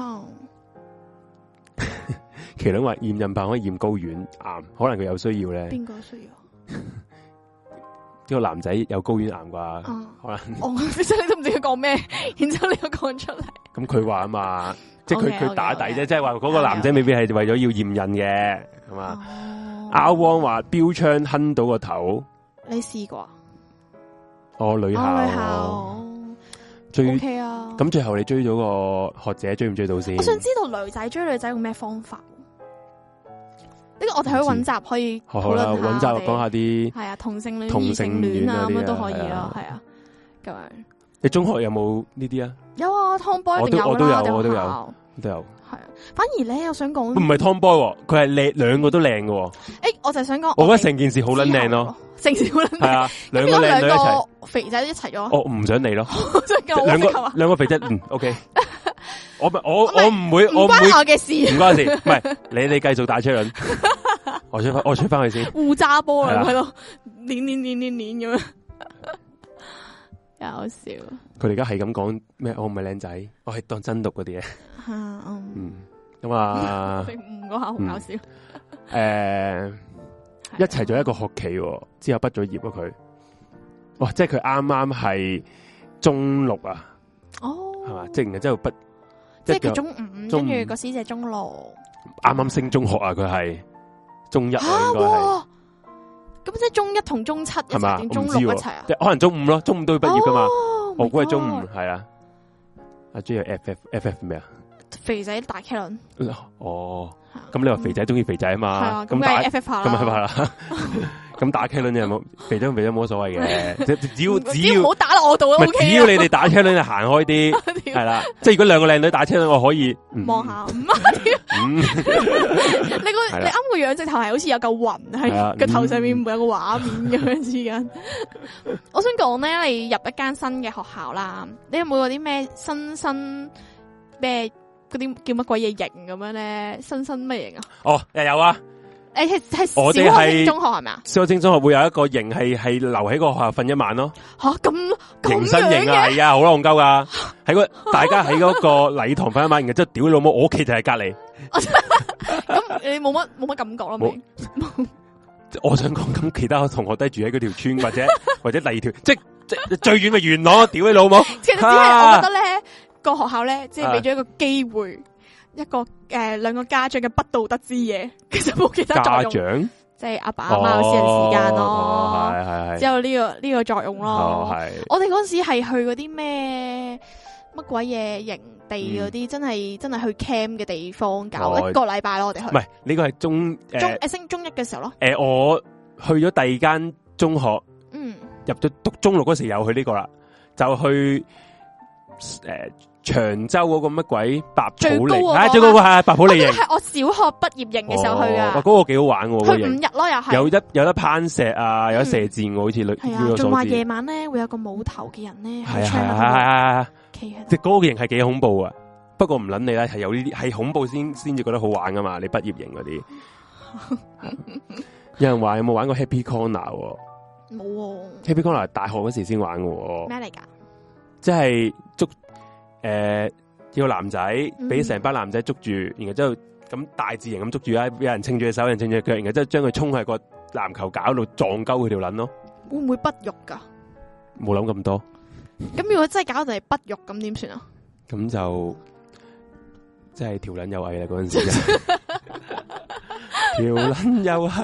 麒麟話驗孕棒可以驗睾丸癌，可能佢有需要咧。 邊個需要？ 呢個男仔有睾丸癌啩？可能。 其實你都唔知佢講咩，然之後你又講出嚟。 咁佢話啊嘛，即係佢打底啫，即係話嗰個男仔未必係為咗要驗孕嘅，係嘛？阿汪話標槍哼到個頭， 你試過？ 女校追 OK 啊！ 咁最後你追咗個學姐，追唔追到先？ 我想知道女仔追女仔用咩方法？呢個我哋可以揾集可以討論下。 揾集講下啲係啊，同性戀、異性戀啊，咁樣都可以咯，係啊，咁樣。你中學有冇呢啲啊？ 有啊，Tomboy 一定有啦， 我都有。 係啊，反而咧，我想講唔係 Tomboy，佢係靚，兩個都靚嘅。 我就想講， 我覺得成件事好撚靚咯。成件事好撚靚係啊，兩個靚女一齊， 肥仔一齊咗。 我唔想你咯，兩個肥仔，OK。我唔會， 唔關我嘅事， 唔關事。唔係你繼續打車輪，我出翻去先。 互揸波啊，喺度練咁樣。搞笑！ 佢哋而家係咁講咩？我唔係靚仔，我係當真讀嗰啲嘢。咁啊， 唔嗰下好搞笑。 一齊咗一個學期，之後畢咗業啊佢。哇！即係佢啱啱係中6啊。哦，係嘛？即係然之後畢， 即係佢中5，跟住個師姐中6。 啱啱升中學啊！佢係中1應該係。 咁即係中1同中7一齊定中6一齊啊？ 可能中5咯，中5都要畢業噶嘛。我估係中5係啊。阿 J 係 FF 咩啊？ 肥仔大 K 輪。 咁你話肥仔中意肥仔啊嘛？咁打 FF 下啦。咁係啦。咁打 K 輪有冇肥仔冇乜所謂嘅？只要唔好打落我度咯。只要你哋打 K 輪就行開啲，係啦。即係如果兩個靚女打 K 輪，我可以望下。你啱個樣直頭係好似有嚿雲喺個頭上面，唔會有個畫面咁樣之間。我想講咧，你入一間新嘅學校啦，你有冇嗰啲咩新咩嗰啲叫乜鬼嘢型咁樣咧？新咩型啊？又有啊！係小學升中學係咪啊？ 小學升中學會有一個型係留喺個學校瞓一晚咯。 吓咁型新型啊，係啊，好戇鳩噶！喺大家喺嗰個禮堂瞓一晚，然之後屌你老母，我屋企就喺隔籬。 咁你冇乜感覺咯？ 我想講咁，其他同學都住喺嗰條村或者第二條，即最遠嘅元朗，屌你老母！ 其實只係我覺得咧，個學校咧，即係俾咗一個機會，一個兩個家長嘅不道德之夜，其實冇其他作用。家長即係阿爸阿媽嘅私人時間咯， 係之後呢個作用咯。我哋嗰時係去嗰啲咩乜鬼嘢營地嗰啲，真係去 camp 嘅地方搞一個禮拜咯。我哋去唔係呢個係升中一嘅時候咯。 我去咗第二間中學，入咗讀中六嗰時又去呢個啦，就去長洲嗰個乜鬼白普利，最高個係白普利營， 係我小學畢業營嘅時候去噶。 嗰個幾好玩喎， 去5日咯，又係有得攀石啊，有得射箭，好似係啊，仲話夜晚咧會有個冇頭嘅人咧， 係即係嗰個營係幾恐怖啊！不過唔捻你啦，係有呢啲係恐怖先至覺得好玩噶嘛。你畢業營嗰啲，有人話有冇玩過 Happy Corner？ 冇，Happy Corner 大學嗰時先玩嘅。 咩嚟噶？ 即係捉叫個男仔俾成班男仔捉住，然後之後咁大字型咁捉住啦，有人撐住隻手，有人撐住隻腳，然後之後將佢衝喺個籃球架度撞鳩佢條撚咯。 會唔會不育噶？ 冇諗咁多。 咁如果真係搞到係不育，咁點算啊？ 咁就即係條撚又係啦，嗰陣時條撚又係，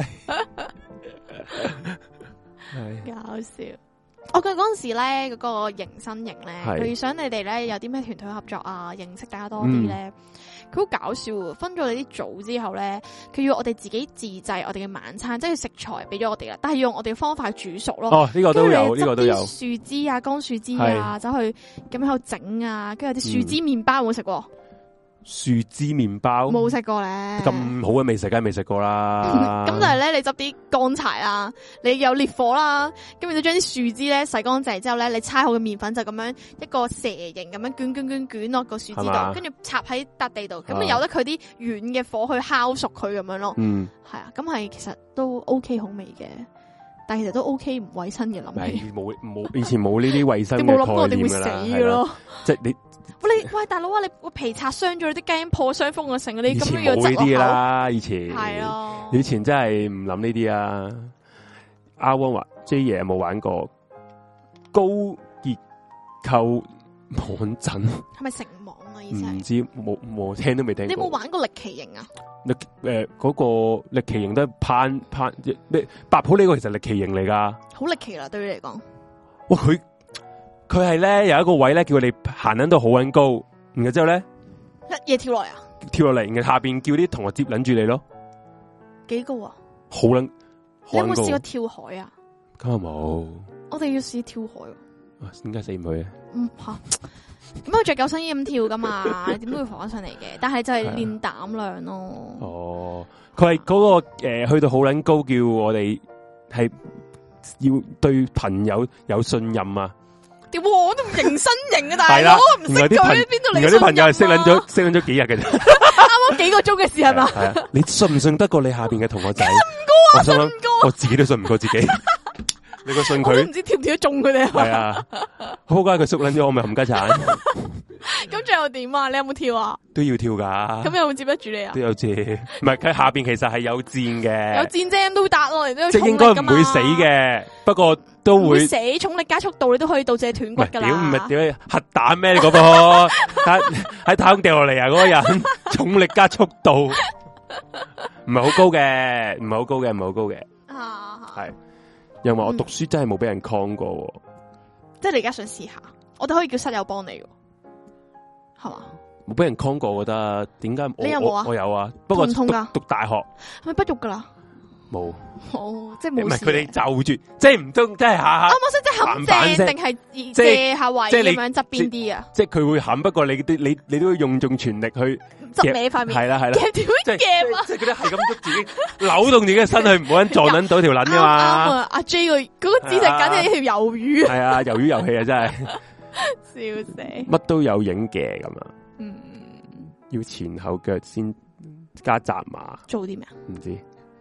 搞笑。我記得嗰陣時咧，嗰個迎新營咧，佢想你哋咧有啲咩團隊合作啊，認識大家多啲咧。佢好搞笑，分咗你啲組之後咧，佢要我哋自己自製我哋嘅晚餐，即係食材俾咗我哋啦，但係用我哋嘅方法去煮熟咯。 哦，呢個都有，呢個都有。 樹枝啊，乾樹枝啊，走去咁喺度整啊，跟住有啲樹枝麵包有冇食過？ 樹枝麵包冇食過咧， 咁好嘅未食，梗係未食過啦。 咁就係咧，你執啲乾柴啦，你有烈火啦，咁你將啲樹枝咧洗乾淨之後咧，你搓好嘅麵粉就咁樣一個蛇形咁樣捲落個樹枝度，跟住插喺笪地度，咁由得佢啲軟嘅火去烤熟佢咁樣咯。係啊，咁係其實都 OK 好味嘅，但係其實都 OK 唔衛生嘅諗起。 冇以前冇呢啲衛生嘅概念㗎啦。你冇諗過我哋會死嘅咯？即係你。 喂大佬啊！你個皮擦傷咗，你啲雞因破傷風啊，成你咁樣要執落口。以前冇呢啲啦，以前係咯， 以前真係唔諗呢啲啊。阿汪話 J 爺有冇玩過高結構網陣？係咪成網啊？以前唔知冇聽都未聽過。你有冇玩過歷奇營啊？嗰個歷奇營都係攀咩？白普呢個其實歷奇營嚟噶，好歷奇啦，對你嚟講。哇！佢係咧有一個位咧，叫佢哋行緊到好撚高，然後之後咧一嘢跳落嚟啊！跳落嚟，然後下邊叫啲同學接撚住你咯。幾高啊？好撚！你有冇試過跳海啊？咁又冇。我哋要試跳海。點解死唔去啊？吓，咁佢着救生衣咁跳噶嘛？你點都會浮翻上嚟嘅。但係就係練膽量咯。哦，佢係嗰個去到好撚高，叫我哋係要對朋友有信任啊！屌，我都唔迎新營啊，大佬，唔識佢邊度嚟？有啲朋友係識撚咗幾日嘅啫，啱啱幾個鐘嘅事係嘛？係啊，你信唔信得過你下邊嘅同學仔？信唔過啊，信唔過，我自己都信唔過自己。你個信佢，我都唔知跳唔跳得中佢哋。係啊，好乖，佢縮撚咗，我咪冚家鏟。咁最後點啊？你有冇跳啊？都要跳噶。咁有冇接得住你啊？都有接，唔係佢下邊其實係有箭嘅。有箭啫，都打落嚟都即係應該唔會死嘅，不過都會死。重力加速度你都可以導致斷骨噶啦。屌唔係屌核彈咩？你嗰個喺太空掉落嚟啊！嗰個人重力加速度唔係好高嘅，唔係好高嘅，唔係好高嘅。係。又話我讀書真係冇俾人 con 過，即係你而家想試下，我哋可以叫室友幫你嘅，係嘛？冇俾人 con 過，我覺得點解？你有冇啊？我有啊，不過讀大學係咪不育噶啦？冇，即係冇。唔係佢哋就住，即係唔通，即係下。啱啱先即係冚正定係借下位咁樣側邊啲啊？即係佢會冚，不過你都要用盡全力去執你塊面。係啦係啦，夾條夾啊！即係佢哋係咁捉自己，扭動自己嘅身去，唔好撞撚到條撚噶嘛。阿 J 嗰個姿勢簡直係條魷魚。係啊，魷魚遊戲啊，真係笑死。乜都有影嘅咁啊。要前後腳先加紮馬。做啲咩啊？唔知。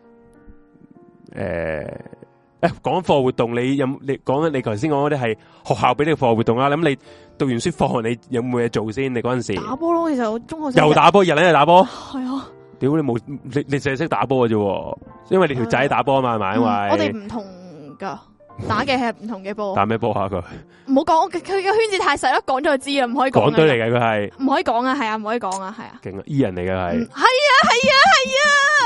講課活動，你講緊你頭先講嗰啲係學校俾你課活動啦。咁你讀完書放學，你有冇嘢做先？你嗰陣時打波咯，其實我中學又打波，日日打波。係啊，屌你冇你淨係識打波嘅啫，因為你條仔打波啊嘛，係咪？因為我哋唔同噶，打嘅係唔同嘅波。打咩波啊佢？唔好講，佢個圈子太細咯，講咗就知啦，唔可以講。港隊嚟嘅佢係，唔可以講啊，係啊，唔可以講啊，係啊。勁啊，E人嚟嘅係。係啊，係啊，係啊。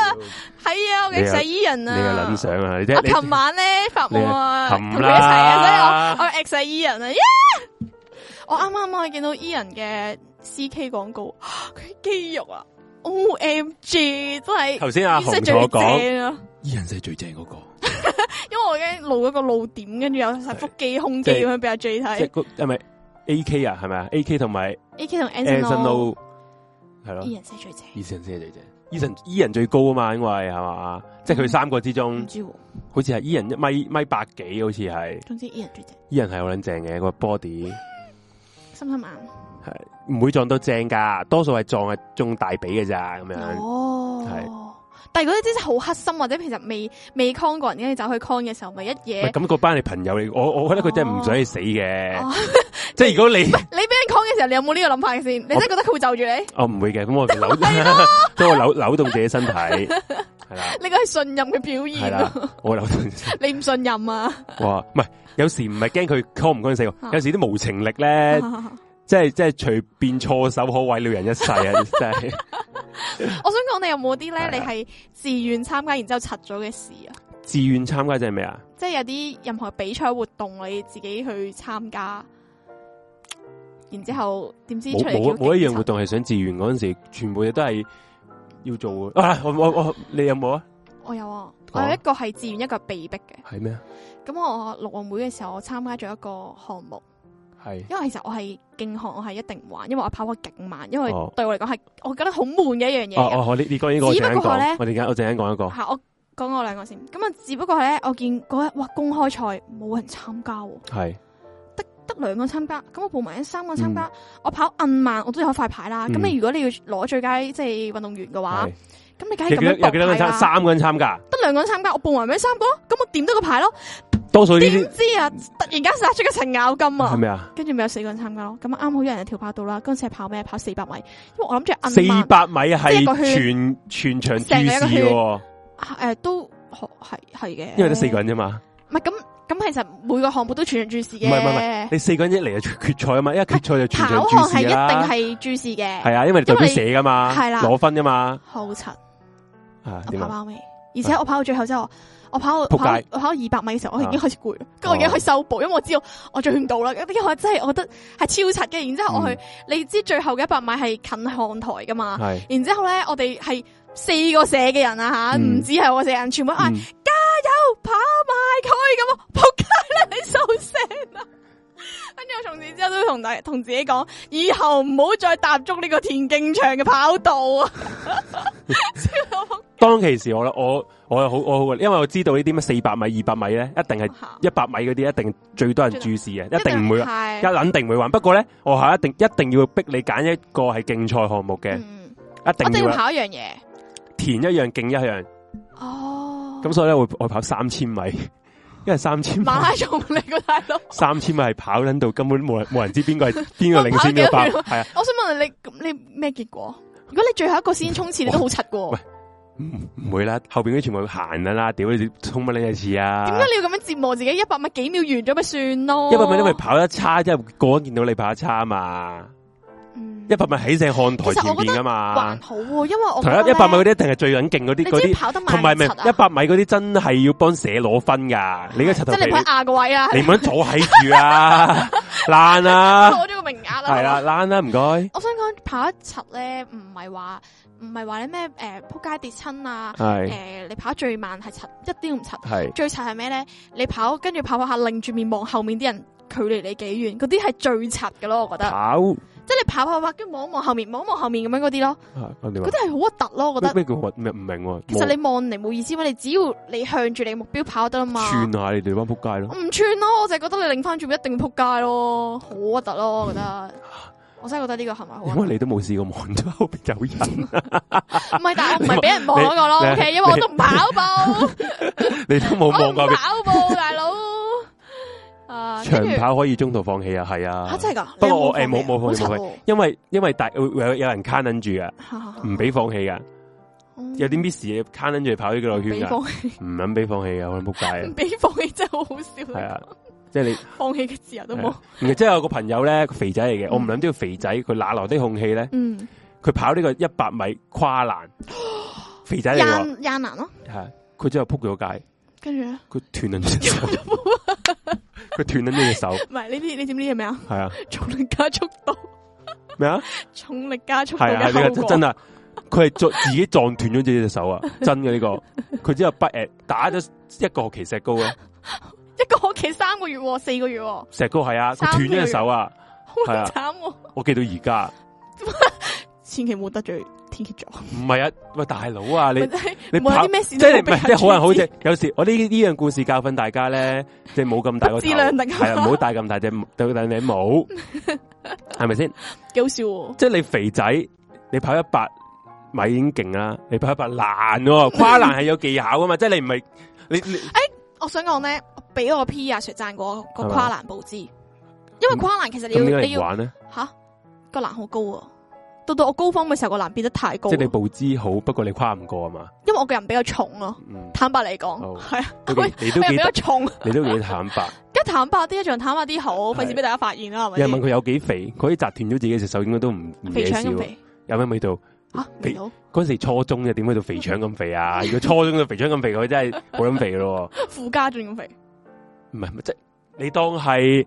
係啊，我嘅實伊人啊， 你嘅諗想啊， 我琴晚咧發夢啊，同佢一齊啊，所以我 ex 伊人啊，我啱啱可以見到伊人嘅 CK 廣告，佢肌肉啊 ，OMG， 真係頭先阿紅同我講，伊人係最正嗰個， 因為我已經露咗個露點，跟住有晒腹肌、胸肌咁樣俾阿 J 睇， 即係係咪 AK 啊？係咪啊 ？AK 同埋 AK 同 Anson 係咯， 伊人先係最正， 伊人先係最正，伊人最高啊嘛，因為係嘛，即係佢三個之中，唔知好似係伊人1米8幾，好似係。總之伊人最正，伊人係好撚正嘅個 body， 深深眼係唔會撞到正噶，多數係撞中大髀嘅咋咁樣。哦，係。 但係嗰啲真係好黑心，或者其實未 con 過人，跟住走去 con 嘅時候，咪一嘢。 咁嗰班係朋友嚟，我覺得佢真係唔想你死嘅。即係如果你俾人 con 嘅時候，你有冇呢個諗法先？你真係覺得佢會就住你？ 我唔會嘅，咁我都我扭動自己身體，係啦。 呢個係信任嘅表現。係啦， 我扭動。 你唔信任啊？哇， 唔係，有時唔係驚佢 con 唔 con 死，有時啲無情力咧。即係隨便錯手可毀了人一世啊！真係。 我想講，你有冇啲咧？你係自願參加，然之後柒咗嘅事啊？ 自願參加即係咩啊？ 即係有啲任何比賽活動，你自己去參加，然之後點知出嚟冇一樣活動係想自願嗰陣時，全部嘢都係要做嘅。啊，我你有冇啊？ 我有啊，我有一個係自願，一個係被逼嘅。係咩啊？咁我陸運會嘅時候，我參加咗一個項目。係，因為其實我係競項，我係一定唔玩，因為我跑得勁慢，因為對我嚟講係我覺得好悶嘅一樣嘢。 你講呢個，只不過咧，我陣間講一個。係，我講我兩個先。咁啊，只不過係咧，我見嗰日哇公開賽冇人參加，係得2個參加，咁我報埋一3個參加，我跑暗慢，我都有塊牌啦。咁你如果你要攞最佳即係運動員嘅話，咁你梗係咁樣搏牌啦。3個人參加，得2個人參加，我報埋咩3個，咁我點得個牌咯。 多數呢啲點知啊！突然間殺出個程咬金啊！ 係咪啊？ 跟住咪有4個人參加咯。咁啱好有人喺跳跑道啦。嗰陣時係跑咩？跑400米。因為我諗住 400米係全場注視嘅。 都係嘅。 因為得4個人啫嘛。 唔係咁，其實每個項目都全場注視嘅。 唔係，你4個人一嚟就決賽啊嘛，因為決賽就全場注視啦。跑項係一定係注視嘅。 係啊，因為你代表社噶嘛，係啦，攞分噶嘛。好柒。 我跑跑尾，而且我跑到最後之後。我跑200米嘅時候，我已經開始攰啦，跟住我已經開始收步，因為我知道我追唔到啦。因為我真係我覺得係超柒嘅。然之後我去，你知最後嘅100米係近看台噶嘛？然之後咧，我哋係4個社嘅人啊吓，唔止係我社人，全部嗌加油跑埋佢咁啊！仆街啦，你收聲啦！跟住我從此之後都同自己講，以後唔好再踏足呢個田徑場嘅跑道啊！ 當其時我又好，因為我知道呢啲咩400米、200米咧，一定係100米嗰啲，一定最多人注視嘅，一定唔會，肯定唔會玩。不過咧，我係一定要逼你揀一個係競賽項目嘅，一定要跑一樣嘢， 田一樣，競一樣。哦，咁所以咧，我跑3000米，因為3000米馬拉松嚟個大佬 ，3000米係跑緊到根本冇人知邊個係邊個領先嘅跑。係啊， 我想問你咩結果？如果你最後一個先衝刺，你都好柒喎。 唔會啦，後邊嗰啲全部行噶啦，屌你衝乜呢一次啊？點解你要咁樣折磨自己？100米幾秒完咗咪算咯 ？100米因為跑得差，即係個人見到你跑得差啊嘛。100米喺正看台前邊噶嘛， 還好，因為我同100米嗰啲一定係最緊勁嗰啲， 跑得慢， 同埋咪100米嗰啲真係要幫社攞分噶。你而家即係你唔喺亞個位啊， 你唔好坐喺住啊，爛啊， 攞咗個名額啦， 係啦，爛啦，唔該。 我想講跑一柒咧，唔係話你咩扑街跌親啊，你跑最慢係柒，一啲都唔柒，最柒係咩咧？你跑跟住跑下擰住面望後面啲人，距離你幾遠，嗰啲係最柒嘅咯，我覺得。即係你跑，跟住望一望後面咁樣嗰啲咯，嗰啲係好核突咯，我覺得。咩叫核？唔明。其實你望嚟冇意思嘛，你只要你向住你嘅目標跑得啦嘛。 串下你哋班扑街咯。 我唔串咯，我就係覺得你擰翻轉一定扑街咯，好核突咯，我覺得。我真係覺得呢個係咪好？因為你都冇試過望到後邊有人。 唔係，但係我唔係俾人望嗰個咯，OK？因為我都唔跑步。 你都冇望過。 跑步，大佬。 長跑可以中途放棄啊，係啊。 真係噶？ 不過我冇放棄，因為有人卡撚住噶，唔俾放棄噶。有啲 miss 嘢卡撚住跑呢個圈噶，唔肯俾放棄噶，我仆街。 唔俾放棄真係好好笑。 係啊。即係你放棄嘅自由都冇， 即係有個朋友咧，肥仔嚟嘅，我唔諗呢個肥仔佢哪來的勇氣咧？佢跑呢個100米跨欄， 肥仔嚟喎， 亞男咯， 係佢之後扑咗街， 跟住咧佢斷咗隻手，佢斷咗隻手。唔係呢啲，你知唔知係咩啊？ 係啊， 重力加速度咩啊？ 重力加速度係啊，呢個真啊！佢係自己撞斷咗自己隻手啊！真嘅呢個，佢之後打咗一個學期石膏啊！ 一個學期3個月，4個月。 石膏係啊，佢斷咗隻手啊， 好慘！ 我記到而家， 千祈冇得罪天蠍座。 唔係啊，喂大佬啊，你冇有啲咩事？ 即係唔係即係好人好姐？有時我呢樣故事教訓大家咧，即係冇咁大個頭，係啊，唔好戴咁大隻頂帽，係咪先？ 幾好笑喎！ 即係你肥仔，你跑100米已經勁啦，你跑100難喎，跨欄係有技巧噶嘛，即係你唔係你。 我想講咧，俾我 P 阿 Sir 讚過個跨欄步姿，因為跨欄其實你要玩咧吓個欄好高啊，到我高峰嘅時候個欄變得太高， 即係你步姿好，不過你跨唔過啊嘛。 因為我個人比較重咯，坦白嚟講係啊， 你都比較重， 你都幾坦白， 梗坦白啲，仲坦白啲好，費事俾大家發現啦，係咪？ 有人問佢有幾肥，佢可以砸斷咗自己隻手，應該都唔肥腸咁肥， 有咩味道？ 吓味道？ 嗰時初中嘅點去到肥腸咁肥啊？如果初中嘅肥腸咁肥，佢真係好撚肥咯。 富家仲咁肥？ 唔係，即係你當係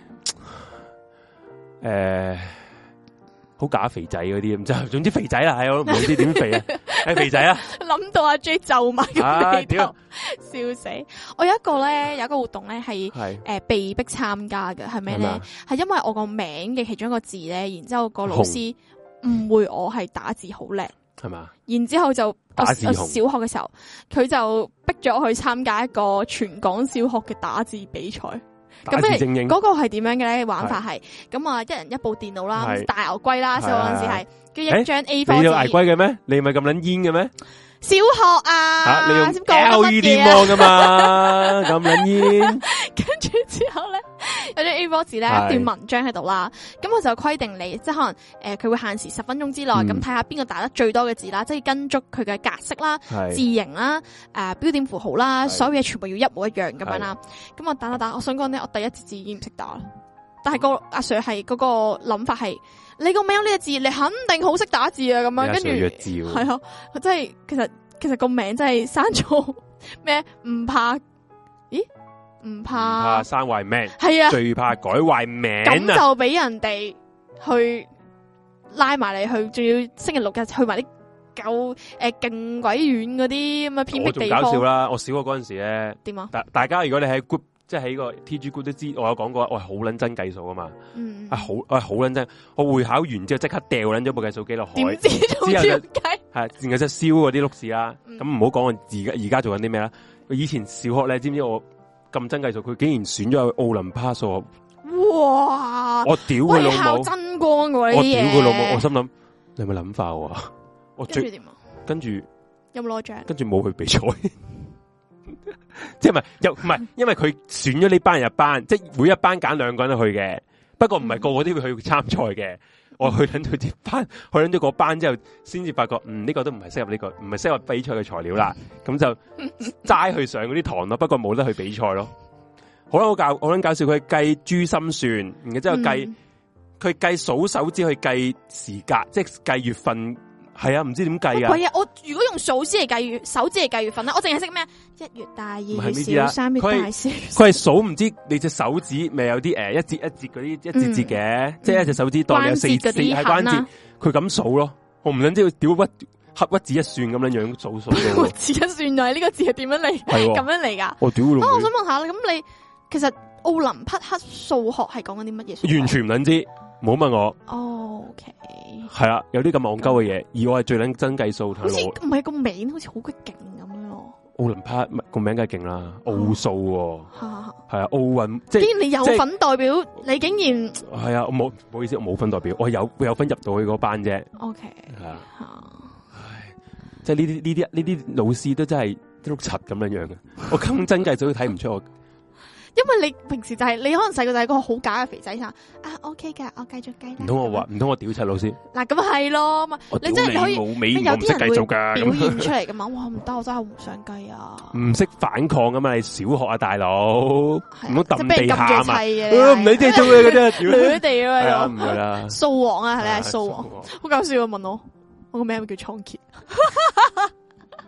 好假肥仔嗰啲咁，就總之肥仔啦，係我唔知點肥啊，係肥仔啊！ 諗到阿 J 皺埋個眉頭，笑死！我有一個活動咧係被逼參加嘅，係咩咧？係因為我個名嘅其中一個字咧，然之後個老師誤會我係打字好叻，係嘛？然之後就我小學嘅時候，佢就逼咗我去參加一個全港小學嘅打字比賽。咁嗰個係點樣嘅咧？玩法係咁啊，一人一部電腦啦，大牛龜啦，小學嗰陣時係，跟住一張 A4 紙。你有牛龜嘅咩？你唔係咁撚煙嘅咩？ 小學啊， 你用 LED 芒噶嘛，咁撚煙。 跟住之後咧，有張 A4 紙咧，一段文章喺度啦。咁我就規定你，即係可能佢會限時10分鐘之內，咁睇下邊個打得最多嘅字啦，即係跟足佢嘅格式啦、字形啦、標點符號啦，所有嘢全部要一模一樣咁樣啦。咁我打，我想講咧，我第一字已經唔識打啦。但係個阿 Sir 係嗰個諗法係，你個名有呢個字，你肯定好識打字啊！咁樣跟住係啊，真係其實個名真係生咗咩？唔怕唔怕生壞名， 係啊， 最怕改壞名。 咁就俾人哋去拉埋你去，仲要星期六日去埋啲夠勁鬼遠嗰啲咁嘅偏僻地方。我仲搞笑啦！我小學嗰陣時咧，點啊？大家如果你喺 group。即係喺個 TG group 都知，我有講過，我係好撚真計數噶嘛，我係好撚真，我會考完之後即刻掉撚咗部計數機落海，之後就係，然後就燒嗰啲碌屎啦。咁唔好講我而家做緊啲咩啦。以前小學咧，知唔知我咁真計數，佢竟然選咗去奧林匹數學。哇！我屌佢老母，真光喎呢啲嘢。我屌佢老母，我心諗你有冇諗法喎？我跟住點啊？跟住有冇攞獎？跟住冇去比賽。即係唔係，因為佢選咗呢班人入班，即係每一班揀2個人去嘅。不過唔係個個都會去參賽嘅。我去緊到啲班，去緊咗個班之後，先至發覺，呢個都唔係適合呢個，唔係適合比賽嘅材料啦。咁就齋去上嗰啲堂咯。不過冇得去比賽咯。好啦，我諗搞笑，佢計珠心算，然後之後佢計數手指去計時間，即係計月份。係啊，唔知點計啊！我如果用數指嚟計月，手指嚟計月份咧，我淨係識咩？1月大，2月小，3月大，4月。佢係數唔知你隻手指咪有啲一節一節嗰啲一節節嘅，即係一隻手指當你有4係關節，佢咁數咯。我唔想知佢屌屈指一算咁樣樣數。屈指一算就係呢個字係點樣嚟？咁樣嚟噶？我屌！我想問下咁你其實奧林匹克數學係講緊啲乜嘢？完全唔撚知。唔好問我。OK。係啊，有啲咁戇鳩嘅嘢，而我係最撚真計數。好似唔係個名，好似好鬼勁咁樣咯。奧林匹克個名梗係勁啦，奧數。係啊，奧運即係。竟然你有份代表，你竟然係啊？我冇，唔好意思，我冇份代表，我有份入到去嗰班啫。OK。係啊。唉，即係呢啲老師都真係碌柒咁樣樣嘅，我咁真計數都睇唔出我。因為你平時就係你可能細個就係個好假嘅肥仔啊 OK 噶，我繼續計。唔通我屌柒老師？嗱咁係咯，你真係可以有啲人會表現出嚟噶嘛？哇唔得，我真係唔想計啊！唔識反抗噶嘛？你小學啊大佬，唔好揼地下嘛？唔理即係做嘢嘅啫，亂地咯，唔係啦。掃王啊，你係掃王，好搞笑啊！問我個名咪叫倉頡。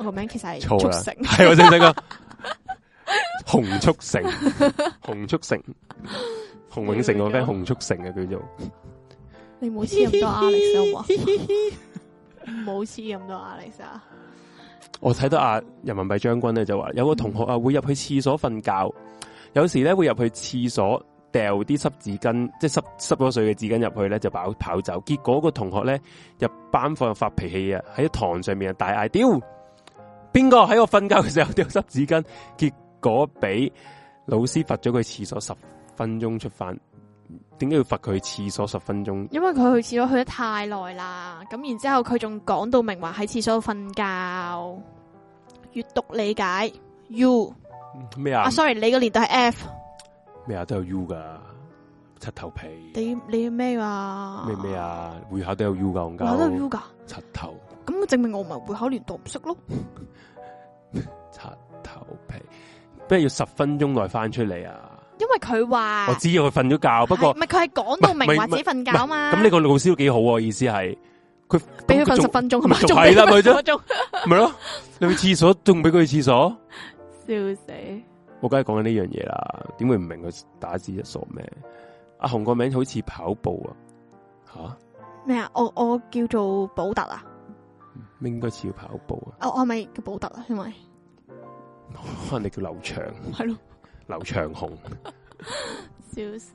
我個名其實係速成， 係我正正個洪速成，洪速成，洪永城個 friend 洪速成啊，叫做。 你唔好黐咁多 Alex 好唔好黐咁多 Alex 啊！ 我睇到人民幣將軍咧就話，有個同學會入去廁所瞓覺，有時咧會入去廁所掉啲濕紙巾，即係濕咗水嘅紙巾入去咧就跑走。結果個同學咧入班房又發脾氣啊，喺堂上面啊大嗌：屌！邊個喺我瞓覺嘅時候掉濕紙巾？結果俾老師罰咗佢廁所10分鐘出翻。點解要罰佢去廁所10分鐘？因為佢去廁所去得太耐啦，咁然之後佢仲講到明話喺廁所度瞓覺。閱讀理解 U 咩啊 ？sorry， 你個年代係 F 咩啊？都有 U 噶，柒頭皮。 你咩啊？ 咩啊？會考都有 U 噶， 會考都有 U 噶， 柒頭。 咁證明我唔係會考年代唔識咯。 柒頭皮，不如要10分鐘內翻出嚟啊！因為佢話我知佢瞓咗覺，不過唔係佢係講到明話自己瞓覺嘛。 咁呢個老師都幾好啊，意思係佢俾佢瞓10分鐘係嘛？ 係啦，咪啫，咪咯。你去廁所仲俾佢去廁所？ 笑死！ 我梗係講緊呢樣嘢啦，點會唔明佢打字一傻咩？阿紅個名好似跑步啊，吓咩啊？我叫做寶特啊， 應該似要跑步啊。 我係咪叫寶特啊？因為可能你叫劉翔， 係咯。 劉長紅， 笑死！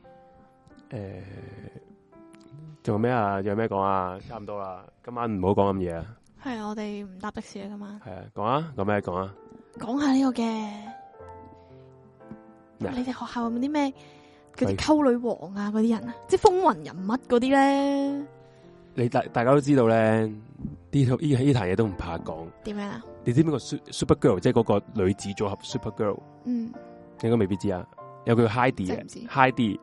仲有咩啊？仲有咩講啊？差唔多啦，今晚唔好講咁嘢啊。 係啊，我哋唔搭的士啊，今晚。 係啊，講啊，講咩講啊？ 講下呢個嘅，你哋學校有冇啲咩嗰啲溝女王啊？嗰啲人啊，即係風雲人物嗰啲咧？ 你大家都知道咧，呢壇嘢都唔怕講。點樣啊？你知唔知個 Super Girl 即係嗰個女子組合 Super Girl？嗯。應該未必知啊，有個叫 Heidi 嘅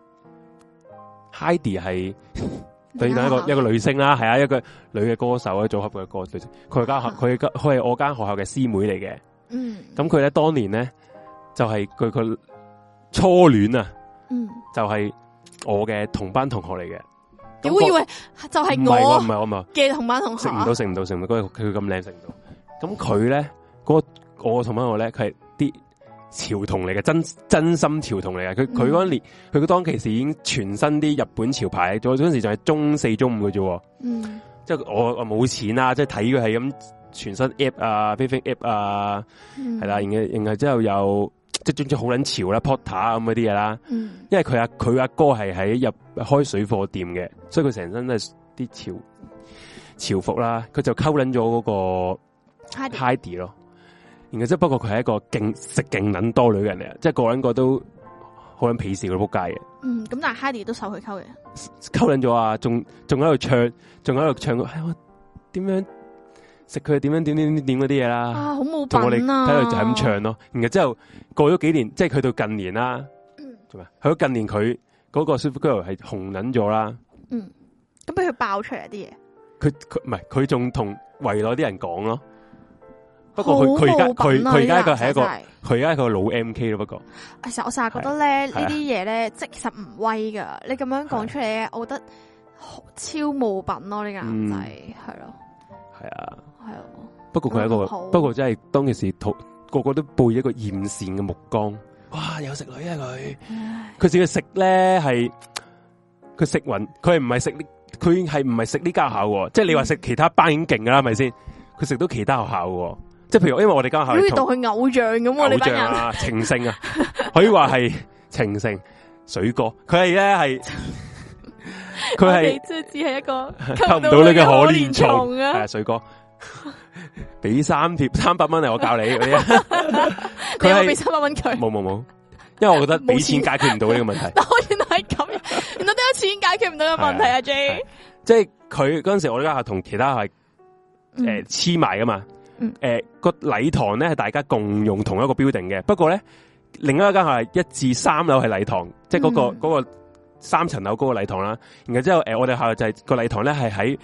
Heidi 係對等一個女星啦，係啊，一個女嘅歌手啊，組合嘅歌女星。佢係我間學校嘅師妹嚟嘅。嗯，咁佢咧當年咧就係佢初戀啊，就係我嘅同班同學嚟嘅。 我以為就係我唔係我嘅同班同學，食唔到，佢咁靚食唔到。咁佢咧我嘅同班同學咧，佢係啲潮童嚟嘅，真心潮童嚟嘅。佢嗰年，佢當其時已經全身啲日本潮牌，嗰陣時就係中4中5嘅啫。嗯，即係我冇錢啊，即係睇佢係咁全身 app 啊 ，bathing app 啊，係啦，然後之後又即係總之好撚潮啦 ，Porter 咁嗰啲嘢啦。因為佢阿哥係喺開水貨店嘅，所以佢成身都係啲潮服啦。佢就溝撚咗嗰個 Heidi 咯。然後即係不過佢係一個食勁撚多女嘅人嚟啊，即係個人個都好撚鄙視佢仆街嘅。嗯，咁但係 Heidi 都受佢溝嘅，溝撚咗啊！仲喺度唱，我點樣食佢點樣點嗰啲嘢啦。啊，好冇品啊！睇佢就係咁唱咯。然後之後過咗幾年，即係去到近年啦。做咩？去到近年佢嗰個 Super Girl 係紅撚咗啦。嗯，咁俾佢爆出嚟啲嘢。佢唔係佢仲同圍內啲人講咯。不過佢而家佢係一個佢而家係個老 MK 咯。不過其實我成日覺得咧呢啲嘢咧，即係其實唔威噶。你咁樣講出嚟咧，我覺得超冇品咯。呢個男仔係咯，係啊，係啊。不過佢係一個，不過真係當其時個個都背一個艷羨嘅目光。哇，有食女啊佢自己食咧係佢食匀，佢唔係食佢係唔係食呢間學校？即係你話食其他班已經勁噶啦，係咪先？佢食到其他學校嘅。即係譬如，因為我哋間學校好似當佢偶像咁，你班人啊，情聖啊，可以話係情聖水哥。佢係咧係，佢係即係只係一個溝唔到你嘅可憐蟲啊！係啊，水哥，俾300蚊嚟我教你嗰啲。佢係俾300蚊佢，冇，因為我覺得俾錢解決唔到呢個問題。但我原來係咁，原來都有錢解決唔到嘅問題啊 J。即係佢嗰陣時，我哋間學校同其他係黐埋噶嘛。個禮堂咧係大家共用同一個 building 嘅，不過咧另一間係1至3樓係禮堂，即係嗰個3層樓嗰個禮堂啦。然後之後我哋學校就係個禮堂咧係喺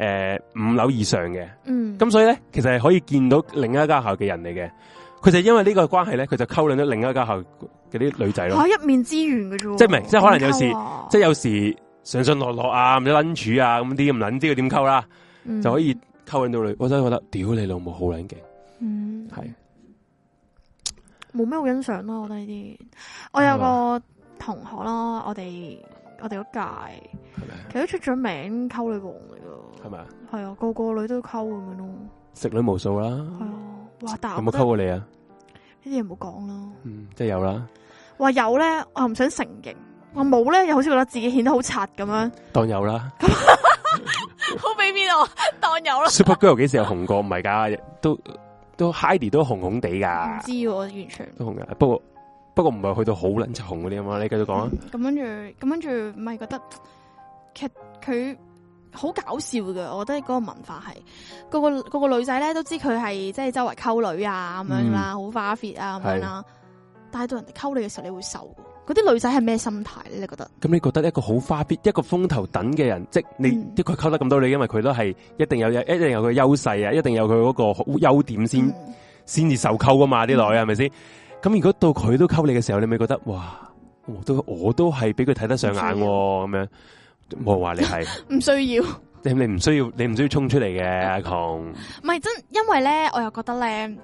5樓以上嘅。咁所以咧其實係可以見到另一間校嘅人嚟嘅。佢就因為呢個關係咧，佢就溝撚咗另一間校嘅啲女仔咯。一面之緣嘅啫，即係唔係？即係可能有時，即係有時上上落落啊，唔知lunch啊咁啲咁撚知佢點溝啦，就可以。溝撚到女，我真係覺得屌你老母好撚勁， 係冇咩好欣賞咯，我覺得呢啲。我有個同學啦，我哋嗰屆，其實都出咗名溝女王嚟噶，係咪啊？係啊，個個女都溝咁樣咯， 食女無數啦。 係啊，哇！但有冇溝過你啊？ 呢啲嘢唔好講啦。 即係有啦。話有咧，我又唔想承認；我冇咧，又好似覺得自己顯得好柒咁樣。 當有啦。 好俾面我，當有啦。 Supergirl 幾時有紅過？唔係噶，都 Heidi 都紅紅地噶。唔知我完全都紅噶，不過唔係去到好撚紅嗰啲啊嘛。你繼續講啊。咁跟住，唔係覺得其實佢好搞笑噶。我覺得嗰個文化係個個女仔咧都知佢係即係周圍溝女啊咁樣啦，好花 fit 啊咁樣啦。但係到人哋溝你嘅時候，你會受。嗰啲女仔係咩心態咧？你覺得？咁你覺得一個好花 fit、一個風頭等嘅人，即你啲佢溝得咁多女，因為佢都係一定有佢優勢啊，一定有佢嗰個優點先至受溝噶嘛？啲女係咪先？咁如果到佢都溝你嘅時候，你咪覺得哇，我都係俾佢睇得上眼咁樣。冇話你係唔需要，你唔需要衝出嚟嘅阿窮。唔係真，因為咧，我又覺得咧，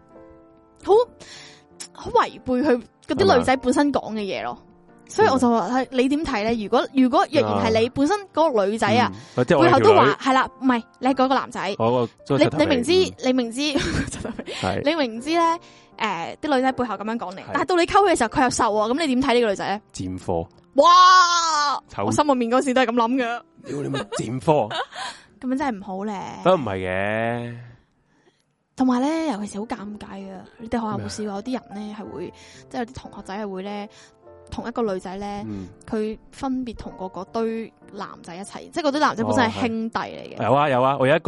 好違背佢嗰啲女仔本身講嘅嘢咯，所以我就話你點睇咧？如果若然係你本身嗰個女仔啊，背後都話係啦，唔係你係嗰個男仔，你明知你明知咧，啲女仔背後咁樣講你，但係到你溝佢嘅時候，佢又受啊，咁你點睇呢個女仔咧？賤貨！哇！我心入面嗰時都係咁諗嘅。屌你咪賤貨！咁樣真係唔好咧。都唔係嘅。同埋咧，尤其是好尷尬啊！你哋學校有冇試過有啲人咧係會，即係有啲同學仔係會咧，同一個女仔咧，佢分別同嗰堆男仔一齊，即係嗰堆男仔本身係兄弟嚟嘅。有啊，我有一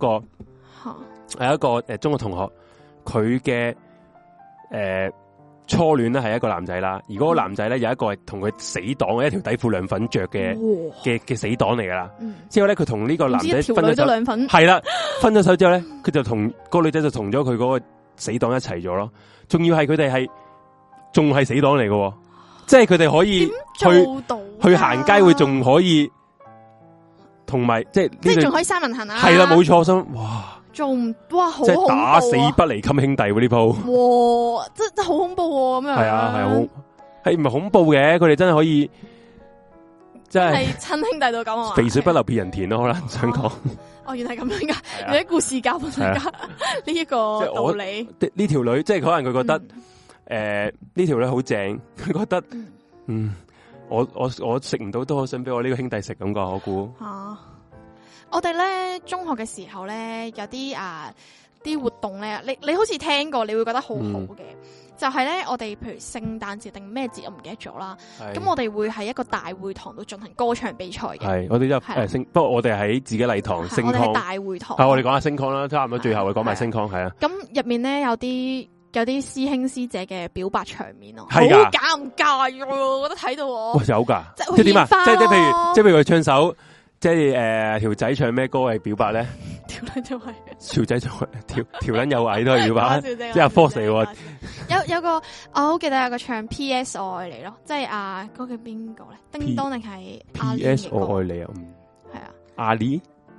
個中學同學，佢嘅初戀咧係一個男仔啦，而嗰個男仔咧有一個係同佢死黨，一條底褲兩粉着嘅死黨嚟噶啦。之後咧佢同呢個男仔分咗手，係啦，分咗手之後咧，佢就同嗰個女仔就同咗佢嗰個死黨一齊咗咯。仲要係佢哋係仲係死黨嚟嘅，即係佢哋可以去行街會仲可以，同埋即係仲可以三人行啊。係啦，冇錯，心哇。仲哇好恐怖啊！打死不離襟兄弟喎呢鋪，哇真好恐怖咁樣。係啊係啊，係唔係恐怖嘅？佢哋真係可以，真係親兄弟到咁啊！肥水不流別人田咯，可能想講。哦，原來咁樣噶，有啲故事教俾大家呢一個道理。呢條女即係可能佢覺得，呢條女好正，佢覺得，我食唔到都好想俾我呢個兄弟食咁噶，我估。我哋咧中學嘅時候咧有啲啲活動咧，你好似聽過，你會覺得好好嘅，就係咧我哋譬如聖誕節定咩節我唔記得咗啦。咁我哋會喺一個大會堂度進行歌唱比賽嘅。係我哋不過我哋喺自己禮堂升堂。我哋喺大會堂。我哋講下升堂啦，差唔多最後會講埋升堂係啊。咁入面咧有啲師兄師姐嘅表白場面咯，好尷尬喎！我覺得睇到我。有噶，即係點啊？即係譬如佢唱首。即係條仔唱咩歌係表白咧？條仔就係條仔就條撚有矮都係表白，即係阿 Force 嚟喎。有個我好記得有個唱 P.S. 我愛你咯，即係嗰個叫邊個咧？叮當定係 P.S. 我愛你啊？係啊，阿里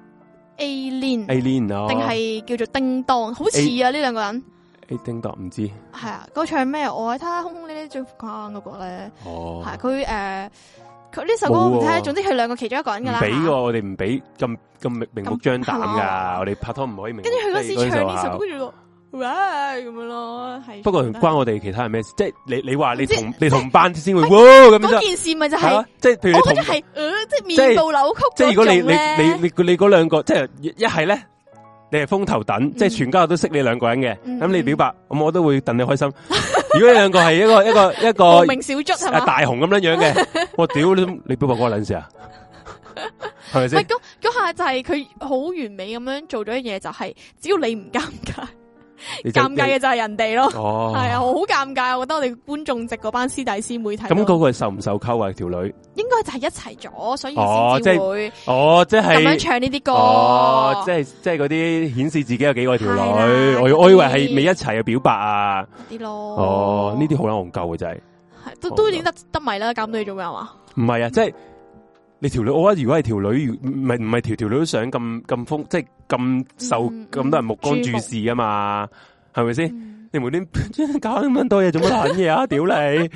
Alien 定係叫做叮當？好似啊呢兩個人。叮當唔知係啊，嗰唱咩？我愛他空空呢啲最關嗰個咧。哦，係佢佢呢首歌唔聽，總之佢兩個其中一個人噶啦。俾我哋唔俾咁明目張膽噶，我哋拍拖唔可以明。跟住佢嗰時唱呢首歌，跟住哇咁樣咯，係。不過唔關我哋其他人咩事，即係你話你同班先會哇咁樣。嗰件事咪就係，即係譬如我覺得係，即係面部扭曲。即係如果你嗰兩個，即係一係咧，你係風頭躉，即係全家都識你兩個人嘅，咁你表白，咁我都會戥你開心。如果你兩個係一個無名小卒係嘛，大雄咁樣樣嘅，我屌你表白嗰個撚事啊，係咪先？唔係嗰下就係佢好完美咁樣做咗一嘢，就係只要你唔尷尬，尷尬嘅就係人哋咯。哦，係啊，好尷尬，我覺得我哋觀眾席嗰班師弟師妹睇。咁嗰個係受唔受溝啊？條女應該就係一齊咗，所以先至會即係咁樣唱呢啲歌。即係嗰啲顯示自己有幾個條女，我以為係未一齊嘅表白啊啲咯。哦，呢啲好撚戇鳩嘅真係，都已經得迷啦，搞到你做咩嘛？唔係啊，即係你條女，我覺得如果係條女，唔係條女都想咁瘋，即係咁受咁多人目光注視啊嘛。 係咪先？你無端搞咁多嘢做乜撚嘢啊？屌你！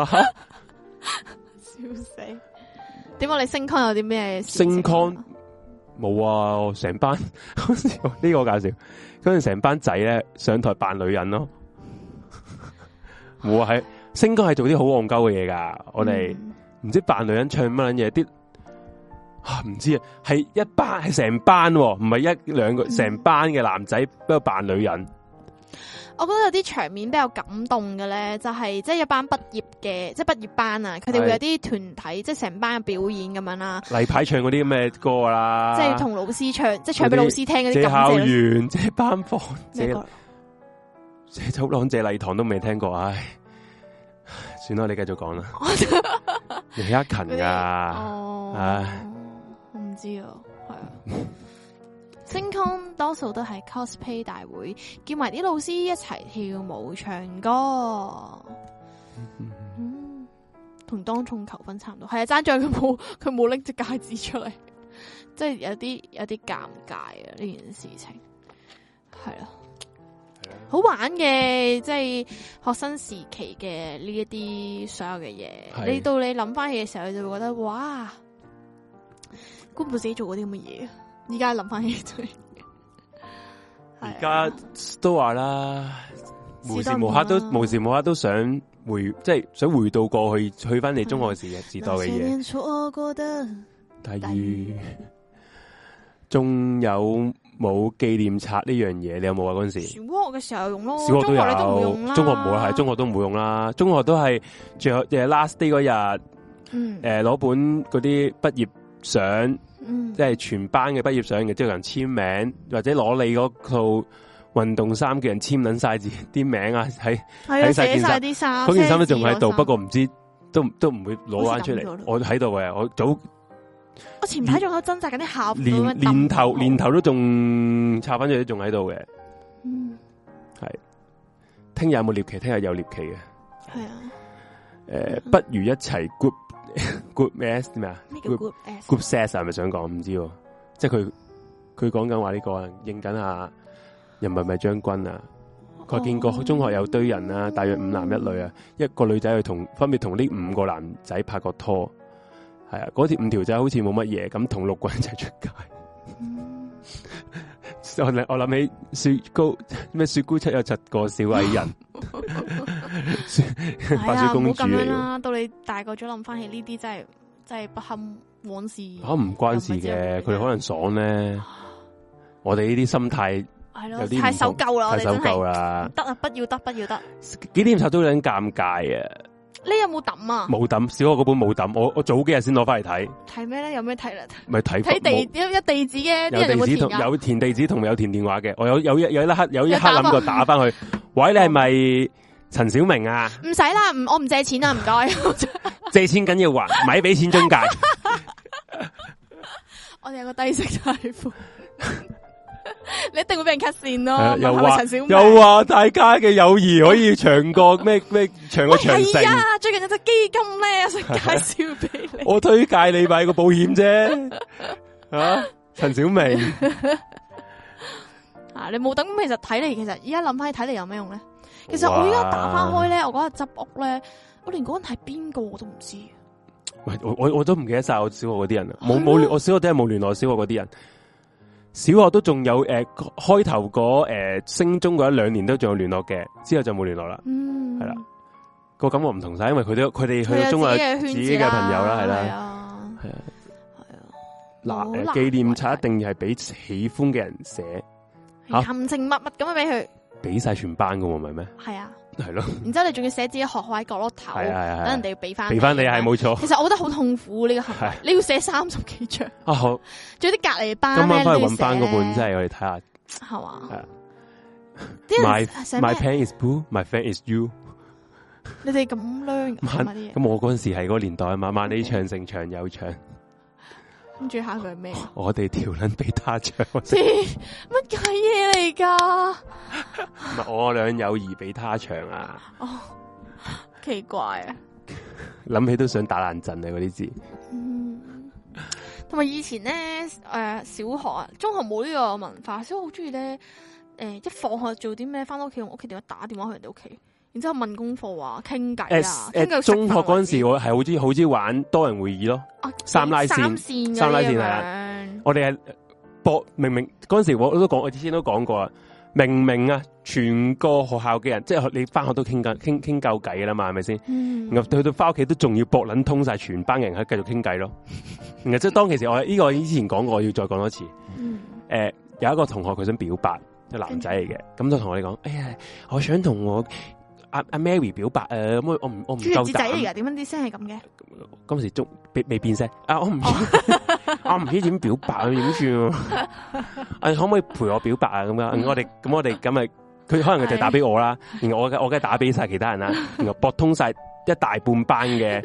笑死！點解你升 con 有啲咩？ 升 con 冇啊！成班呢個搞笑，嗰陣成班仔咧上台扮女人咯。我係升 con 係做啲好戇鳩嘅嘢噶，我哋唔知扮女人唱乜撚嘢啲。唔知啊，係一班係成班，唔係一兩個，成班嘅男仔不過扮女人。 我覺得有啲場面比較感動嘅咧，就係即係一班畢業嘅，即係畢業班啊，佢哋會有啲團體，即係成班嘅表演咁樣啦。例牌唱嗰啲咩歌啦， 即係同老師唱，即係唱俾老師聽嗰啲。謝校園，謝班房，謝走廊，謝禮堂都未聽過，唉，算啦，你繼續講啦。李克勤噶，唉。 唔知啊，係啊。升 con 多數都係 cosplay 大會，叫埋啲老師一齊跳舞唱歌，同當眾求婚差唔多。係啊，爭在佢冇拎隻戒指出嚟，即係有啲尷尬啊！呢件事情係啊，好玩嘅，即係學生時期嘅呢一啲所有嘅嘢。你到你諗翻起嘅時候，你就會覺得哇！估唔到自己做過啲咁嘅嘢，而家諗翻起就係， 而家都話啦，無時無刻都想即係想回到過去，去翻你中學時代嘅嘢。但係仲有冇紀念冊呢樣嘢？你有冇啊？嗰陣時小學嘅時候用咯， 小學都有，中學冇啦，係中學都唔會用啦。中學都係最後last day 嗰日，攞本嗰啲畢業相，即係全班嘅畢業相嘅，即係有人簽名，或者攞你嗰套運動衫嘅人簽撚晒字啲名啊，喺晒件衫，嗰件衫都仲喺度，不過唔知都唔會攞翻出嚟。我喺度嘅， 我前排仲有掙扎緊啲校服， 年頭都仲插翻出嚟，仲喺度嘅。係聽日有冇獵奇？聽日有獵奇嘅。 係啊。 不如一齊 group S 咩啊 ？group set 係咪想講？唔知，即係佢講緊話呢個啊，應緊下人民幣將軍啊。我見過中學有堆人啊，大約5男1女啊，一個女仔去分別同呢5個男仔拍過拖。係啊，嗰5條仔好似冇乜嘢，咁同6個人一齊出街。我諗起雪姑七有7個小矮人，白雪公主嚟啦。 到你大個咗諗翻起呢啲，真係不堪往事。 唔關事嘅，佢哋可能爽咧。我哋呢啲心態係咯，太守舊啦， 太守舊啦。 得啊，不要得。 紀念冊都有啲尷尬啊。 你有冇抌啊？冇抌，小學嗰本冇抌，我早幾日先攞翻嚟睇。 睇咩咧？有咩睇咧？ 咪睇有地址嘅， 有填地址同有填電話嘅。我有一刻諗過打翻去。喂，你係咪陳小明啊？ 唔使啦，我唔借錢啦，唔該。 借錢緊要還，咪俾錢中介。 我哋有個低息貸款。你一定會俾人 cut 線咯， 又話大家嘅友誼可以長過咩長過長城。 係啊，最近有隻基金咧，想介紹俾你。 我推介你買個保險啫，陳小明。 你冇等，其實睇嚟，其實而家諗翻起睇嚟有咩用咧？其實我而家打翻開咧，我嗰日執屋咧，我連嗰人係邊個我都唔知。 喂，我都唔記得晒我小學嗰啲人啦，冇我小學真係冇聯絡小學嗰啲人。小學都仲有開頭嗰升中嗰1-2年都仲有聯絡嘅，之後就冇聯絡啦。係啦，個感覺唔同晒，因為佢哋去到中學自己嘅朋友啦，係啦，係啊。嗱，紀念冊一定係俾喜歡嘅人寫， 含情脈脈咁樣俾佢， 俾晒全班噶喎，唔係咩？係啊。 係咯， 然之後你仲要寫自己學號喺角落頭，等人哋要俾翻你， 係冇錯。 其實我覺得好痛苦呢個行為，你要寫30幾張。啊好，仲有啲隔籬班咧， 今晚翻去搵翻嗰本，真係我哋睇下， 係嘛？ 係 My pen is blue, my fan is you。 你哋咁靚咁我嗰陣時係嗰個年代啊嘛，萬里長城長又長。 跟住下佢係咩？ 我哋條捻俾他唱， 乜鬼嘢嚟噶？ 唔係我倆友誼俾他唱啊！ 哦，奇怪啊！ 諗起都想打爛陣啊！嗰啲字。 同埋以前咧，小學啊，中學冇呢個文化，所以我好中意咧， 一放學做啲咩，翻到屋企用屋企電話打電話去人哋屋企，然之後問功課啊，傾偈啊。 中學嗰陣時我係好中意玩多人會議咯，三拉線係啊。我哋係博明明嗰陣時我之前都講過啊，明明啊全個學校嘅人，即係你翻學都傾夠偈噶啦嘛，係咪先？然後去到翻屋企都仲要博捻通晒全班人喺繼續傾偈咯。然後即係當其時我呢個之前講過，我要再講多次。有一個同學佢想表白。個男仔嚟嘅，咁就同我哋講，哎呀，我想同我阿 Mary 表白咁我唔夠膽。仔嚟噶，點解啲聲係咁嘅？嗰時仲未變聲，我唔知點表白點算？可唔可以陪我表白啊？咁樣，我哋咁咪，佢可能佢就打俾我啦，然後我梗係打俾晒其他人啦，然後駁通晒一大半班嘅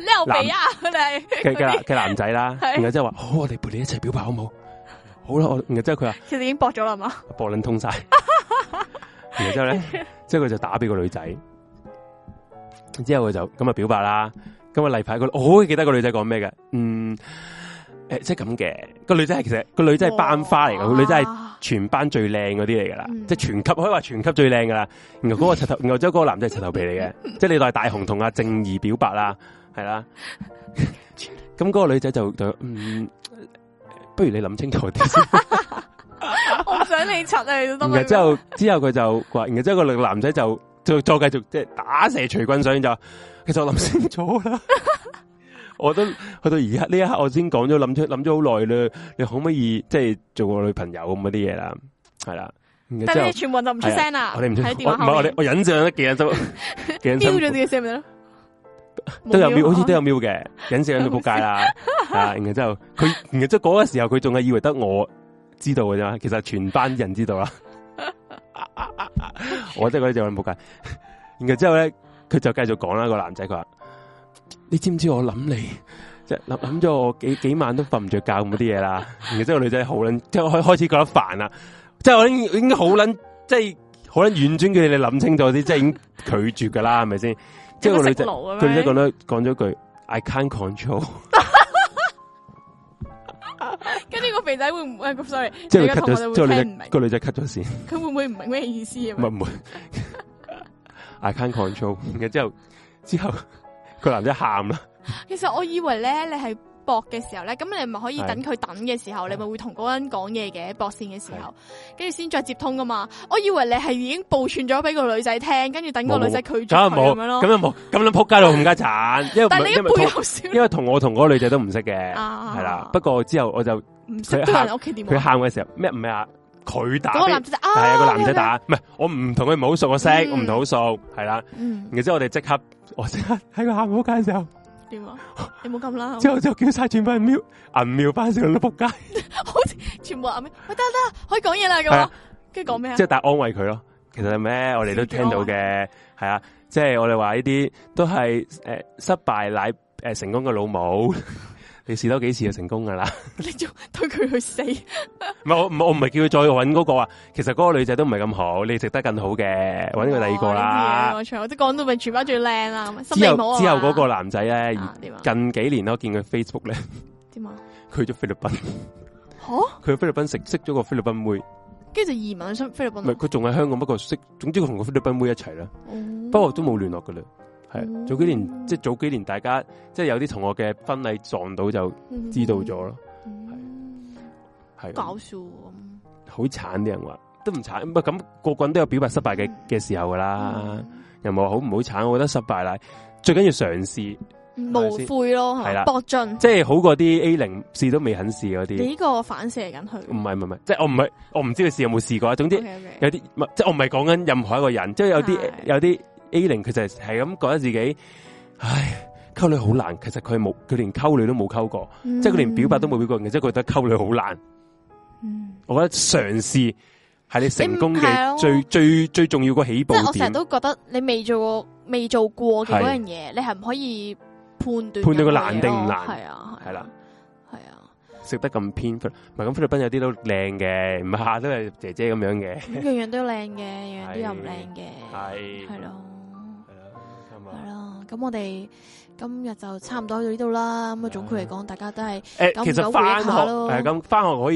男仔啦，然後即係話，好，我哋陪你一齊表白好唔好？好啦，然後之後佢話，其實已經駁咗啦嘛，駁撚通晒，然後之後咧，之後佢就打俾個女仔，之後佢就咁啊表白啦。咁啊例牌，我好記得個女仔講咩嘅，即係咁嘅。個女仔係其實個女仔係班花嚟嘅，個女仔係全班最靚嗰啲嚟噶啦，即係全級可以話全級最靚噶啦。然後嗰個柒頭，然後之後嗰個男仔係柒頭皮嚟嘅，即係你當係大雄同阿正義表白啦，係啦。咁嗰個女仔就不如你諗清楚啲先。我唔想你柒啊！然後之後佢就話，然後之後個男仔就再繼續即係打蛇隨棍上，就其實我諗清楚啦。我都去到而家呢一刻，我先講咗諗咗好耐啦。你可唔可以即係做我女朋友咁嗰啲嘢啦？係啦。但係你全部就唔出聲啦。我哋唔出聲。唔係我忍上得幾日都標咗啲聲咪咯。都有瞄，好似都有瞄嘅，忍住喺度仆街啦。然後之後然後即係嗰個時候，佢仲係以為得我知道嘅啫，其實全班人知道啦。我即係嗰啲就喺度仆街。然後之後咧，佢就繼續講啦。個男仔佢話：你知唔知我諗你，即係諗咗我幾晚都瞓唔着覺咁啲嘢啦。然後之後個女仔好撚，即係開始覺得煩啦。即係我已經好撚，即係好撚婉轉嘅，你諗清楚啲，即係已經拒絕噶啦，係咪先？即係個女仔，佢女仔講咗句 I can't control。跟住個肥仔會唔會？sorry，即係 cut 咗，即係個女仔 cut 咗線。佢會唔會唔明咩意思啊？唔會。I can't control。然之後個男仔喊啦。其實我以為咧，你係搏嘅時候咧，咁你咪可以等佢等嘅時候，你咪會同嗰個人講嘢嘅，搏線嘅時候，跟住先再接通噶嘛。我以為你係已經報串咗俾個女仔聽，跟住等個女仔拒絕佢咁樣咯。咁又冇，咁樣仆街到冚家鏟。但係你一背後笑，因為同我同嗰個女仔都唔識嘅，係啦。不過之後我就唔識人屋企電話。佢喊嘅時候咩唔係啊？佢打，係啊個男仔打，唔係我唔同佢唔好熟，我識我唔同好熟，係啦。然之後我即刻喺佢喊仆街嘅時候。點啊？你冇咁啦，之後就叫晒全部人瞄銀瞄翻上都仆街，好似全部銀瞄，喂得，可以講嘢啦咁，跟住講咩啊？即係但係安慰佢咯。其實係咩？我哋都聽到嘅，係啊，即係我哋話呢啲都係失敗乃成功嘅老母。你試多幾次就成功噶啦！你仲推佢去死？唔係我唔係叫佢再搵嗰個啊。其實嗰個女仔都唔係咁好，你值得更好嘅，搵佢第二個啦。我即係講到咪全班最靚啦。之後嗰個男仔咧，近幾年我見佢 Facebook 咧，點啊？佢去咗菲律賓。吓？佢去菲律賓識咗個菲律賓妹，跟住就移民去菲律賓。唔係佢仲喺香港，不過總之佢同個菲律賓妹一齊啦。不過都冇聯絡噶啦。係早幾年大家即係有啲同學嘅婚禮撞到就知道咗咯，係搞笑，好慘啲人話都唔慘，咁個個人都有表白失敗嘅時候噶啦，又冇好唔好慘，我覺得失敗啦，最緊要嘗試，無悔咯，係啦，搏盡，即係好過啲 A0試都未肯試嗰啲。你呢個反射緊佢？唔係，即係我唔知佢試有冇試過，總之有啲即係我唔係講緊任何一個人，即係有啲。A0佢就係咁覺得自己，唉，溝女好難。其實佢連溝女都冇溝過，即係佢連表白都冇表過，即係覺得溝女好難。我覺得嘗試係你成功嘅最重要個起步點。即係我成日都覺得你未做過嘅嗰樣嘢，你係唔可以判斷佢難定唔難。係啊，係啦，係啊，食得咁偏，唔係咁菲律賓有啲都靚嘅，唔係下都係姐姐咁樣嘅。樣樣都靚嘅，樣樣都又唔靚嘅，係咯。係啦，咁我哋今日就差唔多去到呢度啦。咁啊，總括嚟講，大家都係其實翻學咯。咁翻學可以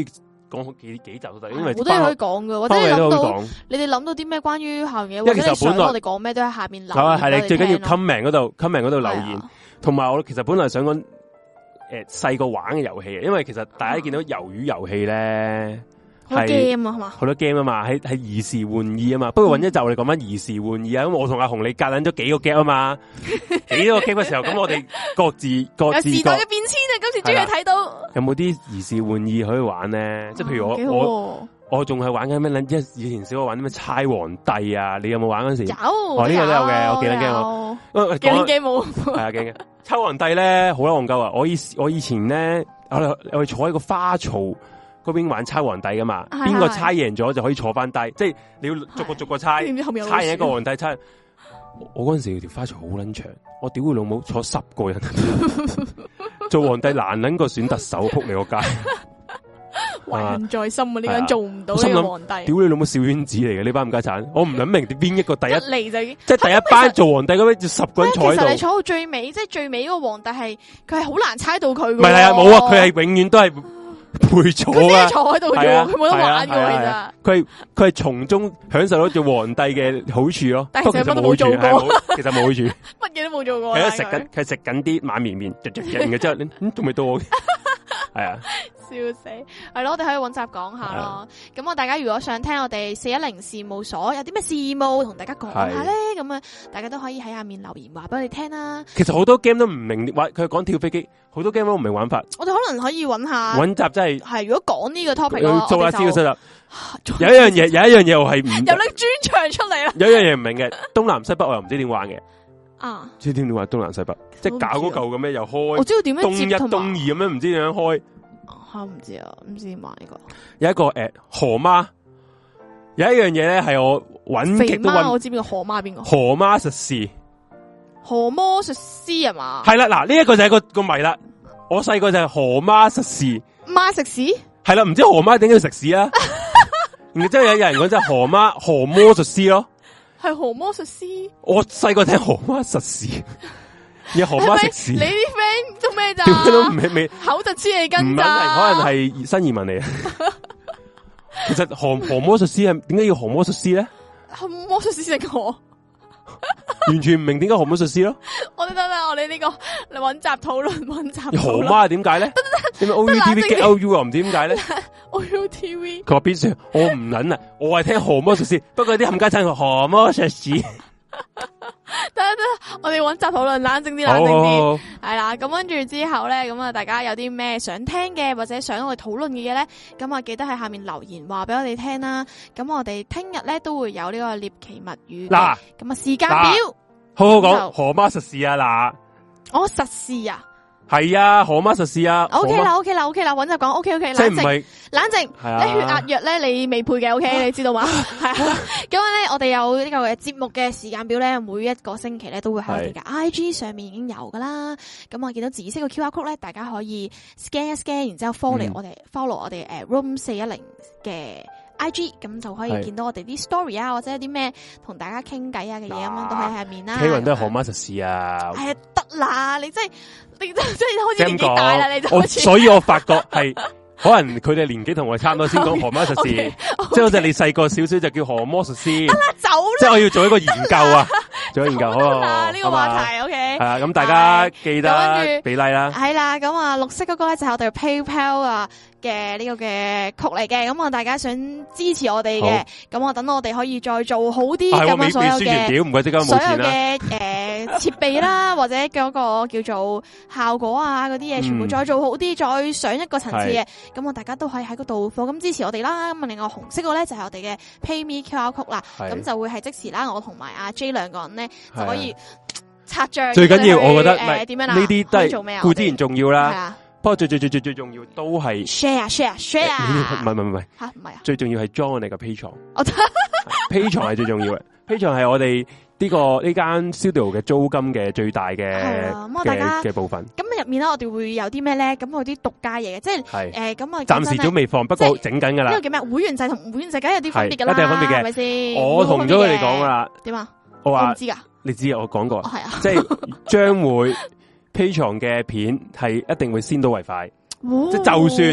講幾集都得，因為好多嘢可以講噶，或者你哋諗到啲咩關於校園嘢，或者你想我哋講咩都喺下邊留言。 係你最緊要 comment 嗰度留言，同埋我其實本來想講細個玩嘅遊戲，因為其實大家見到魷魚遊戲咧。 好 game 啊，係嘛？ 好多 game 啊嘛，係兒時玩意啊嘛。不過揾一集我哋講翻兒時玩意啊。咁我同阿紅你夾撚咗幾個 game 啊嘛，幾個 game 嘅時候，咁我哋各自有時代嘅變遷啊。今次終於睇到有冇啲兒時玩意可以玩咧？即係譬如我仲係玩緊咩咧？以前小學玩啲咩猜皇帝啊？你有冇玩嗰時？有，呢個都有嘅。我記得驚我，記得冇係啊，驚猜皇帝咧好撚戇鳩啊！我以前咧，我坐喺個花槽嗰邊玩猜皇帝噶嘛，邊個猜贏咗就可以坐翻低，即係你要逐個猜，猜贏一個皇帝猜。我嗰陣時條花槽好撚長，我屌佢老母坐10個人，做皇帝難撚過選特首，扑你個街。 懷恨在心啊！呢個人做唔到呢個皇帝， 屌你老母小圈子嚟嘅呢班唔家產，我唔諗明邊一個第一嚟就即係第一班做皇帝咁樣，就10個人坐喺度。其實你坐到最尾，即係最尾嗰個皇帝係佢係好難猜到佢。 唔係啊，冇啊，佢係永遠都係陪坐啊， 坐喺度啫，佢冇得玩嘅。其實佢係從中享受到做皇帝嘅好處咯。 但係其實乜都冇做過， 其實冇好處， 乜嘢都冇做過。 係佢食緊啲馬綿綿，嘅之後你仲未到我。係啊， 笑死，係咯，我哋可以揾集講下咯。咁我大家如果想聽我哋410事務所有啲咩事務同大家講下咧，咁啊，大家都可以喺下面留言話俾我哋聽啦。 其實好多 game 都唔明玩，佢講跳飛機，好多 game 都唔明玩法。 我哋可能可以揾下揾集真係如果講呢個 topic， 做下資料有一樣嘢我係唔有拎專長出嚟啦。 有一樣嘢唔明嘅，東南西北我又唔知點玩嘅。 啊！ 知點玩東南西北，即係搞嗰嚿咁樣又開， 我知道點樣接東一東二咁樣，唔知點樣開。 我唔知啊，唔知點玩呢個。 有一個河媽，有一樣嘢咧係我揾極都揾。 我知邊個河媽邊個？ 河媽實施， 河魔術師係嘛？ 係啦，嗱呢一個就係個謎啦。我細個就係河媽實施， 媽食屎係啦，唔知河媽點解要食屎啊？然之後有人講就係河魔術師咯。 係河魔術師， 我細個聽河媽實施，有河媽食屎。 你啲 friend 做咩咋？ 都未口就黐你根唔係，可能係新移民嚟啊。其實河魔術師係點解要河魔術師咧？ 河魔術師食河， 完全唔明點解河魔術師咯。 我哋呢個嚟揾集討論。 河媽點解咧？點解 OUTV get OU 又唔知點解咧 ？OUTV 佢話邊時我唔捻啊，我係聽河魔術師，不過啲冚家鏟河魔術師。 得，我哋揾集討論，冷靜啲，冷靜啲。係啦，咁跟住之後咧，咁啊，大家有啲咩想聽嘅，或者想我哋討論嘅嘢咧，咁啊，記得喺下面留言話俾我哋聽啦。咁我哋聽日咧都會有呢個獵奇物語。嗱，咁啊，時間表好好講河媽實事啊！嗱， 我實事啊。 係啊，河媽實事啊。 OK 啦，搵就講 OK， 冷靜，冷靜。你血壓藥咧，你未配嘅 OK，你知道嘛？係啊。咁咧，我哋有呢個節目嘅時間表咧，每一個星期咧都會喺我哋嘅 IG 上面已經有噶啦。咁我見到紫色嘅 QR code 咧，大家可以 scan 一 scan，然之後 follow 我哋Room 410嘅 IG， 咁就可以見到我哋啲 story 啊，或者有啲咩同大家傾偈啊嘅嘢咁樣都喺下面啦。K 雲都係河媽實事啊。 係啊，得啦，你真係開始年紀大啦，你就開始。 所以我發覺係可能佢哋年紀同我差唔多，先講河媽實事。即係好似你細個少少就叫河魔術師。得啦，走啦。即係我要做一個研究啊，做一個研究。好啦， 呢個話題 OK。係啊，咁大家記得俾 like 啦。 係啦，咁啊，綠色嗰個咧就係我哋 PayPal 啊嘅呢個嘅曲嚟嘅，咁啊大家想支持我哋嘅，咁我等我哋可以再做好啲咁啊所有嘅所有嘅設備啦，或者嗰個叫做效果啊嗰啲嘢，全部再做好啲，再上一個層次嘅，咁我大家都可以喺嗰度課金支持我哋啦。咁啊，另外紅色個咧就係我哋嘅 PayMe QR Code啦，咁就會係即時啦，我同埋阿 J 兩個人咧就可以拆賬。最緊要我覺得點樣啦？呢啲都係做咩啊？固之然重要啦。不過最重要都係 share， 唔係吓唔係啊！最重要係 join 我哋嘅 Patreon，Patreon 係最重要嘅。Patreon 係我哋呢間 studio 嘅租金嘅最大嘅部分。咁入面咧，我哋會有啲咩咧？咁有啲獨家嘢，即係咁啊！暫時都未放，不過整緊噶啦。呢個叫咩？會員制同唔會員制梗係有啲分別噶啦，一定有分別嘅，係咪先？我同咗佢哋講噶啦。點啊？我話唔知噶，你知啊？我講過，係啊，即係將會。Patreon 嘅片係一定會先到為快，即係就算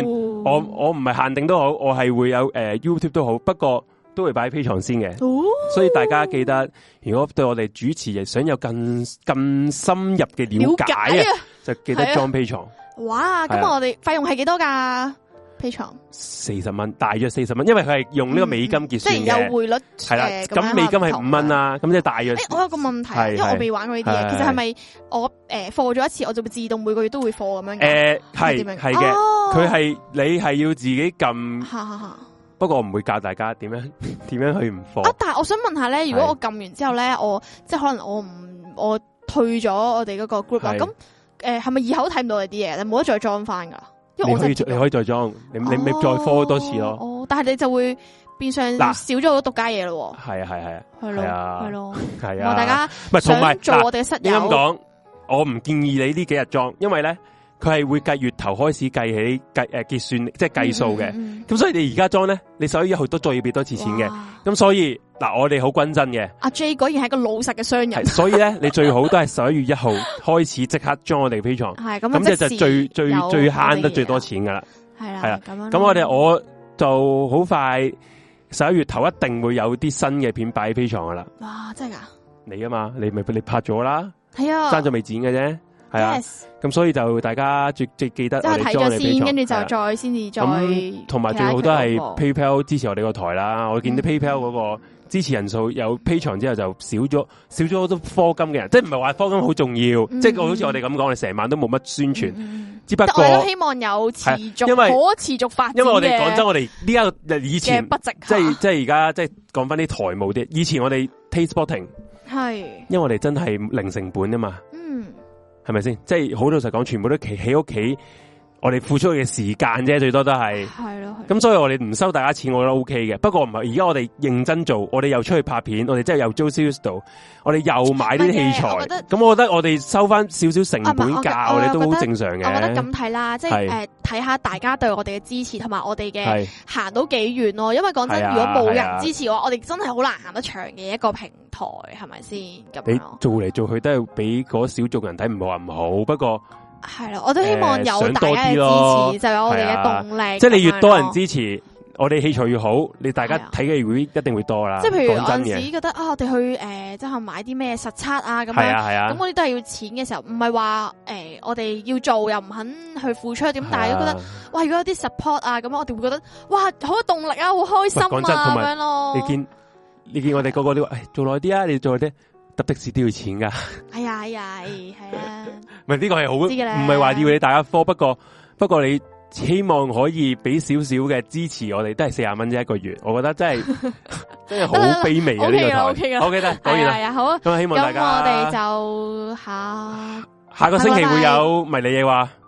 我唔係限定都好，我係會有YouTube 都好，不過都會擺喺 Patreon 先嘅。所以大家記得，如果對我哋主持想有更深入嘅了解啊，就記得裝 Patreon。哇！ 咁我哋費用係幾多㗎？Patreon 40蚊，大約40蚊，因為佢係用呢個美金結算嘅， 即係有匯率。 係啦，咁美金係5蚊啦，咁即係大約。 我有個問題，因為我未玩過呢啲嘢，其實係咪我課咗一次，我就會自動每個月都會課咁樣嘅？ 係嘅，佢係你係要自己撳。不過我唔會教大家點樣去唔課。但係我想問下咧，如果我撳完之後咧，我即係可能我退咗我哋嗰個 group 啦，咁係咪以後都睇唔到你啲嘢？你冇得再裝翻噶？因為你可以再裝，你再課多次咯。 但係你就會變相少咗好多獨家嘢咯。 係咯。 大家同埋做我哋嘅室友。 咁講，我唔建議你呢幾日裝，因為咧佢係會計月頭開始計起結算，即係計數嘅。咁所以你而家裝咧，你11月1號都再要俾多次錢嘅。咁所以嗱，我哋好均真嘅。阿 J 果然係個老實嘅商人。 所以咧，你最好都係11月1號開始即刻裝我哋 Patreon。係咁就最慳得最多錢噶啦。係啦，咁我就好快11月頭一定會有啲新嘅片擺喺 Patreon噶啦。 哇，真係噶？ 你啊嘛，你拍咗啦。 係啊， 爭咗未剪嘅啫。係啊，咁所以就大家最記得我哋裝我哋 Patreon， 跟住就再先至再。 同埋最好都係 PayPal 支持我哋個台啦。我見到 PayPal 嗰個支持人數有 Patreon之後就少咗好多課金嘅人，即係唔係話課金好重要，即係好似我哋咁講，我哋成晚都冇乜宣傳，只不過我都希望有持續可持續發展。 因為我哋講真，我哋呢家以前不值， 即係而家即係講翻啲台務啲，以前我哋 Tastespotting 係，因為我哋真係零成本啊嘛。係咪先？即係好老實講，全部都喺屋企，我哋付出嘅時間啫，最多都係。係咯。咁所以我哋唔收大家錢，我覺得 OK 嘅。不過唔係，而家我哋認真做，我哋又出去拍片，我哋真係又租 studio，我哋又買啲器材。咁我覺得我哋收翻少少成本價，我哋都好正常嘅。 我覺得咁睇啦，即係睇下大家對我哋嘅支持，同埋我哋嘅行到幾遠咯。因為講真，如果冇人支持嘅話，我哋真係好難行得長嘅一個平台，係咪先？咁你做嚟做去都係俾嗰少眾人睇，唔好話唔好。不過係咯，我都希望有大家嘅支持，就有我哋嘅動力。 即係你越多人支持，我哋器材越好，你大家睇嘅會一定會多啦。 即係譬如有陣時覺得我哋去即係買啲咩實測啊咁樣，咁嗰啲都係要錢嘅時候，唔係話我哋要做又唔肯去付出點，但係都覺得哇，如果有啲 support 啊咁，我哋會覺得哇好有動力啊，好開心啊咁樣咯。 你見我哋個個都話做耐啲啊，你做耐啲。搭的士都要錢噶， 係啊， 唔係呢個係好，唔係話要你大家科，不過你希望可以俾少少嘅支持我哋，都係40蚊啫一個月，我覺得真係好卑微嘅呢個台。OK 得，講完啦，好，咁希望大家， 咁我哋就下個星期會有迷你嘢話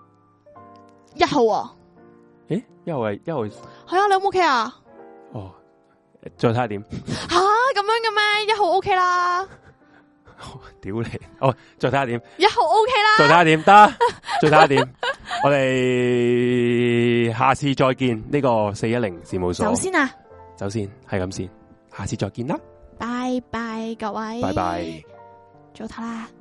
1號啊？ 誒，1號係啊，你 OK 啊？ 哦，再睇下點吓咁樣嘅咩？1號 OK 啦。 屌你！哦，再睇下點 1號 OK 啦， 再睇下點得，再睇下點。我哋下次再見。呢個410事務所。走先係咁先。下次再見啦。 拜拜，各位。 拜拜。 早唞啦。